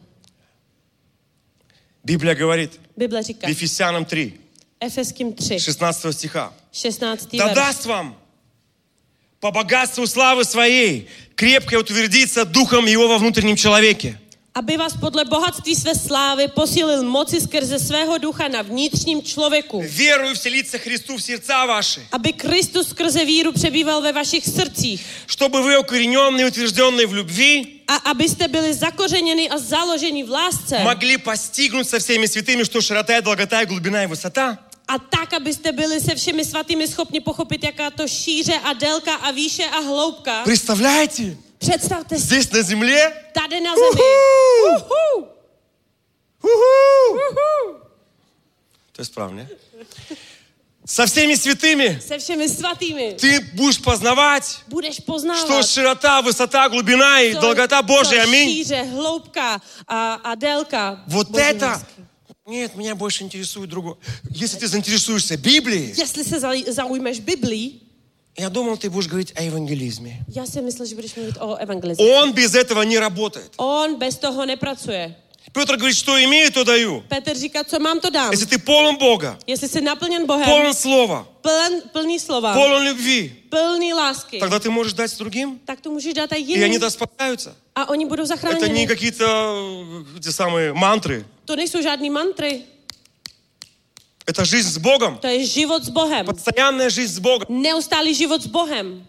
Библия говорит Bible в říká, Ефесянам три, Efeským tři, шестнадцатого стиха. šestnáctý Да verš. даст вам по богатству славы своей крепко утвердиться духом Его во внутреннем человеке. Aby vás podle bohatství své slávy posílil moci skrze svého ducha na vnitřním člověku. Верую вселиться Христу в сердца ваши. Aby Kristus skrze víru přebýval ve vašich srdcích. Чтобы вы, укорененные и утвержденные в любви, A abyste byli zakořeněni a založeni v lásce. могли постигнуть со всеми святыми, что широта и долгота и глубина и высота. A tak, abyste byli se všemi svatými schopni pochopit, jaká to šíře a délka a výše a hloubka. Представляете? Představte si, Здесь на земле. tady na zemi. Уху! Uhu, Уху! uhu. То есть правильно? Со всеми святыми Se všemi svatými. ты будешь познавать, Budeš что poznávat, широта, высота, глубина и co- долгота Божья. co Аминь. šíře, hloubka a, a délka. Вот Boží это... lásky. Нет, меня больше интересует другое. Если ты заинтересуешься Библией, Jestli se zau- zaujmeš Biblí, я думал, ты будешь говорить о евангелизме. já si myslím, že budeš mluvit o evangelizmu. Он без этого не работает. On bez toho nepracuje. Петр говорит, что имею, то даю. Petr říká, co mám, to dám. Если ты полон Бога, Jestli jsi naplněn Bohem, полон Слова, pln, plný slova, полон любви, plný lásky, тогда ты можешь дать другим, tak to můžeš dát i и они jiným да спасаются. a oni budou Это не zachráněni. какие-то э, те самые мантры. To nejsou žádný mantry, Это жизнь с Богом. to je život s Bohem. Постоянная жизнь с Богом. Neustálý život s Bohem.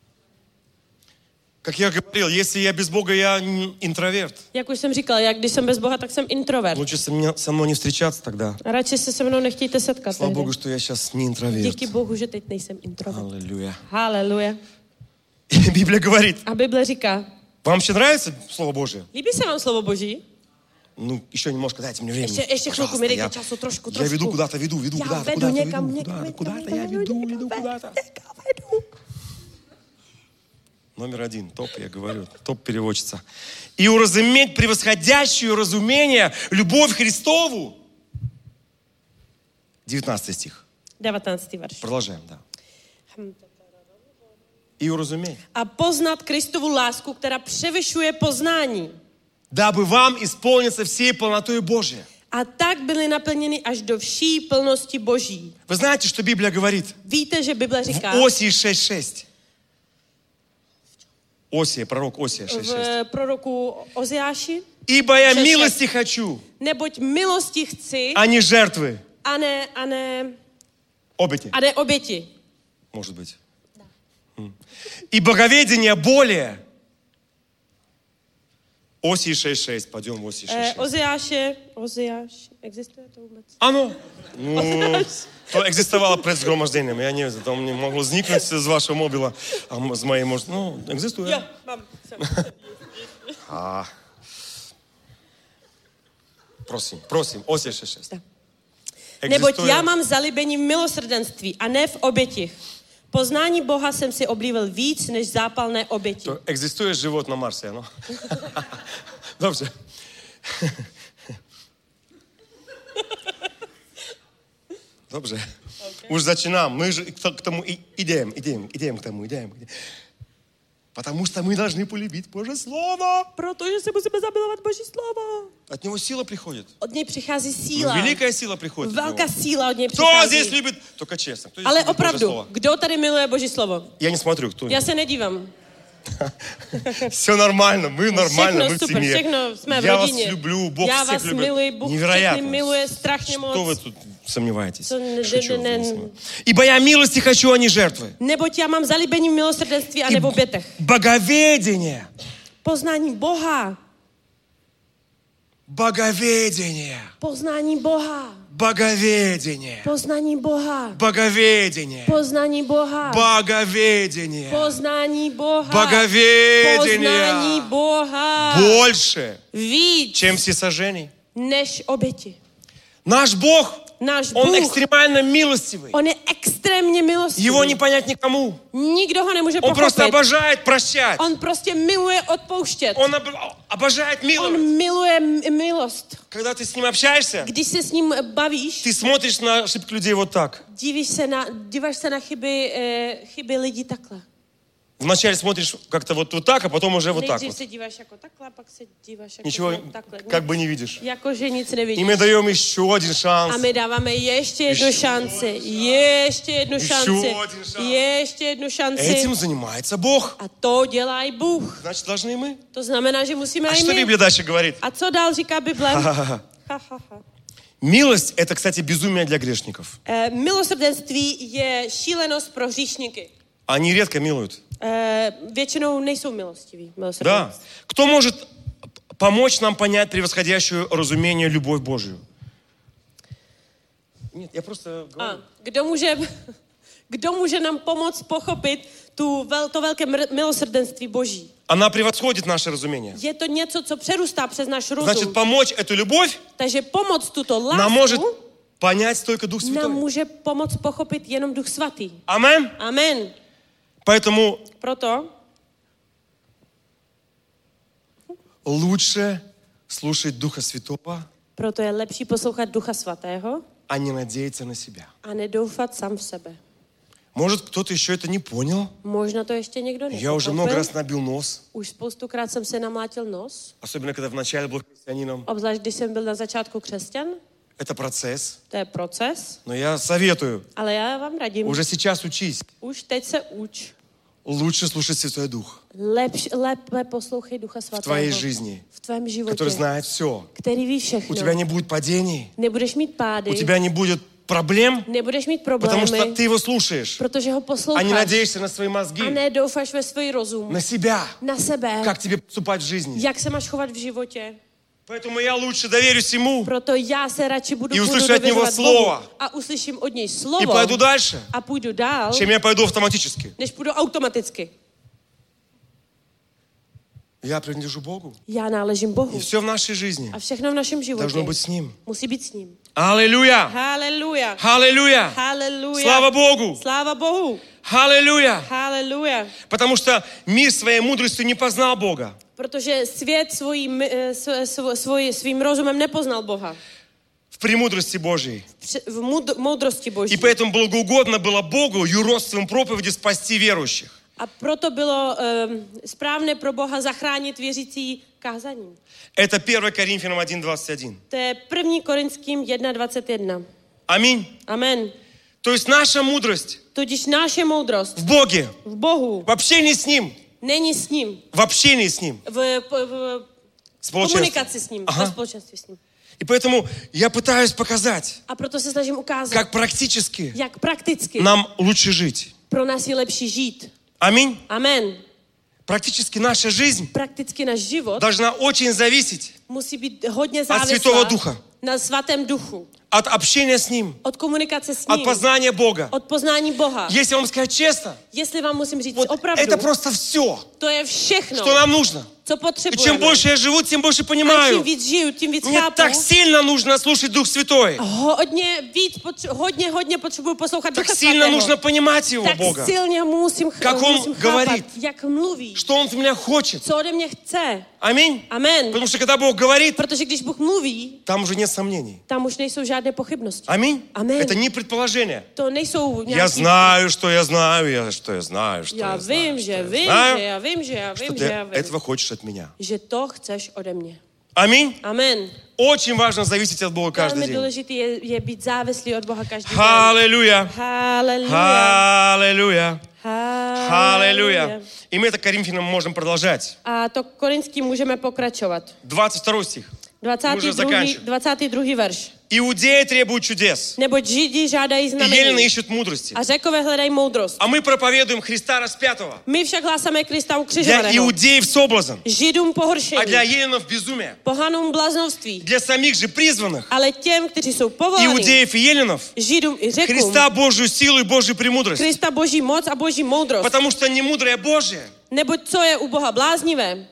Как я говорил, если я без Бога, я н- интроверт. Jak už jsem říkal, jak když jsem bez Boha, tak jsem introvert. Лучше со, меня, со мной не встречаться тогда. A radši se se mnou nechtějte setkat. Слава tehdy. Богу, что я сейчас не интроверт. Díky Bohu, že teď nejsem introvert. Аллилуйя. Haleluja. И Библия говорит, A Bible říká, вам вообще нравится Слово Божие? líbí se vám slovo Boží? Ну, еще немножко, дайте мне времени. Ještě, ještě chvilku mi Пожалуйста, dejte času, trošku, я trošku. веду куда-то, веду, веду Já куда-то, vedu куда-то, někam, веду, někam, куда-то, někam, куда-то, někam, я někam, веду, někam, веду куда-то. někam vedu. Номер один, топ, я говорю, топ-переводчица. И уразуметь превосходящую разумение любовь Христову. девятнадцатый стих. devatenáctý verš. Продолжаем, да. И уразуметь. A poznat Kristovu lásku, která převyšuje poznání. Дабы вам исполниться всей полнотой Божьей. A tak byli naplněni až do vší plnosti Boží. Вы знаете, что Библия говорит? Víte, že Bible říká В Осии шесть шесть. Осия, пророк Осия шесть шесть. v proroku Oziáši, Ибо я шесть шесть. милости хочу, neboť milosti chci а не жертвы. a ne, a ne, Обети, a ne oběti. может быть. М. И боговедение более. Осии шесть šest. Пойдем в Осии Eh, šest šest. Oziáše, Oziáš, existuje to vůbec? Оно. Ну, то existovalo před zhromažděním. Já nevím, to mě mohlo vzniknout z vašeho mobila. A m- z mojej možná, no, existuje. Jo, mám. Jsem. А. Prosím, prosím, Осия šest šest. Neboť já mám zalíbení v milosrdenství a ne v obětích. Poznání Boha jsem si oblíbil víc než zápalné oběti. То existuje живот на Марсе, no? Dobře. Dobře. Okay. Už začинаем. Мы же к тому и идем, идем, идем к тому, идем. Потому что мы должны полюбить Божье Слово. Protože se musíme zamilovat Boží slovo. От него сила приходит. Od něj přichází síla. Ну, великая сила приходит. Velká síla od něj Кто přichází. здесь любит? Только честно. Кто здесь Ale любит Божье opravdu, Слово? kdo tady miluje Boží slovo? Я не смотрю, кто. Já se nedívám. Все нормально, мы нормально, Všechno мы в super, семье. všechno jsme v Я вас rodině. люблю, Бог Já всех vás любит. miluji, Bůh všechny Невероятно. miluje strašně moc. Что вы тут сомневаетесь? Co ne- Шучу, ne- ne- смысл. Ибо я милости хочу, а не жертвы. Neboť já mám zalíbení v milosrdenství a И nebo v obětech. боговедение. Poznání Boha. Боговедение. Poznání Boha. Боговедение. Poznání Boha. Боговедение. Poznání Boha. Боговедение. Poznání Boha. Боговедение. Poznání Boha. Больше, Víc чем всесожжение. než oběti. Наш Бог, Náš Он Bůh, экстремально милостивый. on je extrémně milostivý. Его не понять никому. Nikdo ho nemůže Он просто pochopit. обожает прощать. On prostě miluje odpouštět. Он об- обожает миловать. On miluje m- milost. Когда ты с ним общаешься, Když se s ním bavíš, ты смотришь на ошибки людей вот так. dívíš se na, díváš se na chyby, eh, chyby lidí takhle. Вначале смотришь как-то вот, вот tak, а потом уже вот так Nejdřív вот. se díváš jako takhle, pak se díváš jako Ничего takhle. как бы не видишь. Jakože nic И nevidíš. мы даем еще один A шанс. my dáváme ještě jednu Ještě šanci. Ještě jednu Ještě šanci. jeden šanc. Ještě jednu šanci. Этим занимается Бог. A to dělá i Bůh. Значит, должны и мы. To znamená, že musíme А i что my. Библия дальше говорит? A co dál říká Bible? Ха-ха-ха. Ha, ha, ha. Милость – это, кстати, безумие для грешников. Eh, milosrdenství je šílenost pro hříšníky. Они редко милуют. Eh, většinou nejsou milostiví. Да. Milosrdenství. Кто может помочь нам понять превосходящую разумение любовь Божию? Нет, я просто A говорю. kdo může, kdo může nám pomoct pochopit tu vel, to velké mr- milosrdenství Boží? Она превосходит наше разумение. Je to něco, co přerůstá přes náš rozum. Значит, помочь эту любовь Takže pomoct tuto нам может lásku понять только Дух nám Святой. může pomoct pochopit jenom Duch Svatý. Амен? Amen. Поэтому Proto лучше слушать Духа Святого, Proto je lepší poslouchat Ducha Svatého а не надеяться на себя. a nedoufat sám v sebe. Может, кто-то еще это не понял? Možná to ještě někdo Я уже много nepochopil. раз nabил нос, Už spoustukrát jsem se namlátil nos, особенно когда вначале был христианином. obzvlášť když jsem byl na začátku křesťan. Это процесс. To je proces, Но я советую, ale já vám radím, уже сейчас учись. už teď se uč. Lучше слушать Святой Дух Lepš, lépe poslouchej Ducha в Svatého. твоей жизни, V tvém životě. который знает все. Který ví У všechno. тебя не будет падений, Nebudeš mít pády. у тебя не будет проблем, Nebudeš mít потому problémy. что ты его слушаешь, Protože ho а posloucháš. не надеешься на свои A мозги, ne doufáš ve svůj rozum. на себя, Na sebe. как тебе поступать в жизни. Jak se máš chovat v životě. Поэтому я лучше доверюсь ему Proto já se radši budu, И budu услышу от него dověřovat slovo. Bohu a uslyším od něj и slovo пойду дальше, a půjdu dál, чем я пойду автоматически. než půjdu automaticky. Я принадлежу Богу. Já náležím Bohu. И все в нашей жизни A všechno v našem životě должно быть с Ним. musí být s ním. Аллилуйя! Haleluja. Аллилуйя! Haleluja. Слава Богу! Sláva Bohu. Аллилуйя! Haleluja. Потому что мир своей мудростью не познал Бога. Protože svět svojí, eh, sv- sv- svoj, svým rozumem nepoznal Boha. В премудрости Божьей. Při- V mud- moudrosti Boží. И поэтому благоугодно было Богу юродством проповеди спасти верующих. A proto bylo um, správné pro Boha zachránit věřící kázaním. Это первое Коринфянам один двадцать один. To je první Korinským jedna dvacet jedna. Аминь. Amen. То есть наша мудрость Tudíž naše moudrost в Боге, v Bohu в общении с Ним, není s ním, в общении с Ним, v, v, v спolečenství. komunikaci s ním, Aha. ve společenství s ním. И поэтому я пытаюсь показать, A proto se snažím ukázat, как практически jak prakticky нам лучше жить. pro nás je lepší žít. Аминь. Amen. Практически наша жизнь Prakticky náš život должна очень зависеть musí být hodně Svятого závislá Ducha. na svatém duchu. от общения с Ним, Od komunikace s от ním. познания Бога. Od poznání Boha. Если вам сказать честно, Jestli vám musím říct вот opravdu, это просто все, to je všechno, что нам нужно. co И чем potřebujeme. больше я живу, тем больше A čím понимаю. víc žiju, tím víc Мне chápu. так сильно нужно слушать Дух Святой. Hodně víc, potře- hodně, hodně potřebuji poslouchat Так Ducha сильно Svatého. нужно понимать Его, Tak Бога. silně musím, ch- Jak on musím chápat, говорит. jak mluví, Что Он от меня хочет. co ode mě chce. Аминь. Amen. Потому что когда Бог говорит, Protože když Bůh mluví, там уже нет сомнений. tam už nejsou žádné pochybnosti. Аминь. Amen. Это не предположение. To nejsou Я nějaký... знаю, что я знаю, я, что я знаю, что Já я знаю, vím, что že я vím, знаю, že já vím, že já что vím, ты že já vím. этого хочешь от меня. Že to chceš ode mě. Аминь. Amen. Очень важно зависеть от Бога каждый Velmi день. důležité je, je být závislý od Boha každý den. Аллилуйя. Haleluja. Аллилуйя. Haleluja. Аллилуйя. И мы это Коринфянам можем продолжать. A to korinský můžeme pokračovat. двадцать второй стих. dvacátý Můžeme druhý, zakončit. dvacátý druhý verš. Иудеи требуют чудес, Neboť Židi žádají и елены znamení ищут мудрости. a Řekové hledají moudrost. А мы проповедуем Христа распятого. My však hlásáme Krista Для ukřižovaného. иудеев соблазн, Židům а pohoršení, для еленов безумие. pohanům bláznovství, Для самих же призванных, ale těm, kteří jsou povolaní, иудеев и еленов, Židům i Řekům, Христа Божью силу и Божью премудрость. Krista boží moc a boží moudrost. Потому что не мудрое Божие, Neboť co je u Boha bláznivé,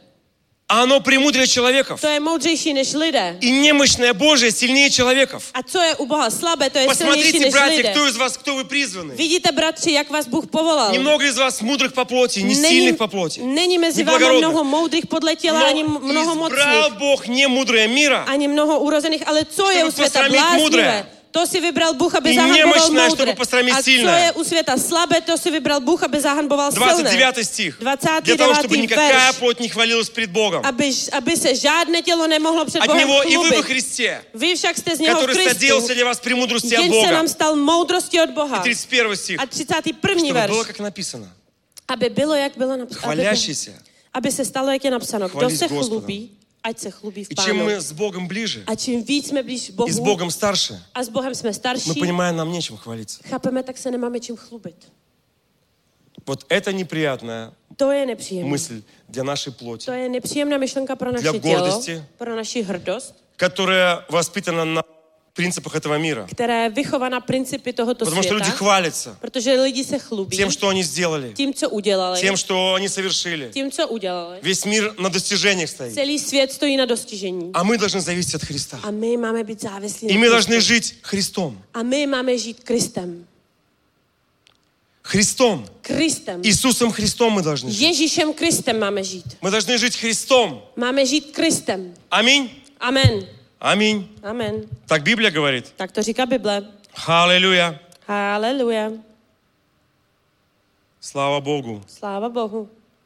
а оно премудрее человеков. to je moudřejší než lidé. И немощное Божие сильнее человеков. A co je u Boha slabé, to je silnější Посмотрите, než братья, lidé. кто из вас, кто вы призваны. Vidíte, bratři, jak vás Bůh povolal. Немного из вас mудрых по плоти, не Není, сильных по плоти. není mezi vámi Neblagorodných. mnoho moudrých podle těla, ani Но mnoho избрал mocných, Бог не мудрое мира, ani mnoho urozených, ale co je Чтобы u světa posramit bláznivé? moudré. To si vybral Bůh, aby I zahanboval nemožné, moudré. чтобы posramit A co silné. je u světa slabé, to si vybral Bůh, aby zahanboval двадцать silné. девятый стих. dvacátý Для того, чтобы devátý никакая verš. плоть не хвалилась пред Богом. Aby, aby se žádné tělo nemohlo před От Bohem Него и вы во chlubit. Христе, Vy však jste z něho v который Kristu, соделался для вас премудрости от jenž se Бога. nám stal moudrostí od Boha. И тридцать первый стих. A třicátý první Чтобы verš. было, как написано. Aby bylo, jak bylo napsáno. Aby, Хвалящийся. aby se stalo, jak je napsáno. Kdo Chválí se s Gospodem. chlubí, ať se chlubí v И чем Pánu. мы с Богом ближе, A čím víc jsme blíž и с Bohu Богом старше, a s Bohem jsme мы starší, понимаем, нам нечем хвалиться. chápeme, tak se nemáme čím chlubit. Вот это неприятная To je nepříjemné. мысль для нашей плоти, To je nepříjemná myšlenka pro naše Для tělo, гордости. pro naši hrdost, которая воспитана на принципах этого мира. která je vychovaná principy tohoto Потому что světa, люди хвалятся protože lidi se chlubí тем, что они сделали, tím, co udělali, тем, что они совершили. tím, co udělali. Весь мир на достижениях стоит. Celý svět stojí na dostižení. А мы должны зависеть от Христа. A my máme být závislí И na мы Kristu. должны жить Христом. A my máme žít Kristem. Христом. Kristem. Иисусом Христом мы должны жить. Ježíšem Kristem máme žít. Мы должны жить Христом. Máme žít Kristem. Аминь. Amen. Аминь. Amen. Так Библия говорит. Tak to říká Bible. Аллилуйя. Haleluja. Слава Богу. Sláva Bohu.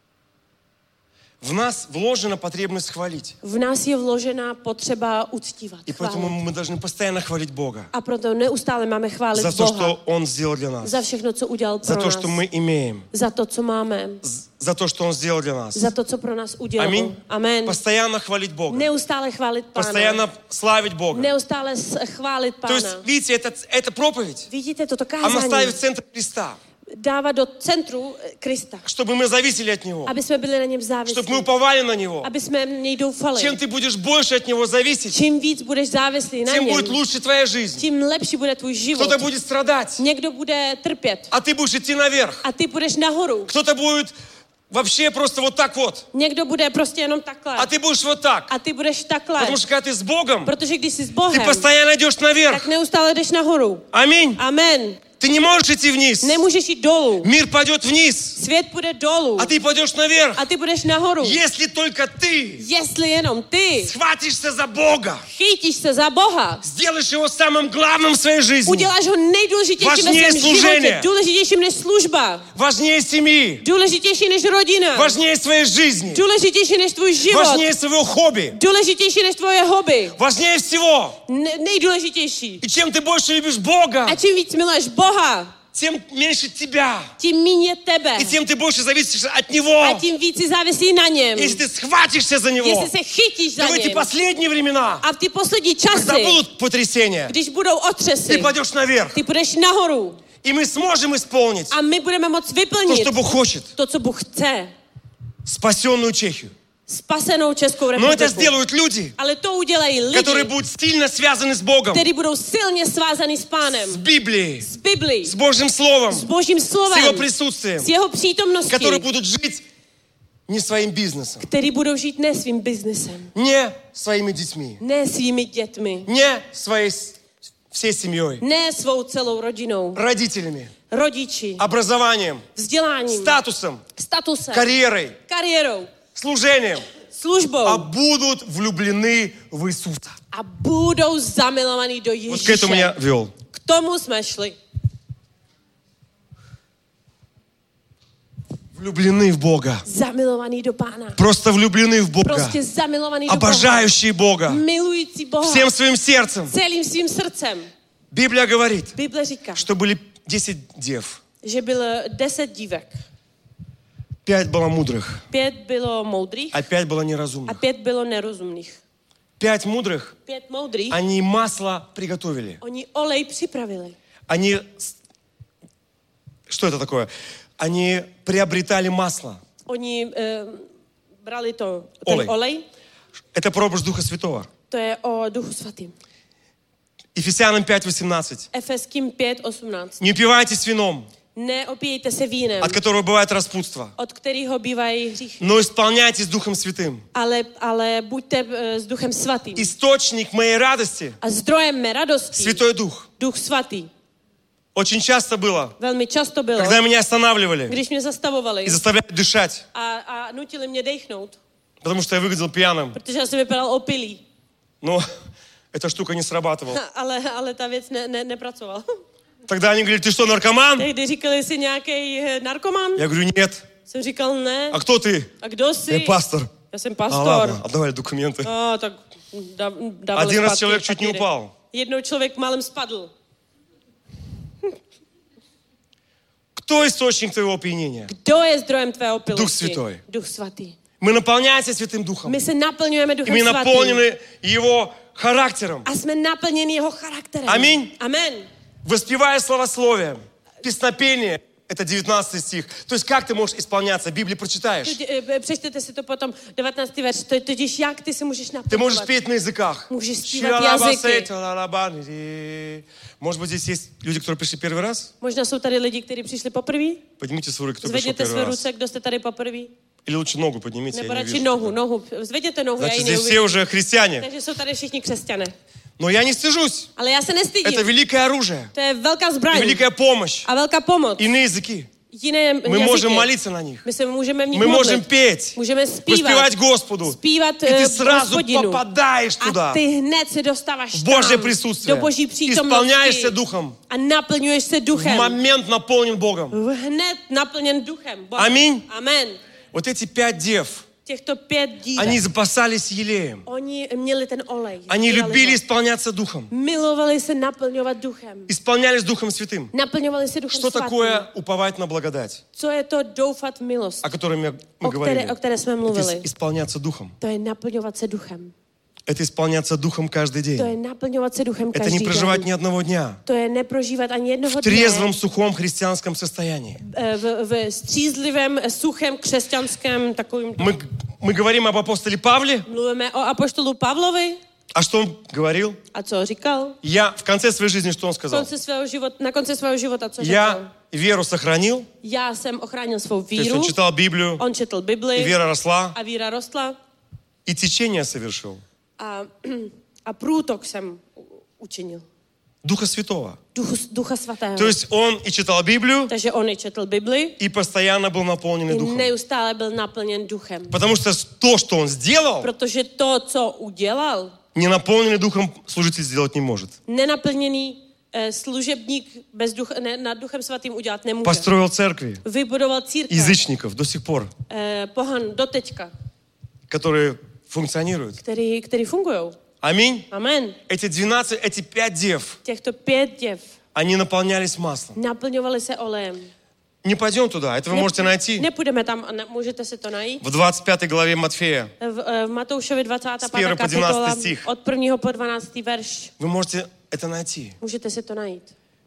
В нас вложена потребность хвалить. V nás je vložená potřeba uctívat. И поэтому chválit. мы должны постоянно хвалить Бога. A proto neustále máme chválit За то, Boha. что Он сделал для нас. Za všechno, co udělal pro За то, nás. что мы имеем. Za to, co máme. З- За то, что Он сделал для нас. Za to, co pro nás udělal. Аминь. Amen. Постоянно хвалить Бога. Neustále chválit Pána. Постоянно славить Бога. Neustále s- chválit То есть, Pána. видите, это, это проповедь. Vidíte, toto Она kázání ставит в центр Христа. dává do centru eh, Krista. Чтобы мы зависели от Него. Aby jsme byli na něm Чтобы мы závislí. уповали на Него. Aby jsme v něj doufali. Чем ты будешь больше от Него зависеть, Čím víc budeš závislý na тем něm, будет лучше твоя жизнь. tím lepší bude tvůj život. Кто-то будет страдать, Někdo bude trpět а ты будешь идти наверх. a ty budeš nahoru. Кто-то будет вообще просто вот так вот, Někdo bude prostě jenom takhle. а ты будешь вот так. A ty budeš takhle. Потому что когда ты с Bogом, Protože když jsi s ты Bohem, постоянно идешь tak наверх. neustále jdeš nahoru. Аминь. Amen. Ты не можешь идти вниз. Nemůžeš jít dolů. Мир пойдет вниз, Svět půjde dolů. а ты пойдешь наверх. A ty budeš nahoru. Если только ты Jestli jenom ty схватишься за Бога, chytíš se za Boha, сделаешь Его самым главным в своей жизни, uděláš ho nejdůležitějším ve Важнее svém служение. životě, důležitějším než služba, важнее семьи, důležitější než rodina, важнее своей жизни, důležitější než tvůj život, важнее своего хобби, důležitější než tvoje hobby, важнее всего. ne- nejdůležitější. И чем ты больше любишь Бога, A čím víc miluješ Boha, тем меньше тебя. tím méně je tebe. И тем ты больше зависишь от A Него. tím víc si závislí na něm. Если ты схватишься за Него, Jestli se chytíš za то в эти něm. последние времена, A v ty poslední когда časy, будут потрясения, když budou ты otřesy, пойдешь наверх. ty půjdeš nahoru. И мы сможем исполнить A my budeme moct то, vyplnit что Бог хочет. to, co Bůh chce. Спасенную Чехию. Spasenou Českou Но это republiku. сделают люди, Ale to udělají которые lidi, будут сильно связаны с Богом, kteří budou silně svázaný s с Pánem, Библией, s Biblí, с Божьим Словом, s Božím с Его slovem, присутствием, s jeho přítomností, которые будут жить не своим бизнесом, který budou žít ne svým biznesem, не своими детьми, ne svými dětmi, не своей с- всей семьей, ne svou celou rodinou, родителями, rodiči, образованием, vzděláním, статусом, statusem, карьерой, kariérou, служением, službou а будут влюблены в Иисуса. a budou zamilovaní do Вот к этому Ježíše. я вел. K tomu jsme šli. Влюблены в Бога. Zamilovaní do Pána. Просто влюблены в Бога. Prostě zamilovaní do Boha. Обожающие Бога. Milující Boha. Всем своим сердцем. Celým svým srdcem. Библия говорит, Bible říká, что были десять дев. že bylo deset dívek. Пять было мудрых, Pět bylo moudrých а пять было a неразумных. pět bylo nerozumných. Пять мудрых, Pět moudrých, они масло приготовили. oni olej připravili. Они... с- Что это такое? Они приобретали масло. Oni eh, brali to, ten Olej. olej. Это прообраз Духа Святого. To je o Duchu Svatým. Ефесянам пять восемнадцать. Efeským pět osmnáct. Не упивайтесь вином, Neopijejte se vínem, от которого bывает распутство, od kterého bývají hříchy. но исполняйтесь Духом Святым. Ale, ale buďte eh, s Duchem Svatým. Источник моей радости A zdrojem mé radosti, Святой Дух. Duch Svatý. Очень часто было, Velmi často bylo, когда меня останавливали když mě zastavovali и заставляли дышать, a, a nutili mě dechnout, потому что я выглядел пьяным. protože já jsem vypadal opilý. Но эта штука не срабатывала. Ale, ale ta věc ne, ne, nepracovala. Тогда они говорили, ты что, наркоман? Tehdy říkali, jsi nějaký narkoman? Я говорю, нет. Jsem říkal, ne. А кто ты? A kdo jsi? Я пастор. Já jsem А pastor. ладно, отдавали документы. A, tak da, dávali Один раз zpátky человек чуть не papíry. упал. Jednou člověk málem spadl. Кто источник твоего опьянения? Kdo je zdrojem tvé opilosti? Duch Světý. Duch Svatý. Мы наполняемся Святым Духом. My se naplňujeme И Duchem мы Svatým. наполнены Его характером. A jsme naplněni jeho charakterem. Аминь. Amen. Воспевая словословие, песнопение, это девятнадцатый стих. То есть как ты можешь исполняться? Библию прочитаешь. Teď, eh, Přečtěte si to potom, devatenáctý verš. To je totiž jak ty se můžeš Ты naplňovat. можешь петь на языках. Můžeš zpívat jazyky. Может быть, здесь есть люди, которые пришли первый раз? Možná jsou tady lidi, kteří přišli poprvé. Поднимите свою руку, кто пришел Zvedněte первый své раз. ruce, kdo jste tady poprvé. Или лучше ногу поднимите, Nebo я не radši вижу. nohu, nohu. Zvedněte nohu, já Значит, ji здесь все neuvidím. уже христиане. Takže jsou tady všichni křesťané. Но я не стыжусь. Ale já se Это nestydím. великое оружие. To je velká И zbraň. великая помощь. A velká pomoc. Иные языky. Jiné Мы jazyky. можем молиться на них. My se můžeme v nich Мы можем modlit. петь. Můžeme zpívat. Воспевать Господу. Zpívat И ты eh, сразу Hospodinu. попадаешь A туда. ty hned se dostáváš В tam, Божье присутствие. do Boží přítomnosti. Исполняешься Духом. A naplňuješ se В duchem. момент наполнен Богом. Hned naplněn duchem. Bohem. Аминь. Amen. Вот эти пять дев, Těchto pět dívek. они запасались елеем. Oni měli ten olej. Они Sbírali любили ho. исполняться Духом. Milovali se naplňovat duchem. Исполнялись Духом Святым. Naplňovali se duchem Что svatým. такое уповать на благодать, Co je to doufat v milost, о которой мы o мы говорили? které, o které jsme Это mluvili? исполняться Духом. To je naplňovat se duchem. Это исполняться Духом каждый To je день. naplňovat se duchem Это každý не проживать den. ни одного дня. To je neprožívat ani jednoho В dne трезвом, сухом христианском состоянии. eh, v, v střízlivém, suchém, křesťanském takovým. Мы, мы говорим об апостоле Павле. Mluvíme o apoštolu Pavlovi. А что он говорил? A co říkal? Я в конце своей жизни, что он Na сказал? konci svého života, na konci svého života, co řekl? Я веру сохранил. Já jsem ochránil svou То есть víru. он читал Библию, On četl и Bibli вера росла, a víra rostla. и течение совершил. A, a průtok jsem u- učinil. Духа Святого. Duchu, Ducha Svatého. То есть он и читал Библию, Takže on i četl Bibli и постоянно был наполненный i Духом. neustále byl naplněn duchem. Потому что то, что он сделал, Protože to, co udělal, не наполненный Духом служитель сделать не может. nenaplněný eh, služebník bez ducha, ne, nad Duchem Svatým udělat nemůže. Построил церкви Vybudoval církev, язычников до сих пор, eh, pohan doteďka, которые функционируют. který, který fungují. Аминь. Amen. Эти двенадцать, эти пять дев, Těchto pět děv они наполнялись маслом. naplňovaly se olejem. Не пойдем туда, это вы можете найти Nepůjdeme tam, a ne, můžete si to najít. в двадцать пятой главе Матфея. V, eh, v Matoušovi dvacátá Z prvního pátá po dvanáctý kapitola stich. od prvního po dvanáctý verš. Вы можете это найти. Můžete si to najít.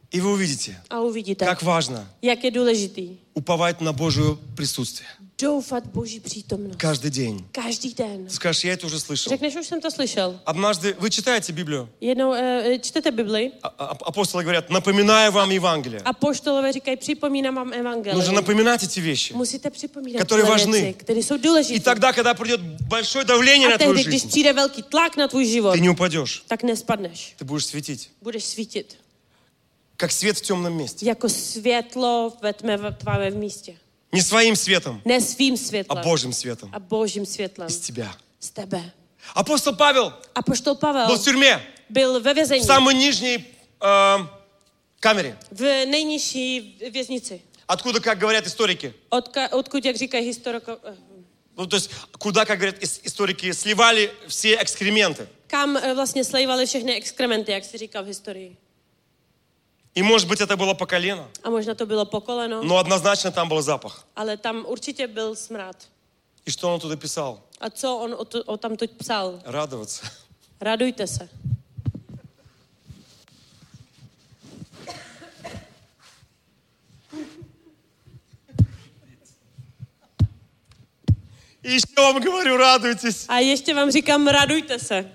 И вы увидите, A uvidíte, как важно jak je důležitý уповать на Божье присутствие. doufat Boží přítomnost. Каждый день. Každý den. Скажешь, я это уже слышал. Řekneš, už jsem to slyšel. Однажды вы читаете Библию, Jednou e, čtete Bibli а- а- апостолы говорят, напоминаю вам Евангелие. a poštolové říkají, připomínám vám Нужно evangelium. напоминать эти вещи. Musíte připomínat Которые tyhle важны. věci, které jsou И důležité. тогда, когда придет большое давление A на твою tehdy, když жизнь, přijde velký tlak na tvůj život, ты не упадешь. tak nespadneš. Ты будешь светить. Budeš svítit. Как свет в темном месте. Jako světlo ve tmě tvávém místě. Не своим светом, Ne svým а světlem, Божьим светом. a božím světlem. Из тебя. Z tebe. Апостол Павел A poštol был Pavel в тюрьме, byl ve в vězení, самой нижней э, камере. v nejnižší věznici. Откуда, как говорят историки, Odka, odkud, jak říkají historiko, ну, то есть куда, как говорят ис- историки, сливали все экскременты. kam eh, vlastně slejvali všechny exkrementy, jak se říká v historii. И, может быть, это было по колено, A možná to bylo po koleno, но однозначно там был запах. ale tam určitě byl smrad. И что он туда писал? A co on o, to, o tamtud psal? Радоваться. Radujte se. И еще вам говорю, радуйтесь. A ještě vám říkám, radujte se.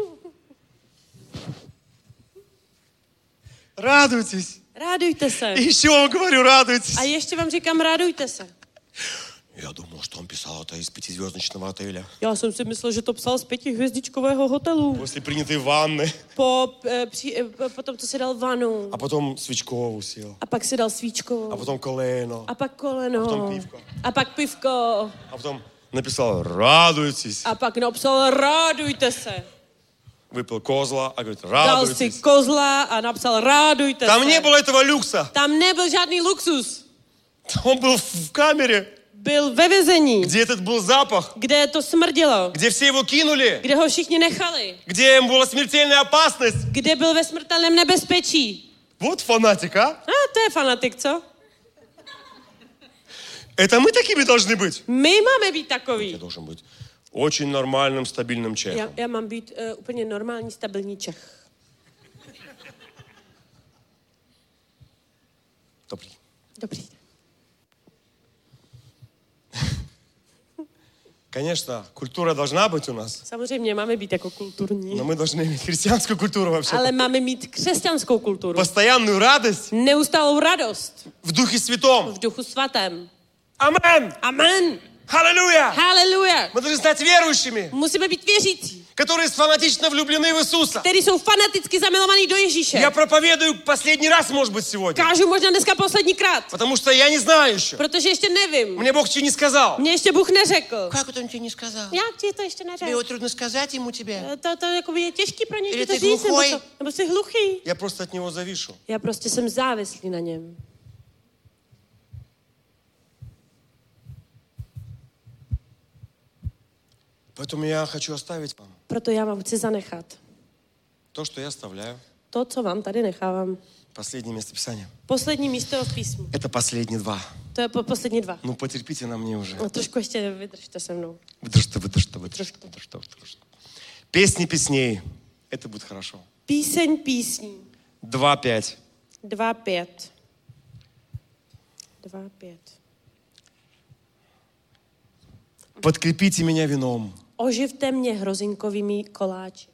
Радуйтесь. Radujte se. И еще вам говорю, радуйтесь. A ještě vám říkám, radujte se. Я думал, что он писал это из пятизвездочного отеля. Já jsem si myslel, že to psal z pětihvězdičkového hotelu. После принятой ванны. Po, e, při, e, po tom, co si dal vanu. А потом свечкову сел. A pak si dal svíčkovou. А потом колено. A pak koleno. A potom pivko. A pak pivko. А потом написал «Радуйтесь». A pak napsal, radujte se. Выпил козла, а говорит Dal si «Радуйтесь». kozla a napsal, radujte Там se. не было этого люкса. Tam nebyl žádný luxus. Он был в камере, Byl ve vězení, где этот был запах, kde to smrdělo. где все его кинули, Kde ho všichni nechali. где ему была смертельная опасность. Kde byl ve smrtelném nebezpečí. Вот фанатик, а? A to je fanatik, co? Это мы такими должны быть. My máme být Я takový. должен быть очень нормальным, стабильным Já, человеком. já mám být uh, úplně normální, stabilní Čech. Dobrý. Dobrý. Конечно, культура должна быть у нас, Samozřejmě máme být jako kulturní, но мы должны иметь христианскую культуру вообще. ale máme mít křesťanskou kulturu. Постоянную радость Neustálou radost в Духе Святом. v duchu svatém. Амен! Amen. Аллилуйя! Haleluja. Мы должны стать верующими, Musíme být věřící, которые фанатично влюблены в Иисуса. kteří jsou fanaticky zamilovaní do Ježíše. Я проповедую последний раз, может быть, сегодня. Kážu možná dneska poslední krát, Потому что я не знаю еще. protože ještě nevím. Мне Бог еще не сказал. Mně ještě Bůh neřekl. Как это он тебе не сказал? Jak ti to ještě Тебе neřekl? его трудно сказать ему тебе. To, to jako je těžký pro něj Ili ti to ty říct, nebo, hluchoj? co? Nebo jsi hluchý. Я просто от Него завишу. Já prostě jsem závislý na něm. Поэтому я хочу оставить вам Proto já vám chci zanechat то, что я оставляю. to, co vám tady nechávám. Последнее местописание. Poslední místo v písmu. Это последние два. To je po, poslední dva. Ну, потерпите на мне уже. No, trošku ještě vydržte se mnou. Выдержите, выдержите, выдержите, выдержите, выдержите. Песни песней. Это будет хорошо. Píseň písní. Два пять. Dva pět. Dva pět. Подкрепите меня вином. Oživte mě hrozinkovými koláči.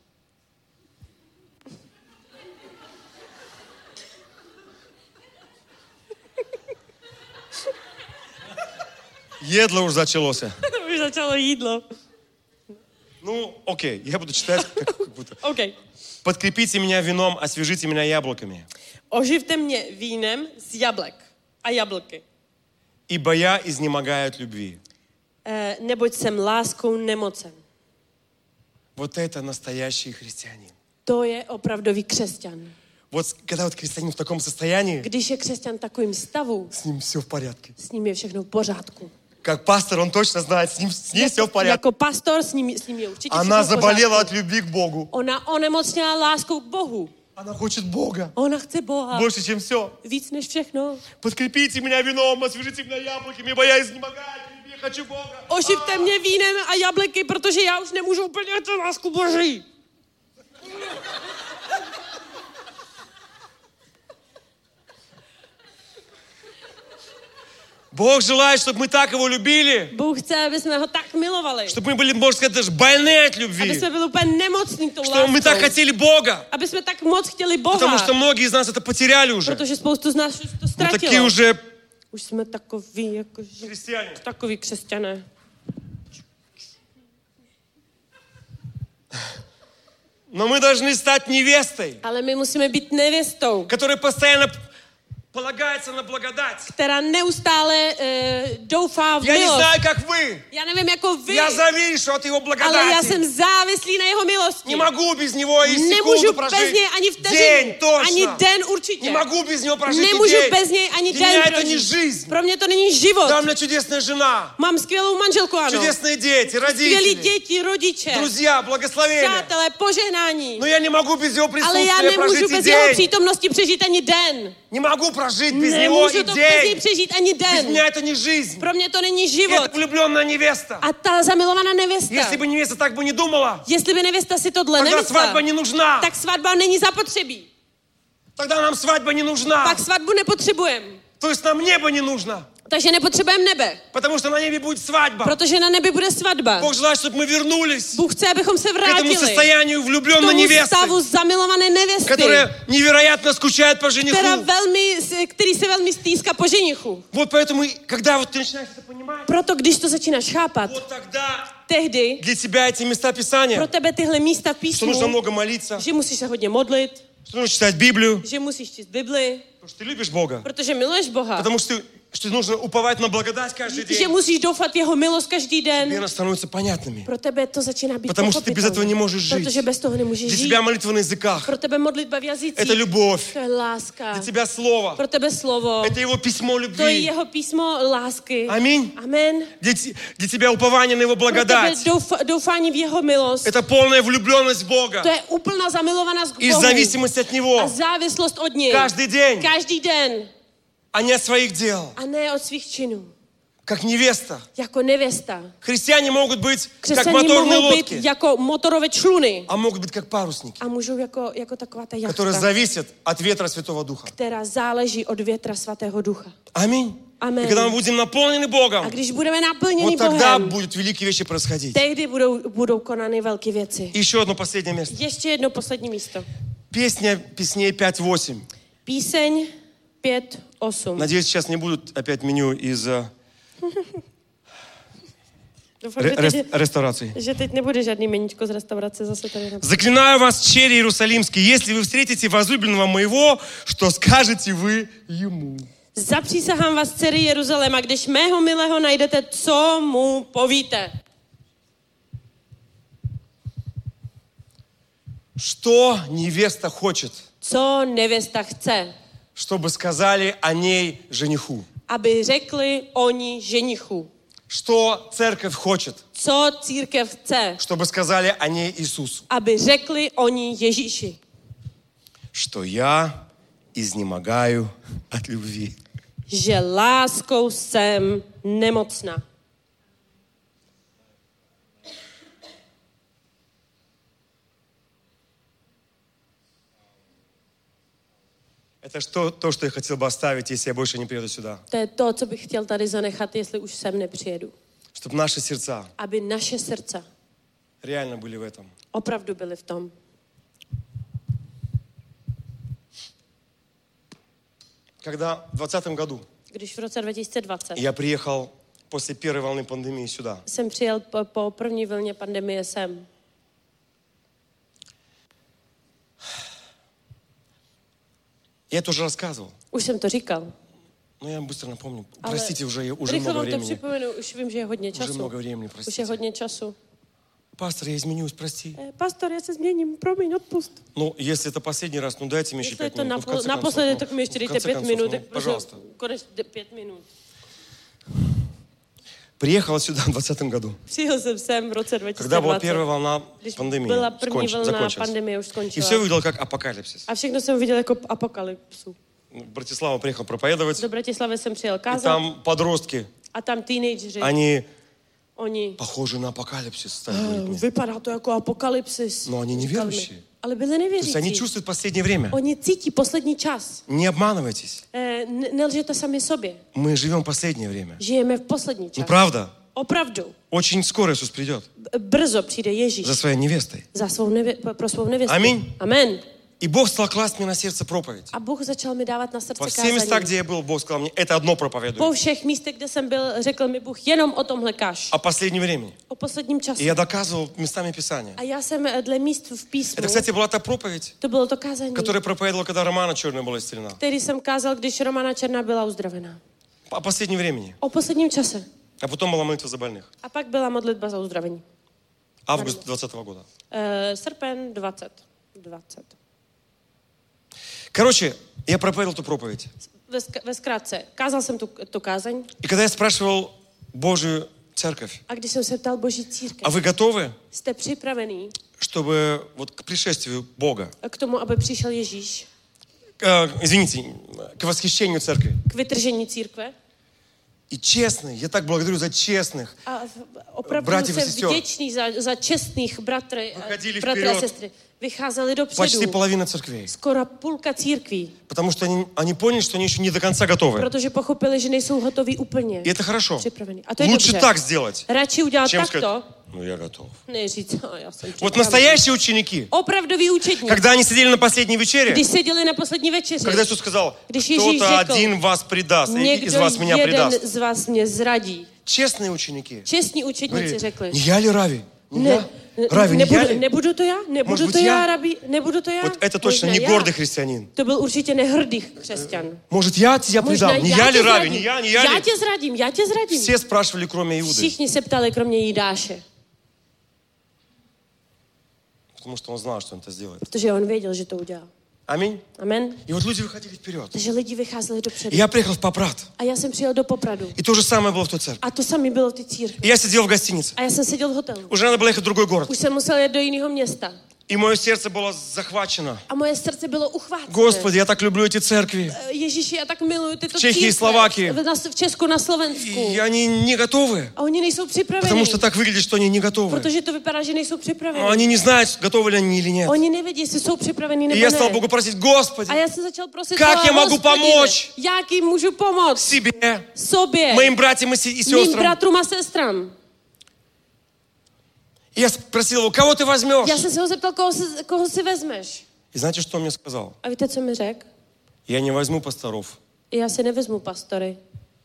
Едло уж зачалося. Už začalo jídlo. Ну, окей, я буду читать как, как будто. OK. Подкрепите меня вином, освежите меня яблоками. Oživte mě vínem z jablek a jablky. Ибо я изнемогаю от любви. E, neboť jsem láskou nemocen. Вот это настоящий христианин. To je opravdový křesťan. Вот когда вот христианин в таком состоянии, Když je křesťan v takovým stavu, с ним все в порядке. s ním je všechno v pořádku. Как пастор, он точно знает, с ним, с ней все в порядке. Jako pastor s ním, s ním je určitě Она všechno v заболела pořádku. от любви к Богу. Ona onemocněla láskou k Bohu. Она хочет Бога. Ona chce Boha. Больше, чем все. Víc než všechno. Подкрепите меня вином, освежите меня яблоками, ибо я изнемогаю от любви, хочу Бога. Oživte mě vínem a jablky, protože já už nemůžu úplně tu lásku Boží. Бог желает, чтобы мы так Его любили, Bůh chce, aby jsme ho tak milovali. чтобы мы были, можно сказать, даже больны от Aby любви. jsme byli úplně nemocní tou Что мы так láskou. хотели Бога. Aby jsme tak moc chtěli Boha. Потому что многие из нас это потеряли уже. Protože spoustu z nás už to Мы такие ztratilo. уже Už jsme takový, jakože, христиане. takový křesťané. Но мы должны стать невестой, Ale my musíme být nevěstou, которая постоянно полагается на благодать. která neustále uh, doufá v Я не milost. знаю, как вы. Já nevím jako vy, Я завишу от Его ale já благодати. jsem závislý na jeho milosti. Не могу без Него и Nemůžu секунду bez прожить. něj ani День vteřinu, ani точно. den určitě. Не могу без Него прожить и Nemůžu день. bez něj ani Для den меня это не prožít. жизнь. Pro mě to není život. Да, у меня чудесная жена, Mám skvělou manželku, ano. чудесные дети, Skvělí родители, děti, rodiče, друзья, благословения. přátelé, požehnání. Но я не могу без Его Ale já присутствия nemůžu прожить и bez jeho день. přítomnosti přežít ani den. Не могу прожить без Него Nemůžu и to bez něj день. přežít ani Без den. меня это не жизнь. Pro mě to není Это život. влюбленная невеста. A ta zamilovaná nevěsta, Если бы невеста так бы не думала, jestli by nevěsta si tohle тогда nemyslela, свадьба не нужна. tak svatba není zapotřebí. Тогда нам свадьба не нужна. Pak svatbu nepotřebujeme. То есть нам небо не нужно. Takže nepotřebujeme nebe, Потому что на небе будет свадьба. protože na nebi bude svatba. Бог желает, чтобы мы вернулись Bůh chce, abychom se к этому vrátili состоянию k влюбленной tomu невесты, stavu zamilované nevěsty, которая невероятно скучает по která жениху. velmi, který se velmi stýská po ženichu. Вот поэтому, когда вот ты начинаешь это понимать, Proto, když to začínáš chápat, вот тогда tehdy для тебя эти места pro Писания, tebe tyhle místa v что нужно písmu, много молиться, že musíš se hodně modlit, что нужно читать Библию, že musíš číst Bibli, потому что ты любишь Бога, protože miluješ Boha, потому что, ты- что нужно уповать на благодать каждый že день. musíš doufat jeho milost každý Тебе den. она становится понятными. Pro tebe to začíná být Потому что ты без этого не pochopitelné, можешь жить. protože bez toho nemůžeš Для žít. тебя молитва на языках. Pro tebe modlitba v jazycích, Это любовь. to je láska. Для тебя слово. Pro tebe slovo, Это его письмо to je любви. jeho písmo lásky. Аминь. Amen. Для, те- для тебя упование на его Pro tebe благодать. doufa, doufání v jeho milost. Это полная влюбленность в Бога. To je úplná zamilovanost k И Bohu. зависимость от A Него. závislost od něj. Каждый день. Každý den. А не от своих дел. A ne od svých činů. Как невеста. Jako nevěsta. Христиане могут быть как Křesťané моторные mohou být лодки. jako motorové čluny. А могут быть как парусники. A můžou jako, jako taková ta Которые jachta, зависят от ветра Святого Духа. která záleží od větra svatého ducha. Аминь. Amen. И когда мы будем наполнены A Богом, když budeme naplněni вот тогда Bohem, будут великие вещи происходить. tehdy budou, budou konány velké věci. И еще одно последнее место. Ještě jedno poslední místo. Песня Песней пять восемь. Píseň pět osm. Надеюсь, сейчас не будут опять меню из э, Doufám, ре- že рес- teď, ресторации. že teď nebude žádný meníčko z restaurace zase tady. Na... Заклинаю вас, черри иерусалимские, если вы встретите возлюбленного моего, что скажете вы ему? Zapřísahám vás, dcery Jeruzaléma, když mého milého najdete, co mu povíte. Что невеста хочет, Co nevěsta chce, чтобы сказали о ней жениху? aby řekli oni ženichu. Что церковь хочет, Co církev chce, чтобы сказали о ней Иисусу? aby řekli oni Ježíši. Что я изнемогаю от любви. Že láskou jsem nemocná. Это что, то, что я хотел бы оставить, если я больше не приеду сюда. To je to, co bych chtěl tady zanechat, jestli už sem nepřijedu. Чтобы наши сердца Aby naše srdce реально были в этом. opravdu byly v tom. Когда в двадцатом году Když v roce dva tisíce dvacet я приехал после первой волны пандемии сюда, jsem přijel po, po první vlně pandemie sem, я это уже рассказывал, už jsem to říkal. но я быстро напомню. Ale Простите, уже, уже rychle много vám to времени. připomenu, už vím, že je hodně Уже času. много времени, Už je простите. hodně času. Пастор, я изменюсь, прости. Eh, pastor, já se změním, promiň, odpust. Ну, если это последний раз, ну дайте мне еще Jestli je пять to минут. Ну, в napo- конце naposledy, концов, tak ну, mi ještě в dejte конце pět концов, minut. ну, tak пожалуйста. Konec pět minut. Приехал сюда в двадцатом году, Přijel jsem sem v roce dva tisíce когда была dvacet. первая волна Když пандемии. byla první Сконч- vlna закончилась. pandemie, už И skončila. все увидел как апокалипсис. A všechno jsem viděl jako apokalypsu. Ну, Братислава приехал проповедовать, Do Bratislavy jsem přijel и kázat там подростки, a tam teenageři, они oni, похожи на апокалипсис стали "Eh, говорить мне. vypadá to jako apokalypsis. Но они Říkali mi. неверующие. ale byli То есть nevěřící. они чувствуют последнее время. Oni cítí poslední čas. Не обманывайтесь. Eh, ne- nelžete sami sobě. Мы живем последнее время. Žijeme v poslední Ну čas. правда. Opravdu. Очень скоро Иисус придет B- Brzo přijde Ježíš за своей невестой. za svou nevě- pro svou nevěstu. Amen. Amen. И Бог стал класть мне на сердце проповедь. A Bůh začal mi dávat na srdce Во все места, kázání. где я был, Бог сказал мне, это одно Po проповедуй. všech místech, kde jsem byl, řekl mi Bůh, jenom o tomhle kaž. О последнем времени. O posledním И čase. я доказывал местами Писания. A já jsem eh, dle míst v písmu, Это, кстати, была та проповедь, to bylo to kázání, которую проповедовал, когда Романа Черная была исцелена. který jsem kázal, když Romana Černá byla uzdravená. О последнем времени. O posledním čase. А потом была молитва за больных. A pak byla modlitba za uzdravení. Август двадцатого года. Uh, srpen dvacet. dvacet. Короче, я проповедовал эту проповедь. Ve, sk- ve zkrátce, kázal jsem tu, tu kázeň И когда я спрашивал Божию церковь, a když jsem se ptal Boží církev, а вы готовы, jste připravený чтобы вот к пришествию Бога, k tomu, aby přišel Ježíš, э, извините, к восхищению церкви? k vytržení církve? И честные, я так благодарю за честных. A v- opravdu Bratři a jsem sestry. vděčný za, za čestných bratry, Vychodili bratry a vперед. sestry. Vycházeli Почти dopředu. половина церквей. Skoro půlka církví, Потому что они, они поняли, что они еще не до конца готовы. protože pochopili, že nejsou hotoví úplně И это хорошо. připraveni. A to je Лучше dobře. так сделать, Radši udělat чем takto, сказать, ну я готов. než říct, "No, já jsem Вот připravený." настоящие ученики, Opravdoví učedníci, когда они сидели на последней вечере, když seděli na poslední večeři, когда Иисус сказал, Když Ježíš кто-то řekl, один вас предаст, и из někdo вас меня jeden предаст. z vás mě zradí. Честные ученики Čestní učedníci говорили, řekli, не я ли Рави? Не ne, я? Рави, не я nebudu, ли? nebudu to já, nebudu Может to быть, já, я? rabi, nebudu to já. Вот это точно Možná не já. гордый христианин. To byl určitě nehrdý křesťan. Может, я тебя Možná предам? Не já я tě ли Рави? zradím. Не я, не я Já ли? tě zradím, já tě zradím. Все спрашивали, кроме Иуды. Všichni se ptali, kromě Jidáše, Потому что он знал, что он это сделает. protože on věděl, že to udělá. Аминь. Amen. И вот люди выходили вперед. Takže lidi vycházeli И dopředu. я приехал в Попрат. A já jsem přijel do Popradu. И то же самое было в той церкви. A to samé bylo v té církvi. И я сидел в гостинице. A já jsem seděl v hotelu. Уже надо было ехать в другой город. Už jsem musel jet do jiného města. И мое сердце было захвачено. A moje srdce bylo uchvácené. Господи, я так люблю эти церкви. Ježíši, já tak miluju tyto V Čechy i církve. Slováky. V, na, v Česku, na Slovensku. И они не готовы. A oni nejsou připraveni. Потому что так выглядит, что они не готовы. Protože to vypadá, že nejsou připraveni. Но они не знают, готовы ли они или нет. Oni nevědí, jestli jsou připraveni И nebo я ne. стал Богу просить, Господи, A já jsem začal prosit Как Boha, я могу Hospodine, помочь? jak jim můžu pomoct? себе, Sobě, моим братьям и се- и mým сестрам. bratrům a sestram. И я спросил его, кого ты возьмешь? Já jsem se ho zeptal, koho si, koho si vezmeš. И знаете, что он мне сказал? A víte, co mi řekl? Я не возьму пасторов. Já si nevezmu pastory.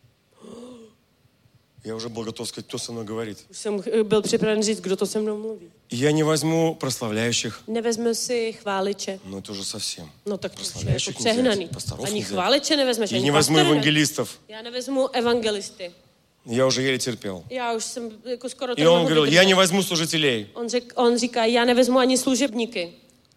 Я уже был готов сказать, кто со мной говорит. Už jsem byl připraven říct, kdo to se mnou mluví. И я не возьму прославляющих. Nevezme si chváliče. Ну это уже совсем. No tak to už je jako Прославляющих нельзя, přehnaný. пасторов Ani нельзя. chváliče nevezmeš, И ani не возьму pastory ne. евангелистов. Já nevezmu evangelisty. Я уже еле терпел. Já už jsem jako skoro to И он nemohl говорил, vydržet. я не возьму служителей. On, řek, on říká, já nevezmu ani služebníky.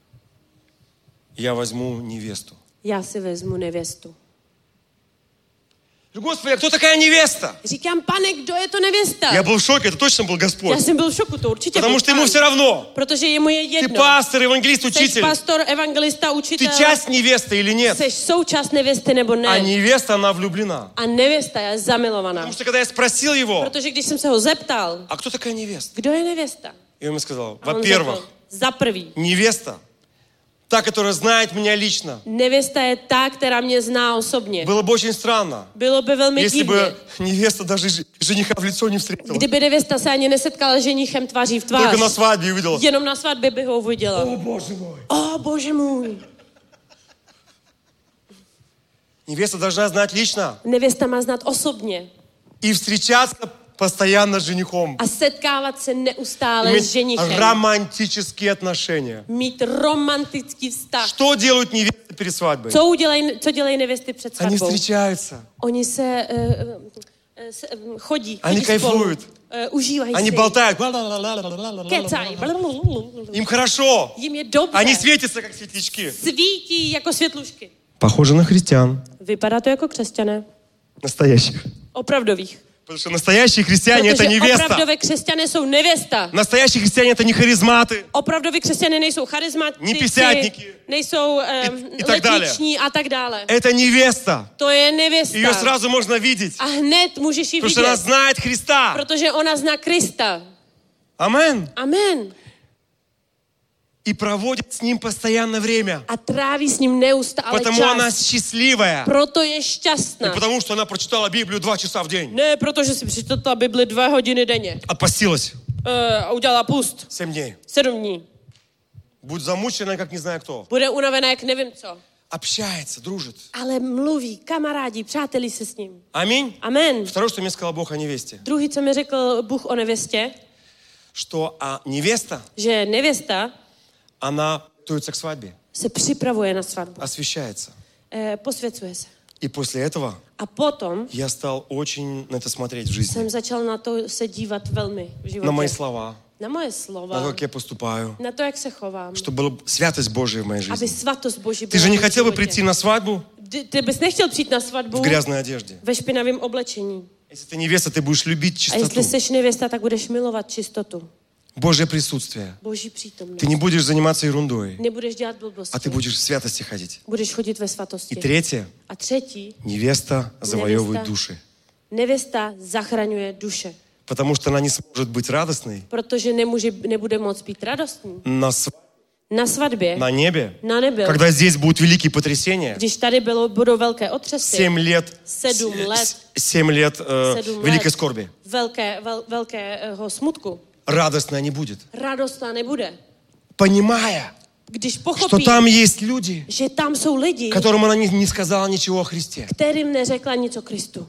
Я возьму невесту. Já si vezmu nevěstu. Господи, а кто такая невеста? Říkám, pane, kdo je to nevěsta? Я был в šoке, это точно был Господь. Já jsem byl v šoku, to určitě Потому byl что ему pán. все равно. Protože jemu je Ты jedno. пастор, евангелист, Jsi учитель. pastor, evangelista, Ты učitel. часть невесты или нет? Jsi součást nevěsty nebo ne. А невеста, она влюблена. A nevěsta je zamilovaná. Потому что когда я спросил его, Protože když jsem se ho zeptal, а кто такая невеста? kdo je nevěsta? И он мне сказал, A on во-первых, řekl, za prvý, невеста, та, которая знает меня лично. nevěsta je ta, která mě zná osobně. Было бы очень странно, Bylo by velmi если divně, бы невеста даже ж- жениха в лицо не встретила. kdyby nevěsta se ani nesetkala s ženichem tváří v tvář. Только на свадьбе увидела. Jenom na svatbě by ho uviděla. О, Боже мой. O, bože můj. Невеста должна знать лично Nevěsta má znát osobně и встречаться постоянно с женихом. a setkávat se neustále s Иметь ženichem. романтические отношения. Mít romantický vztah. Что делают невесты перед свадьбой? Co, udělej, co dělají nevěsty před Они svatbou? встречаются. Oni se uh, uh, se, um, chodí, Они chodí spolu. кайфуют. Uh, užívají Они si. болтают. Kecají. Им хорошо. Jim je dobře. Они světятся, как светлячки. Svítí jako světlušky. Похоже на христиан. Vypadá to jako křesťané. Настоящих. Opravdových. Потому что настоящие христиане — это Protože невеста. opravdové křesťané jsou nevěsta. Настоящие христиане — это не харизматы. Opravdoví křesťané nejsou charizmatici, Nepísátníky. nejsou um, I tak dále. letniční a tak dále. Это невеста. To je nevěsta. Ее сразу можно видеть. A hned můžeš ji Потому что она vidět, знает Христа. protože ona zná Krista. Амен. Amen. и проводит с ним постоянно время. A tráví s ním neustále Потому она čas. счастливая. Proto je Не šťastná. потому, что она prочитала Библию два часа в день. Ne, protože si přečetla Bibli dvě hodiny denně. А постилась Uh, a udělala půst. семь дней. Sedm dní. Будет замучена, как не знаю кто. Bude unavená, jak nevím co. Общается, дружит. Ale mluví, kamarádi, přáteli se s ním. Аминь. Amen. Второе, что мне сказал Бог о невесте. Druhý, co mi řekl Bůh o nevěstě, Что а невеста, že nevěsta она готовится к свадьбе, se připravuje na svatbu. освещается. Eh, posvěcuje se. И после этого A potom я стал очень на это смотреть в жизни. jsem začal na to se dívat velmi v životě. На мои слова, Na moje на slova. то, как я поступаю. Na to, jak se chovám. Чтобы была святость Божия в моей Aby жизни. svatost Boží Ты byla же v не mém хотел бы životě. прийти на свадьбу Ty, ty bys nechtěl přijít na svatbu в грязной одежде. ve špinavém oblečení. Если ты невеста, ty будешь любить A jestli чистоту. jsi nevěsta, tak budeš milovat čistotu. Божье присутствие. Boží přítomnost. Ты не будешь заниматься ерундой, Nebudeš dělat blbosti. а ты будешь в святости ходить. Budeš chodit ve И svatosti. третье, A třetí, невеста завоевывает Невеста. души. nevěsta zachraňuje duše. Потому что она не сможет быть радостной Protože nemůže, nebude moc být radostný. на, св- Na svatbě, на небе, na nebi, когда здесь будут великие потрясения. když tady bylo, budou velké otřesy, Семь лет, Sedm с- лет. с- семь лет э, Sedm великой let. скорби. velké, vel, velkého smutku, Радостная не будет. radostná nebude. Понимая, Když что pochopí, там есть люди, že tam jsou lidi, которым она не, не сказала ничего о Христе. kterým neřekla nic o Kristu.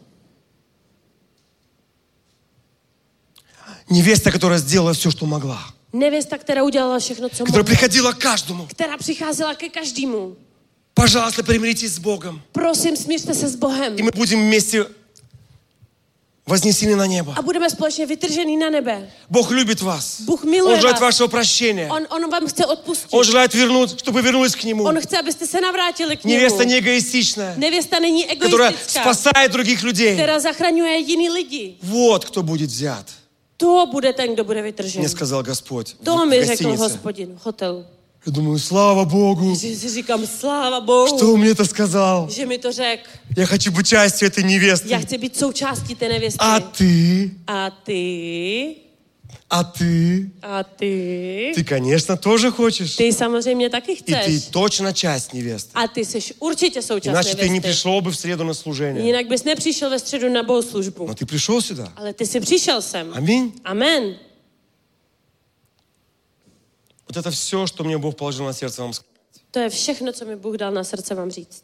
Невеста, которая сделала все, что могла. Nevěsta, která udělala všechno, co Которая mohla. приходила к каждому. Která přicházela ke každému. Пожалуйста, примиритесь с Богом. Prosím, smířte se s Bohem. И мы будем вместе вознесены на небо. A budeme společně vytržený na nebe. Бог любит вас. Bůh miluje Он желает vás. вашего прощения. On, on vám chce odpustit. Он желает вернуть, чтобы вернулись к Нему. On chce, abyste se navrátili k němu. Невеста не эгоистичная, Nevěsta není которая egoistická, спасает других людей. která zachraňuje jiný lidi. Вот кто будет взят. To bude ten, kdo bude vytržený. Мне сказал Господь в To mi řekl гостинице. Hospodin v hotelu. Я думаю, слава Богу, Že si říkám, sláva Bohu, что он мне это сказал. že mi to řekl. Я хочу быть частью этой Já невесты. chci být součástí té nevěsty. А ты, A ty, а ты, a ty, ты, конечно, тоже хочешь. ty samozřejmě taky И ты chceš. точно часть невесты. A ty jsi určitě součást Иначе ты не nevěsty. пришел бы в среду на служение. Jinak bys nepřišel ve středu na bohoslužbu. Но ты пришел сюда. Ale ty jsi přišel sem. Аминь. Amen. Вот это все, что мне Бог положил на сердце вам сказать. To je všechno, co mi Bůh dal na srdce vám říct.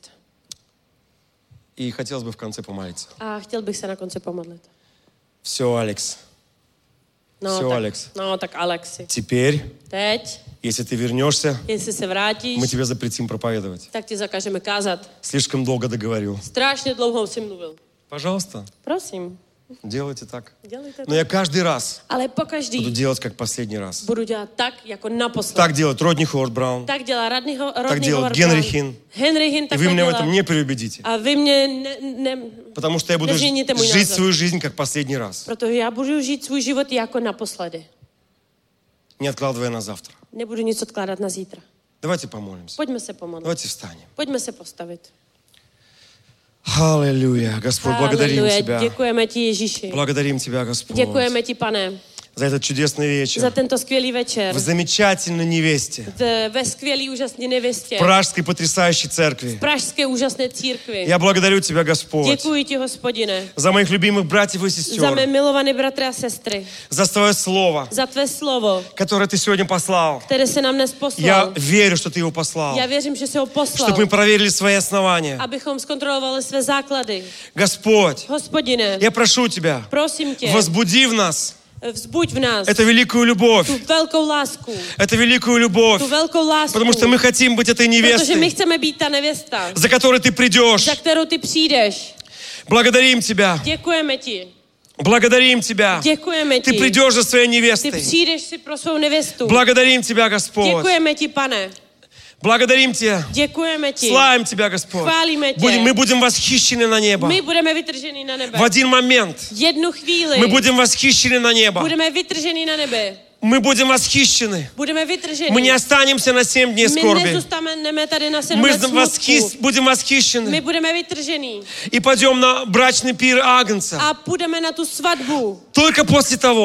И хотелось бы в конце помолиться. A chtěl bych se na konci pomodlit. Все, Алекс. No, Все, tak, Алекс. no tak Alexi. Теперь, Teď, если ты вернешься, jestli se vrátíš, мы тебе запретим проповедовать. tak ti zakážeme kázat. Слишком долго договорил. Strašně dlouho si mluvil. Пожалуйста, Prosím, делайте так. dělejte to. Но я каждый раз Ale буду pokaždý делать, как последний раз. budu dělat tak, jako naposled. Так делает Родни Ховард Браун. Tak dělá Radnyho, Так Rodney делает Howard Генри Brown. Хин. Henry Hinn И tak вы меня в dělá. этом не переубедите. A vy mě ne, ne, Потому что я буду nezměníte můj жить názor. свою жизнь, как последний раз. Protože já budu žít svůj život jako naposledy. Не откладывая на завтра. Nebudu nic odkládat na zítra. Давайте помолимся. Pojďme se pomodlit. Давайте встанем. Pojďme se postavit. Аллилуйя. Господь, благодарим Haleluja, Тебя. děkujeme ti, Ježíši. Благодарим Тебя, Господь, Děkujeme ti, pane, за этот чудесный za вечер. tento skvělý večer. В замечательной невесте. V, ve skvělý úžasné nevěstě. В Пражской потрясающей церкви. V pražské úžasné církvi. Я благодарю Тебя, Господь, Děkuji ti, Hospodine, за моих любимых братьев и za сестер, mé milované bratry a sestry, за Твое Слово, za tvé slovo, которое Ты сегодня послал. které se nám dnes Я poslal. верю, что Ты его послал, Já věřím, že se ho poslal, чтобы мы проверили свои основания. abychom zkontrolovali své základy. Господь, Hospodine, я прошу Тебя, prosím tě, возбуди в нас vzbuď v nás эту великую любовь, tu velkou lásku, эту великую любовь, tu velkou lásku, потому что мы хотим быть этой protože my невестой, chceme být ta nevěsta, за которой Ты придешь. za kterou ty přijdeš. Благодарим Тебя, Děkujeme ti, благодарим Тебя. děkujeme Ты ti. придешь за своей Ty невестой. přijdeš si pro svou nevěstu. Благодарим Тебя, Господь. Děkujeme ti, pane. Благодарим Тебя. Děkujeme ti. Славим Тебя, Господь. Chválíme tě. Будем, мы будем восхищены на небо. My budeme vytrženi na nebe. В один момент Jednu chvíli мы будем восхищены на небо. budeme vytrženi na nebe. Мы будем восхищены. Budeme vytrženi. Мы не останемся на семь дней My скорби. nezůstaneme tady na sedm Мы let восхи- smutku. будем My восхищены. budeme vytrženi. И пойдем на брачный пир Агнца. A půjdeme na tu svatbu. Только после того,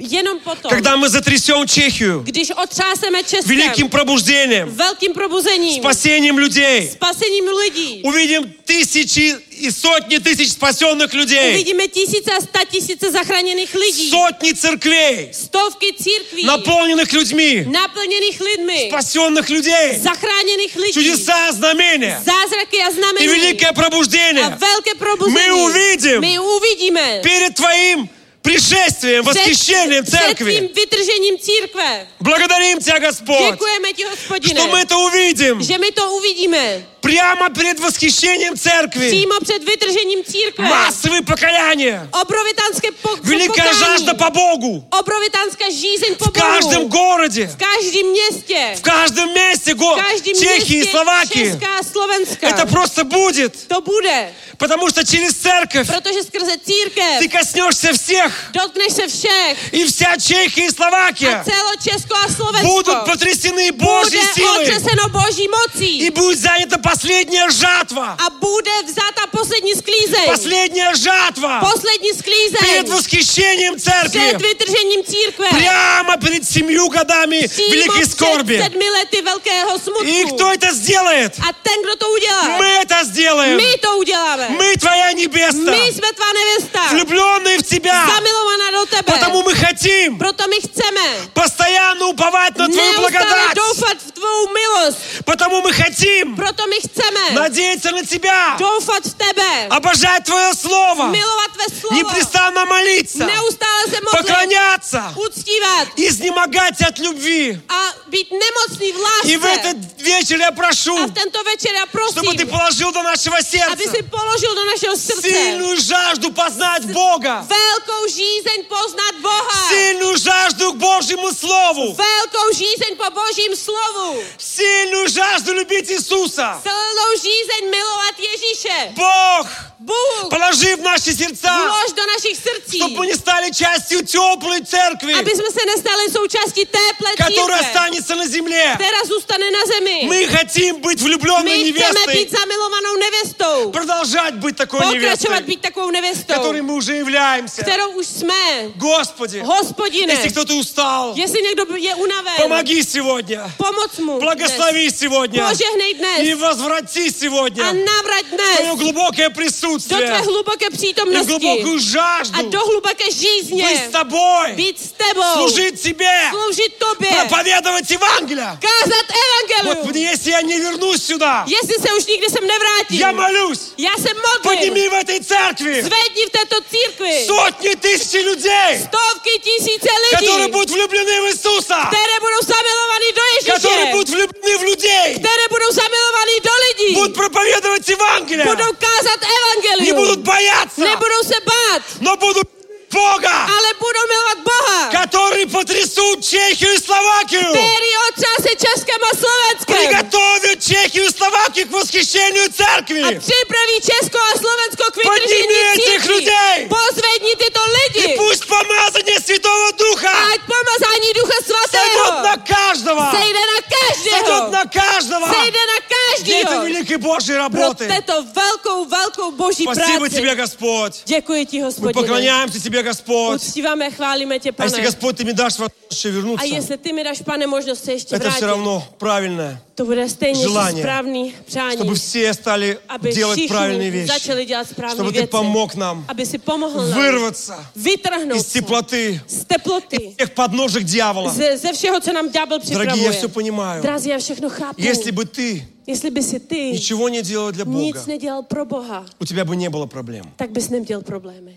jenom potom, когда мы затрясем Чехию když otřáseme Českem, великим пробуждением, velkým probuzením, спасением людей, spasením lidí, увидим tысячи и сотни тысяч спасенных людей, uvidíme tisíce a sta tisíce zachráněných lidí, сотни церквей, stovky církví, наполненных людьми, naplněných lidmi, спасенных людей, zachráněných lidí, чудеса, знамения zázraky a и znamení великое a пробуждение velké probuzení. мы увидим My uvidíme перед Твоим пришествием, восхищением před церкви. tvým vytržením církve. Благодарим Тебя, Господь, Děkujeme ti, Hospodine, что мы это увидим že my to uvidíme прямо перед восхищением церкви. přímo před vytržením církve. Массовые покаяния, Obrovitánské po- великая pokání. жажда по Богу Obrovitánská žízeň po в каждом Bohu. городе, V každém městě. в каждом месте V го- každém Чехии и městě Словакии. Česká a Slovenska. Это просто будет, To bude, потому что через церковь protože skrze církev ты коснешься всех, dotkneš se všech и вся Чехия и a Словакия celo Česko a Slovensko будут потрясены Божьей bude силой, otřeseno Boží mocí и будет занята последняя жатва, a bude vzata poslední sklízeň. последняя жатва Poslední sklízeň перед восхищением před церкви, vytržením církve. прямо перед семью годами Přímo великой před скорби. sedmi lety velkého И smutku. кто это сделает? A ten, kdo to udělá, Мы это сделаем. my to uděláme. Мы Твоя My невеста, jsme tvá nevěsta, влюбленные в Тебя. zamilovaná do tebe. Потому мы хотим Proto my chceme постоянно уповать на Твою neustále благодать. doufat v tvou milost. Потому мы хотим Proto my chceme надеяться на Тебя, doufat v tebe, обожать Твое Слово, milovat tvé slovo, непрестанно молиться, neustále se modlit, поклоняться, uctívat изнемогать от любви. a být nemocný v И в lásce. этот вечер я A прошу, v tento večer já чтобы Ты prosím, положил до нашего aby сердца si položil do našeho srdce сильную жажду познать Бога, velkou žízeň poznat Boha. сильную жажду к Божьему Слову, Velkou žízeň po Božím slovu. сильную жажду любить Иисуса. Silnou žízeň milovat Ježíše. Бог, Bůh положи в наши сердца, vlož do našich srdcí, чтобы мы не стали частью теплой церкви, aby jsme se nestali součástí téhle которая církve, останется на земле. která zůstane na zemi. Мы хотим быть влюбленной My chceme невестой, být zamilovanou nevěstou. продолжать быть такой Pokračovat невестой, být takovou nevěstou, которой мы уже являемся. kterou už jsme. Господи, Hospodine, если кто-то устал, jestli někdo je unaven, помоги сегодня, pomoc mu благослови dnes. сегодня Požehnej dnes и возврати a сегодня navrať твое dnes глубокое do присутствие tvé hluboké и přítomnosti глубокую a жажду do hluboké žízně быть с тобой, být s tebou, служить тебе, sloužit tobě, проповедовать Евангелие. kázat evangelium. Господи, если я не вернусь сюда, Jestli se už nikdy sem nevrátím, я молюсь, já se modlím, подними в этой церкви zvedni v této církvi сотни тысяч людей, stovky tisíce lidí, которые будут влюблены в Иисуса, které budou zamilovaní do которые Ježíše, будут влюблены в людей, které budou zamilovaní do lidí, будут проповедовать Евангелие, budou kázat не evangelium, будут бояться, nebudou se bát, но будут Бога, ale budou milovat Boha, который потрясут Чехию и Словакию, který otřáse Českem a Slovenskem приготовят Чехию и Словакию к восхищению a церкви. připraví Česko a Slovensko k vytržení Podnimi těch církví. lidí. Pozvedni tyto И lidi. пусть помазание Святого Духа Ať pomazání Ducha сойдет Svatého на каждого, sejde na každého. сойдет на каждого. Sejde na Для этой každého. великой Божьей Pro работы. této velkou, velkou boží Спасибо práci. тебе, Господь. Děkuji ti, Мы Hospodine. поклоняемся тебе, Господь. Uctíváme, chválíme tě, А если, Pane. Господь, ты мне дашь возможность A вернуться, jestli ty mi dáš, Pane, možnost se ještě это все vrátit, равно правильное. to bude stejně желание, správný přání, Чтобы все стали aby делать правильные všichni вещи. začali dělat správné Чтобы ты věci, помог нам aby si pomohl nám вырваться vytrhnout из se теплоты, z teploty, всех подножек дьявола. ze, ze všeho, co nám ďábel Дорогие, я připravuje. все понимаю. Drazí, já všechno chápu. Если бы ты Jestli by si ty ничего не делал для Бога, nic nedělal pro Boha, у тебя бы не было проблем. tak bys neměl problémy.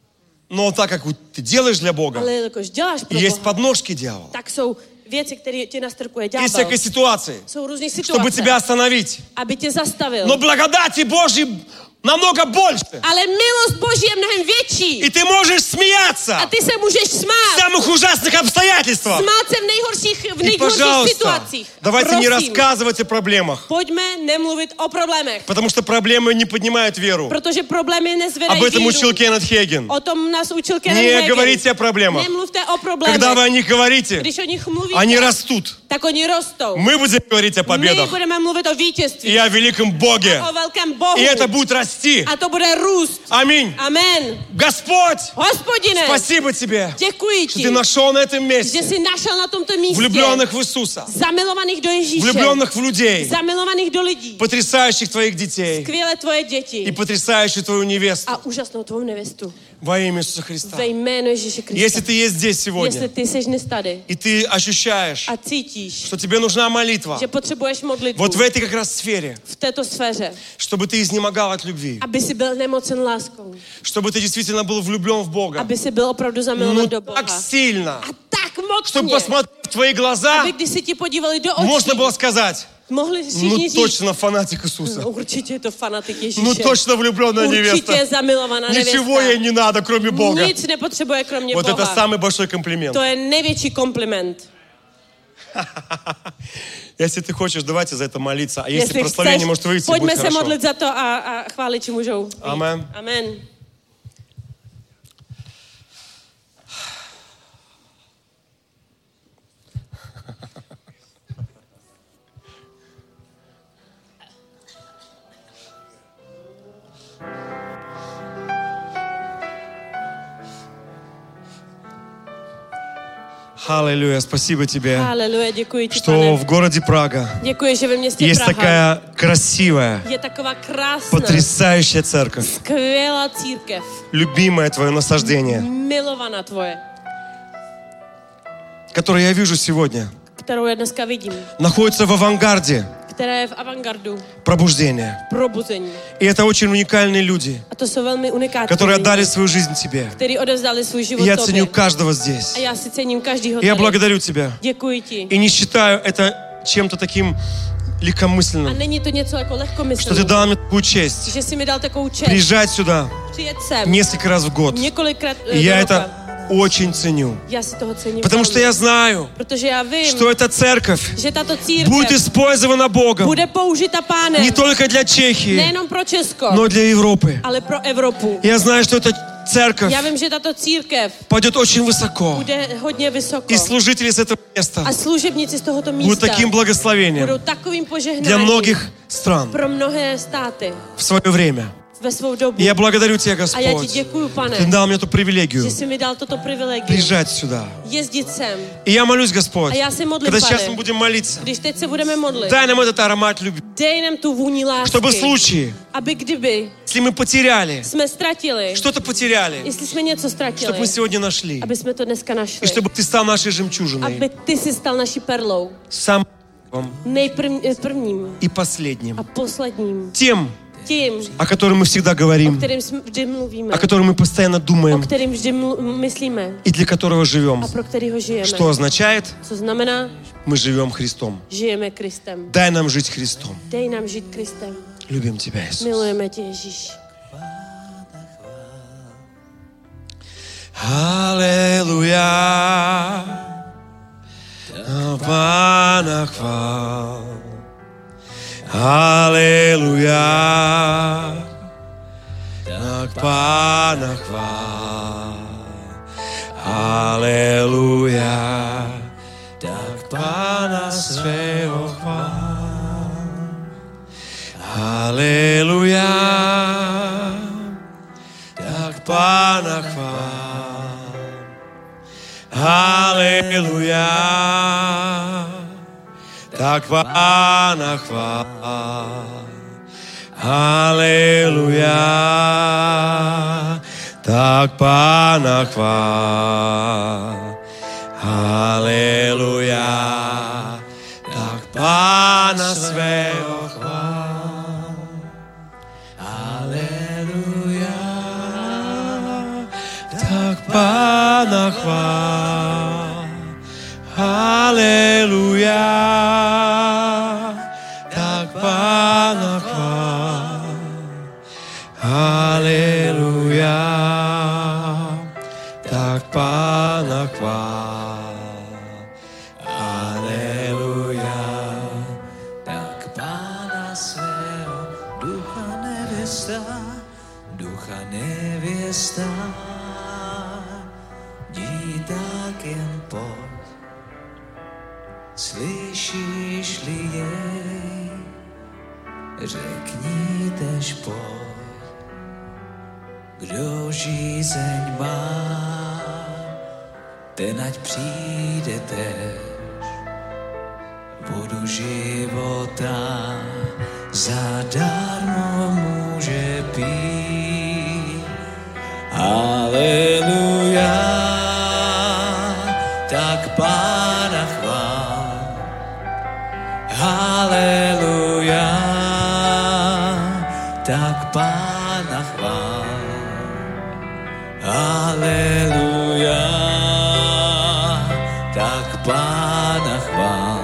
Но так как ты делаешь для Бога, Ale jelikož děláš pro есть Boha, подножки дьявола, tak jsou věci, které ti nastrkuje есть ďábel. всякие ситуации, Jsou různé чтобы situace, тебя остановить. aby tě zastavil. Но благодати Божьей намного больше. Ale milost Boží je mnohem větší. И ты можешь смеяться A ty se můžeš в smát. самых ужасных обстоятельствах. Smát se v nejhorších, v И, nejhorších пожалуйста, situacích. давайте не Prosím, рассказывать о проблемах, pojďme nemluvit o problémech. потому что проблемы не поднимают веру. Protože problémy nezvedají Об этом víru. учил Кеннет Хейген. O tom nás učil Kenneth Не Hagin. говорите о проблемах. Nemluvte o problémech. Когда вы о них говорите, Když o nich mluvíte, они растут. tak oni rostou. Мы будем говорить о My победах budeme mluvit o и vítězství. о великом Боге. O velkém Bohu. И это будет расти расти. A to bude růst. Аминь. Amen. Господь, Hospodine, спасибо тебе, děkuji что ti, ты нашел на этом že месте jsi našel na tomto místě влюбленных в Иисуса, zamilovaných do Ježíše, влюбленных в людей, zamilovaných do lidí, потрясающих твоих детей skvělé tvoje и děti потрясающую твою невесту a úžasnou tvou nevěstu. во имя Иисуса Христа. Ve jménu Ježíše Если Krista. ты есть здесь Jestli сегодня, ty jsi dnes tady и ты ощущаешь, a cítíš, что тебе нужна молитва, že potřebuješ modlitbu вот в этой как раз сфере, v této sféře, чтобы ты изнемогал от любви, aby si byl nemocen láskou, чтобы ты действительно был влюблен в Бога, aby si byl opravdu ну zamilovan do так Boha. сильно, A tak чтобы mocně, посмотрев в твои глаза, aby když si ti podívali do можно očí, было сказать, mohli ну všichni říct, точно фанатик Иисуса, no, určitě je to fanatik Ježíše. ну точно влюбленная Určitě je невеста, zamilovaná ничего ей nevěsta. не надо, кроме Бога. Nic nepotřebuje kromě Вот это Boha. самый большой комплимент. To je největší kompliment. Если ты хочешь, давайте за это молиться. А если Jestli прославление chceš, может выйти, pojďme будет se хорошо. modlit za to a, a chváliči můžou. vyjít. Amen. Amen. Аллилуйя, спасибо тебе, Haleluja, děkuji ti, что pane. в городе Прага Děkuji, že ve městě есть Praha такая красивая, je taková krásná, потрясающая церковь, skvělá církev, любимое твое насаждение, milovaná tvoje, которое я вижу сегодня, kterou já dneska vidím, находится в авангарде která je v avantgardu пробуждения. probuzení. И это очень уникальные люди, A to jsou velmi unikátní которые lidi, отдали свою жизнь тебе. kteří odevzdali svůj И život я tobě. ценю каждого здесь. A já si cením každýho И я tady. благодарю тебя. Děkuji ti. И не считаю это чем-то таким A легкомысленным, není to něco jako что ты lehkomyslné, дал мне такую честь že jsi mi dal takovou čest приезжать сюда přijet sem несколько раз в год. několikrát И do я roka. это очень ценю. Já si toho cením Потому что velmi. я знаю, Protože já vím, что эта церковь že tato církev будет использована Богом bude použita pánem не только для Чехии, nejenom pro Česko, но и для Европы. ale pro Evropu. Я знаю, что эта церковь Já vím, že tato církev пойдет очень высоко. bude hodně vysoko. И служители с этого A места služebníci z tohoto будут místa таким budou благословением takovým для požehnáním многих стран pro mnohé státy в свое время. ve svou dobu. И я благодарю Тебя, A já ti Господь. děkuju, pane, Ты дал мне эту привилегию že jsi mi dal toto privilegium приезжать сюда. jezdit sem. И я молюсь, Господь, A já se modlím, когда сейчас pane, мы будем молиться, když teď se budeme modlit, дай нам этот аромат любви, dej nám tu vůni lásky, чтобы в случае, aby kdyby если мы потеряли, jsme ztratili, что-то потеряли, jestli jsme něco чтобы ztratili, мы сегодня нашли. aby jsme to dneska И našli, чтобы Ты стал нашей жемчужиной, aby ty si stal naší perlou, самым nejprvním и последним. a posledním, Тем, tím, о котором мы всегда o говорим, kterým jsme vždy mluvíme, о котором мы постоянно o думаем kterým vždy mlu- myslíme и для которого живем. a pro kterýho žijeme. Что означает, Co znamená, мы живем Христом. žijeme Kristem. Дай нам жить Христом. Dej nám žít Kristem. Любим Тебя, Иисус. Milujeme tě, Ježíš. Аллилуйя, Pana chvál. Аллилуйя, tak Pana chvál. Аллилуйя, tak Pana svého chvál. Аллилуйя, tak Pana chvál. Halleluja, tak Pána chvál. Halleluja, tak Pána chvál. Halleluja, tak Pána svého chvál. Halleluja, tak Pána chvál. Halleluja, tak Pána chvál. Halleluja, tak Pána chvál. Halleluja, tak Pána svého Ducha nevěsta, ducha nevěsta, jdi tak jen pojď, slyšíš-li jej, řekni tež pojď. kdo žízeň má, ten ať přijde tež, vodu života zadarmo může pít. Haleluja, tak Pána chvál. Haleluja, tak Pána chvál. Haleluja, tak Pána chvál.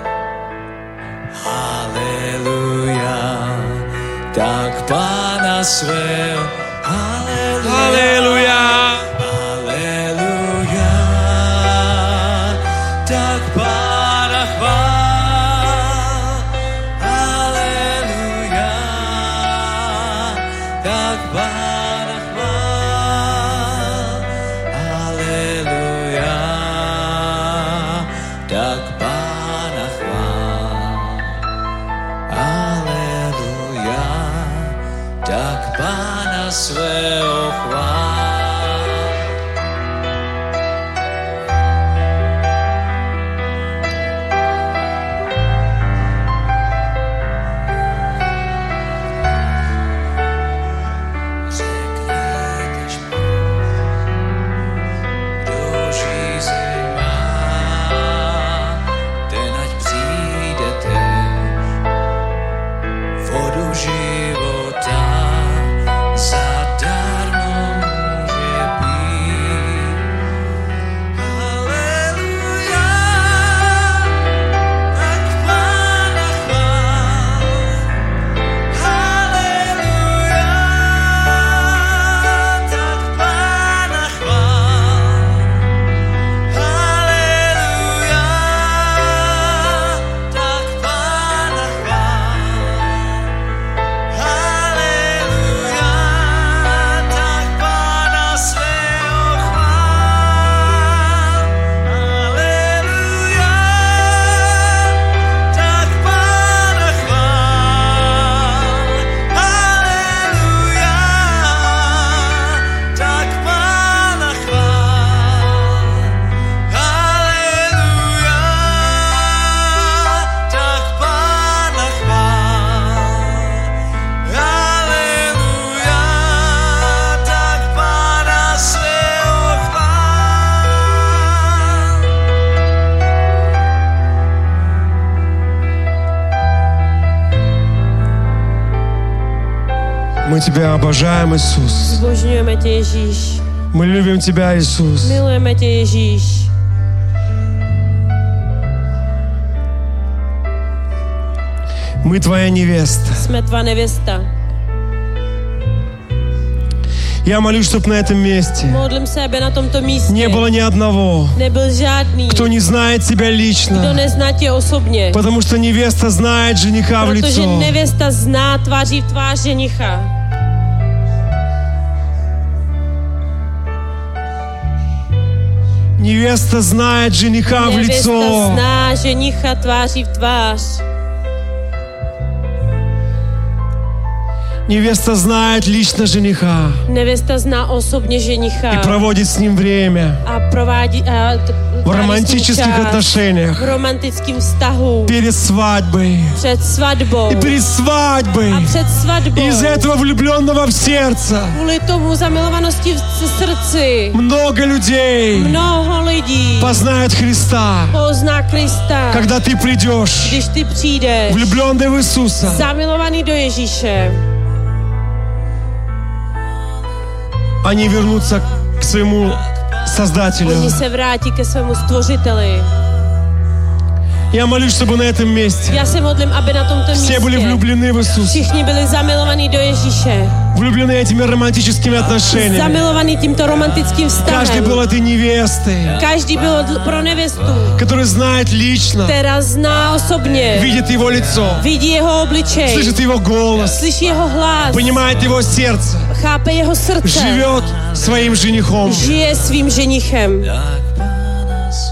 Haleluja, tak Pána svého. Haleluja, haleluja, tak Pána chvál. Haleluja, tak Pána chvál. Haleluja, tak Pána chvál. Haleluja, tak Pána svého chvál. Мы Тебя обожаем, Иисус. Zbožňujeme tě, Ježíš. Мы любим Тебя, Иисус. Milujeme tě, Ježíš. Мы Твоя невеста. Jsme tvá nevěsta. Я молюсь, чтобы на этом месте Modlím se, aby na tomto místě не было ни одного, nebyl žádný, кто не знает Тебя kdo лично. nezná tě osobně. Потому что невеста знает жениха в Protože лицо. nevěsta zná tváří v tvář ženicha. Невеста знает жениха в Nevěsta лицо. zná ženicha tváří v tvář. Невеста знает лично жениха Nevěsta zná osobně ženicha. и проводит с ним время A provádí a t- в романтических čas отношениях v romantickém vztahu перед свадьбой před svatbou и перед свадьбой. a před svatbou. И из-за этого влюбленного в сердце Kvůli tomu zamilovanosti v srdci много людей mnoho lidí познают Христа, pozná Krista, когда ты придешь, když ty přijdeš влюбленный в Иисуса. zamilovaný do Ježíše. Они вернутся к своему Создателю. Oni se vrátí ke svému stvořiteli. Я молюсь, чтобы на этом месте Já se modlím, aby na tomto все были místě влюблены в Иисуса, všichni byli zamilovaní do Ježíše. влюблены этими романтическими отношениями. Zamilovaní tímto romantickým Каждый vztahem. был этой невестой, Každý byl dl- pro nevěstu, который знает лично, která zná osobně, видит его лицо, vidí jeho obličej, слышит его голос, slyší jeho hlas, понимает его сердце, chápe jeho srdce, живет своим женихом. žije svým ženichem. Tak Pána svého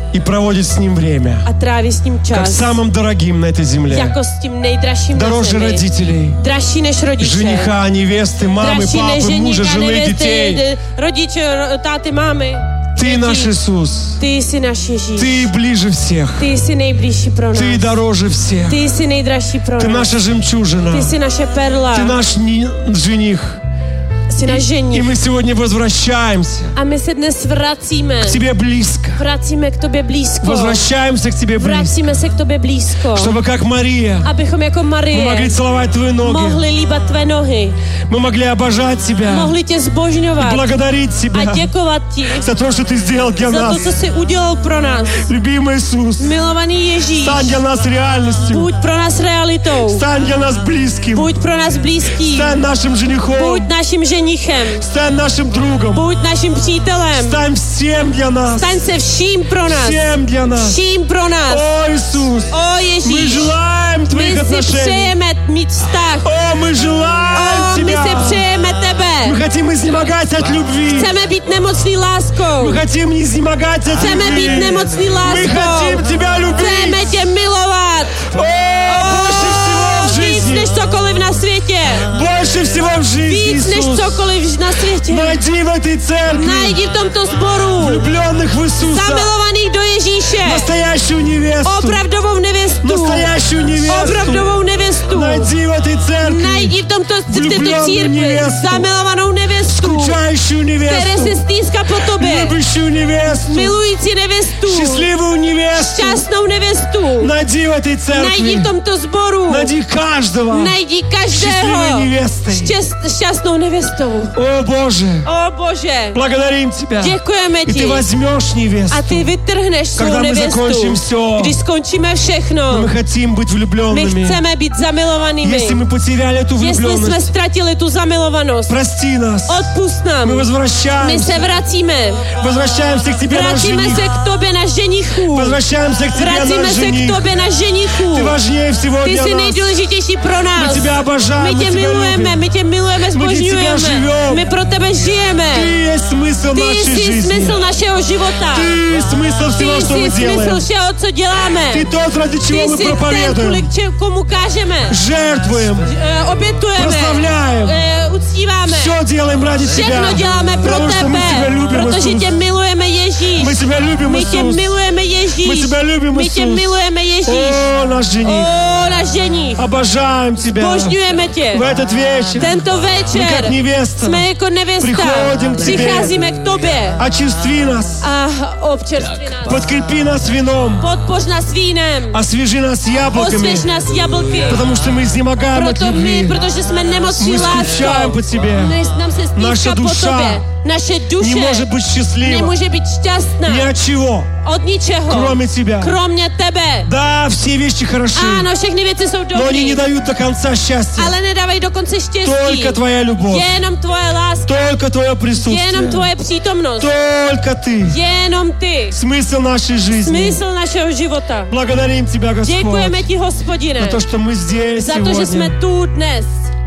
и проводит с ним время. a tráví s ním Как čas. самым дорогим на этой земле. Jako s tím nejdražším na Дороже zemi. родителей, Dražší než rodiče. жениха, невесты, мамы, Dražší než папы, мужа, ženíka, жены, nevěsty, детей. d- rodiče, ro- táty, mámy. Ты děti. наш Иисус. Ty jsi náš Ježíš. Ты ближе всех. Ty jsi nejbližší pro nás. Ты дороже всех. Ty jsi nejdražší pro Ты nás. наша жемчужина. Ty jsi naše perla. Ты наш ни- жених. Jsi náš И ženich. мы сегодня возвращаемся A my se dnes vracíme. к тебе близко. Vracíme k tobě blízko. Возвращаемся к тебе близко. Vracíme se k tobě blízko. Чтобы как Мария Abychom jako мы могли Marie целовать твои ноги. mohli líbat tvé nohy. Мы могли обожать тебя. Mohli tě zbožňovat. Благодарить A тебя děkovat ti за то, что ты сделал для za to, нас. co jsi udělal pro nás. Любимый Иисус, Milovaný Ježíš, стань для нас реальностью. buď pro nás realitou. Стань для нас близким. Buď pro nás blízký. Стань нашим женихом. Buď naším ženichem. Стань нашим другом. Buď naším přítelem. Стань всем для нас. Staň se vším pro nás. Всем для нас. Vším pro nás. О, Иисус, O мы Ježíš, желаем my твоих si отношений. přejeme mít vztah. О, мы желаем O, my тебя. si přejeme tebe. Мы хотим изнемогать от любви. Chceme být nemocný láskou. Мы хотим изнемогать от Chceme любви. být nemocný Мы láskou. хотим тебя любить. Chceme tě milovat. О, больше всего в Víc жизни. než cokoliv na světě. Больше всего в жизни, Víc než Иисус. cokoliv na světě. Найди в этой церкви Najdi v tomto sboru влюбленных в Иисуса. zamilovaných do Ježíše. Настоящую невесту. Opravdovou nevěstu. Настоящую невесту. Opravdovou nevěstu. Найди в этой церкви Najdi v tomto v této влюбленную církvi невесту. zamilovanou nevěstu, Скучающую které se невесту. stýská po tobě. Любящую невесту. Milující nevěstu. Счастливую невесту. Šťastnou nevěstu. Найди в этой Najdi v церкви. tomto sboru. Найди каждого. Najdi každého Счастливой невестой. šťast, šťastnou nevěstou. О, Боже, O Bože, благодарим Тебя. děkujeme И ti. Ты возьмешь невесту. A ty vytrhneš svou Когда мы закончим nevěstu. все, Když skončíme všechno, мы хотим быть my влюбленными. chceme být zamilovanými. Если мы потеряли эту Jestli jsme влюбленность, ztratili tu zamilovanost, прости нас. odpust nám. Мы My возвращаемся. se vracíme. Возвращаемся к Тебе, наш Vracíme жених. se k tobě na ženichu. Возвращаемся к Тебе, Vracíme наш se k жених. tobě na ženichu. Ты важнее всего Ty для jsi нас. nejdůležitější pro Мы nás. Тебя My обожаем, мы tě Тебя milujeme, любим. my tě milujeme, zbožňujeme. живем. My pro tebe žijeme. Ты есть смысл Ty нашей jsi жизни. smysl našeho života. Ты смысл Ty всего, что jsi мы smysl делаем. všeho, co děláme. Ты тот, ради Ty чего мы jsi ten, проповедуем. kvůli če- komu kážeme. Жертвуем. Eh, Obětujeme. Прославляем. eh, Uctíváme. Все делаем ради Тебя. Všechno děláme pro Потому что мы Тебя tebe, любим, protože Иисус. tě milujeme Ježíš. Мы Тебя любим, My tě Иисус. milujeme Ježíš. Мы Тебя любим, My tě Иисус. milujeme Ježíš. О, наш жених. O, náš ženich. Обожаем Тебя. Božňujeme tě. В этот вечер Tento мы večer как невеста. jsme jako nevěsta. Přichodím k tebe. Přicházíme k tobě. Очистви нас. A občerství nás. Подкрепи нас вином. Podpoř nás vínem. Освежи нас яблоками. Osvěž nás jablky. Потому что мы изнемогаем от Proto my, любви. protože jsme nemocní Мы скучаем láskou. по Тебе. Než nám se Наша stýská po душа tobě. Naše Не duše может быть счастлива. nemůže být šťastná Ни от чего. od ničeho. Кроме Тебя. Kromě tebe. Да, все вещи хороши. Ano, všechny věci jsou Но они не dobré, дают до конца счастья. ale nedávají dokonce štěstí. Только Твоя любовь. Jenom tvoje láska. Только Твое присутствие. Jenom tvoje přítomnost. Только Ты. Jenom ty. Смысл нашей жизни. Smysl našeho života. Благодарим Тебя, Господь, Děkujeme ti, Hospodine, за то, что мы здесь za to, že jsme сегодня tu dnes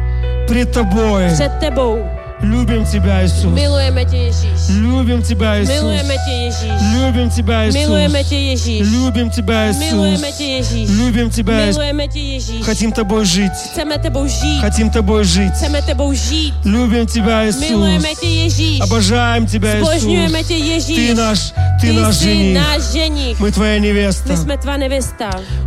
пред Тобой. před tebou. Любим Тебя, Иисус. Milujeme tě, Ježíš. Любим Тебя, Иисус. Milujeme tě, Ježíš. Любим Тебя, Иисус. Milujeme tě, Ježíš. Любим Тебя, Иисус. Milujeme tě, Ježíš. Любим Тебя, Иисус. Milujeme tě, Ježíš. Хотим Тобой жить. Chceme tebou žít. Хотим Тобой жить. Chceme tebou žít. Любим Тебя, Milujeme Иисус. tě, Ježíš. Обожаем Тебя, Zbožňujeme Иисус. tě, Ježíš. Ты наш, Ты Ty наш jsi жених. náš ženich. Мы Твоя невеста. My jsme tvá nevěsta.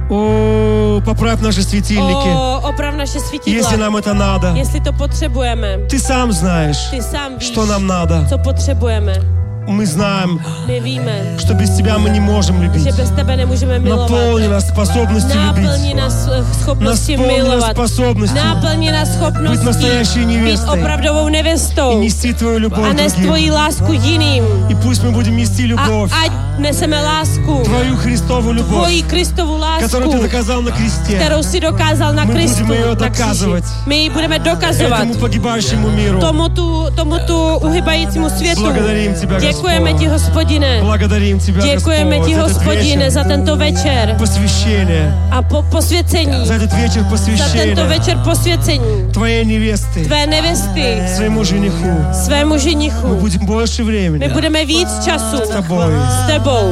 О, поправь наши светильники, O, oprav naše svítidla. если нам это надо. Jestli to potřebujeme. Ты сам знаешь, Ty sám víš, что нам надо. co potřebujeme. Мы знаем, My víme, что без Тебя мы не можем любить. že bez tebe nemůžeme milovat. Наполни нас способностью Náplni любить. nás eh, schopnosti Наполни нас milovat. способностью Náplni nás быть schopností настоящей být невестой opravdovou и nevěstou нести Твою a любовь nes другим. tvoji lásku jiným. И пусть мы будем нести A любовь, ať neseme lásku, Твою Христову любовь, tvoji Kristovu которую Ты lásku, доказал на кресте, kterou si dokázal na My Kristu. budeme ji na kříži. dokazovat. My ji budeme dokazovat этому погибающему миру. tomu tu, tomu tu uhybajícímu světu. Благодарим Тебя, Děkujeme Господь. ti, Hospodine. Благодарим Тебя, Děkujeme Господь, ti, за этот Hospodine, вечер za tento večer посвящения, a po, posvěcení. за этот вечер Za tento посвящения večer posvěcení Твоей невесты, tvé nevěsty, своему жениху. svému Мы ženichu. будем больше My времени budeme víc času с Тобой. s tebou.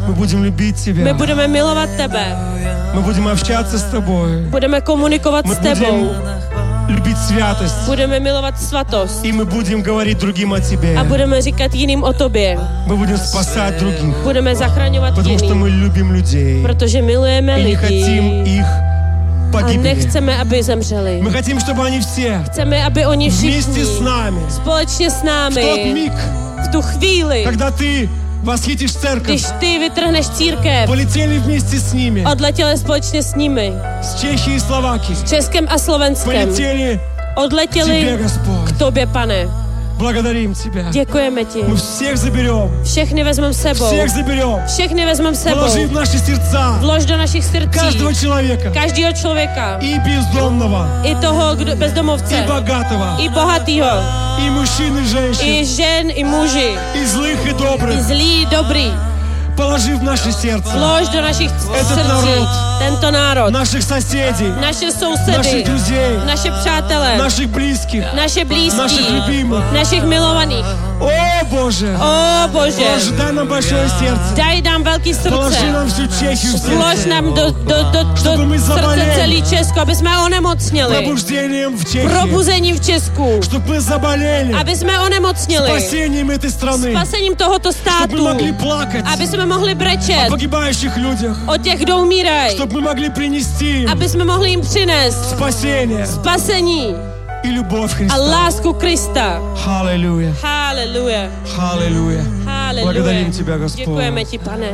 Мы будем любить My Тебя. budeme milovat tebe. Мы будем общаться с Тобой. Budeme komunikovat Мы s tebou. будем любить святость. Budeme milovat svatost. И мы будем говорить другим о Тебе. A budeme říkat jiným o tobě. Мы будем спасать других. Budeme zachraňovat Потому что мы jiným. любим людей. Protože milujeme И не хотим lidi. их A погибели. nechceme, aby zemřeli. Мы хотим, чтобы они все Chceme, aby oni вместе všichni с нами společně s в тот námi миг, v tu chvíli, когда Ты восхитишь церковь, když ty vytrhneš církev, полетели вместе с ними, odletěli společně s nimi, с Чехией и Словакией, Českem a Slovenskem, полетели к odletěli Тебе, Господь. k tobě, pane. Благодарим Тебя. Děkujeme ti. Мы всех заберем, Všechny vezmeme sebou. всех заберем, Všechny vezmeme sebou. положи в наши сердца Vlož do našich srdcí. каждого человека, Každého člověka. и бездомного, I toho kdo, и bezdomovce. богатого, I bohatýho. и мужчин, и женщин, I žen, i muži. и злых, и I добрых. zlý, dobrý. Положи в наши сердца Vlož do našich Этот srdcí. народ. Tento národ. наших соседей, Naše наших sousedy. друзей, Naše přátele. наших близких, Naše наших blízký. любимых. Našich milovaných. О, Боже! O Bože. Положи, дай нам большое сердце. Daj nám velký Положи srdce. нам всю Чехию в Vlož сердце. nám do, do, do, do Чтобы мы srdce заболели. celý Česko, aby jsme onemocněli. Пробуждением в Чехии. Probuzením v Česku. Чтобы мы заболели. Aby jsme onemocněli. Спасением этой страны. Spasením tohoto Чтобы мы státu. могли плакать Aby jsme mohli о brečet погибающих людях. o těch, kdo umírají. Чтобы мы могли принести им Aby jsme mohli jim přinést спасение spasení и любовь a Христа. lásku Krista. Аллилуйя. Haleluja. Аллилуйя. Haleluja. Благодарим Тебя, Господь. Děkujeme ti, pane.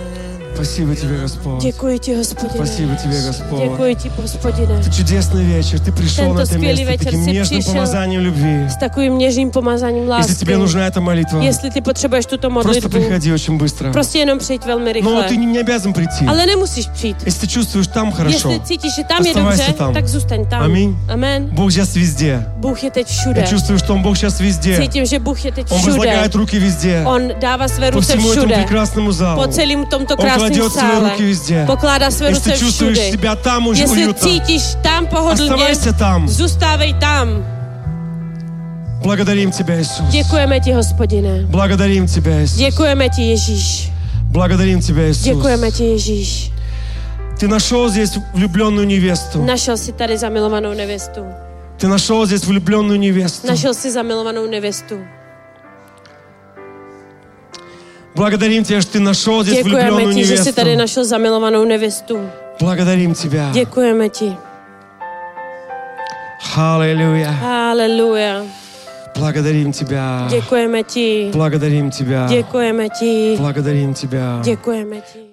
Спасибо Тебе, Господь. Děkuji ti, Hospodine. Спасибо Тебе, Господь. Děkuji ti, Hospodine. Это чудесный вечер. Ты пришел Tento на это skvělý место večer таким si нежным přišel помазанием любви. S takovým něžným pomazáním Если lásky. тебе нужна эта молитва, Jestli ty potřebuješ tuto просто modlitbu, приходи очень быстро. prostě jenom přijď velmi Но rychle. ты не, не обязан прийти. Ale nemusíš přijít. Если ты чувствуешь там хорошо, Jestli cítíš, že tam je оставайся dobře, там. tak zůstaň tam. Аминь. Amen. Бог сейчас везде. Bůh je teď všude. Я чувствую, что Он Бог сейчас везде. Cítím, že Bůh je teď Он všude. возлагает руки везде. On dává své По ruce всему этому všude. прекрасному залу. Po celém tomto Он krásném кладет свои sále. руки везде. Pokládá své Если ruce ты чувствуешь všude. себя там уже Jestli уютно, cítíš tam pohodlně, оставайся там. zůstávej tam. Благодарим Тебя, Иисус. Děkujeme ti, Hospodine. Благодарим Тебя, Иисус. Děkujeme ti, Ježíš. Благодарим Тебя, Иисус. Děkujeme ti, Ježíš. Ты нашел здесь влюбленную невесту. Našel si tady zamilovanou nevěstu. Ты нашел здесь влюбленную невесту. Našel si zamilovanou nevěstu. Благодарим Тебя, что Ты нашел здесь Děkujeme влюбленную ti, že jsi tady невесту. našel zamilovanou nevěstu. Благодарим Тебя. Děkujeme ti. Аллилуйя. Haleluja. Благодарим Тебя. Děkujeme ti. Благодарим Тебя. Děkujeme ti. Благодарим Тебя. Děkujeme ti.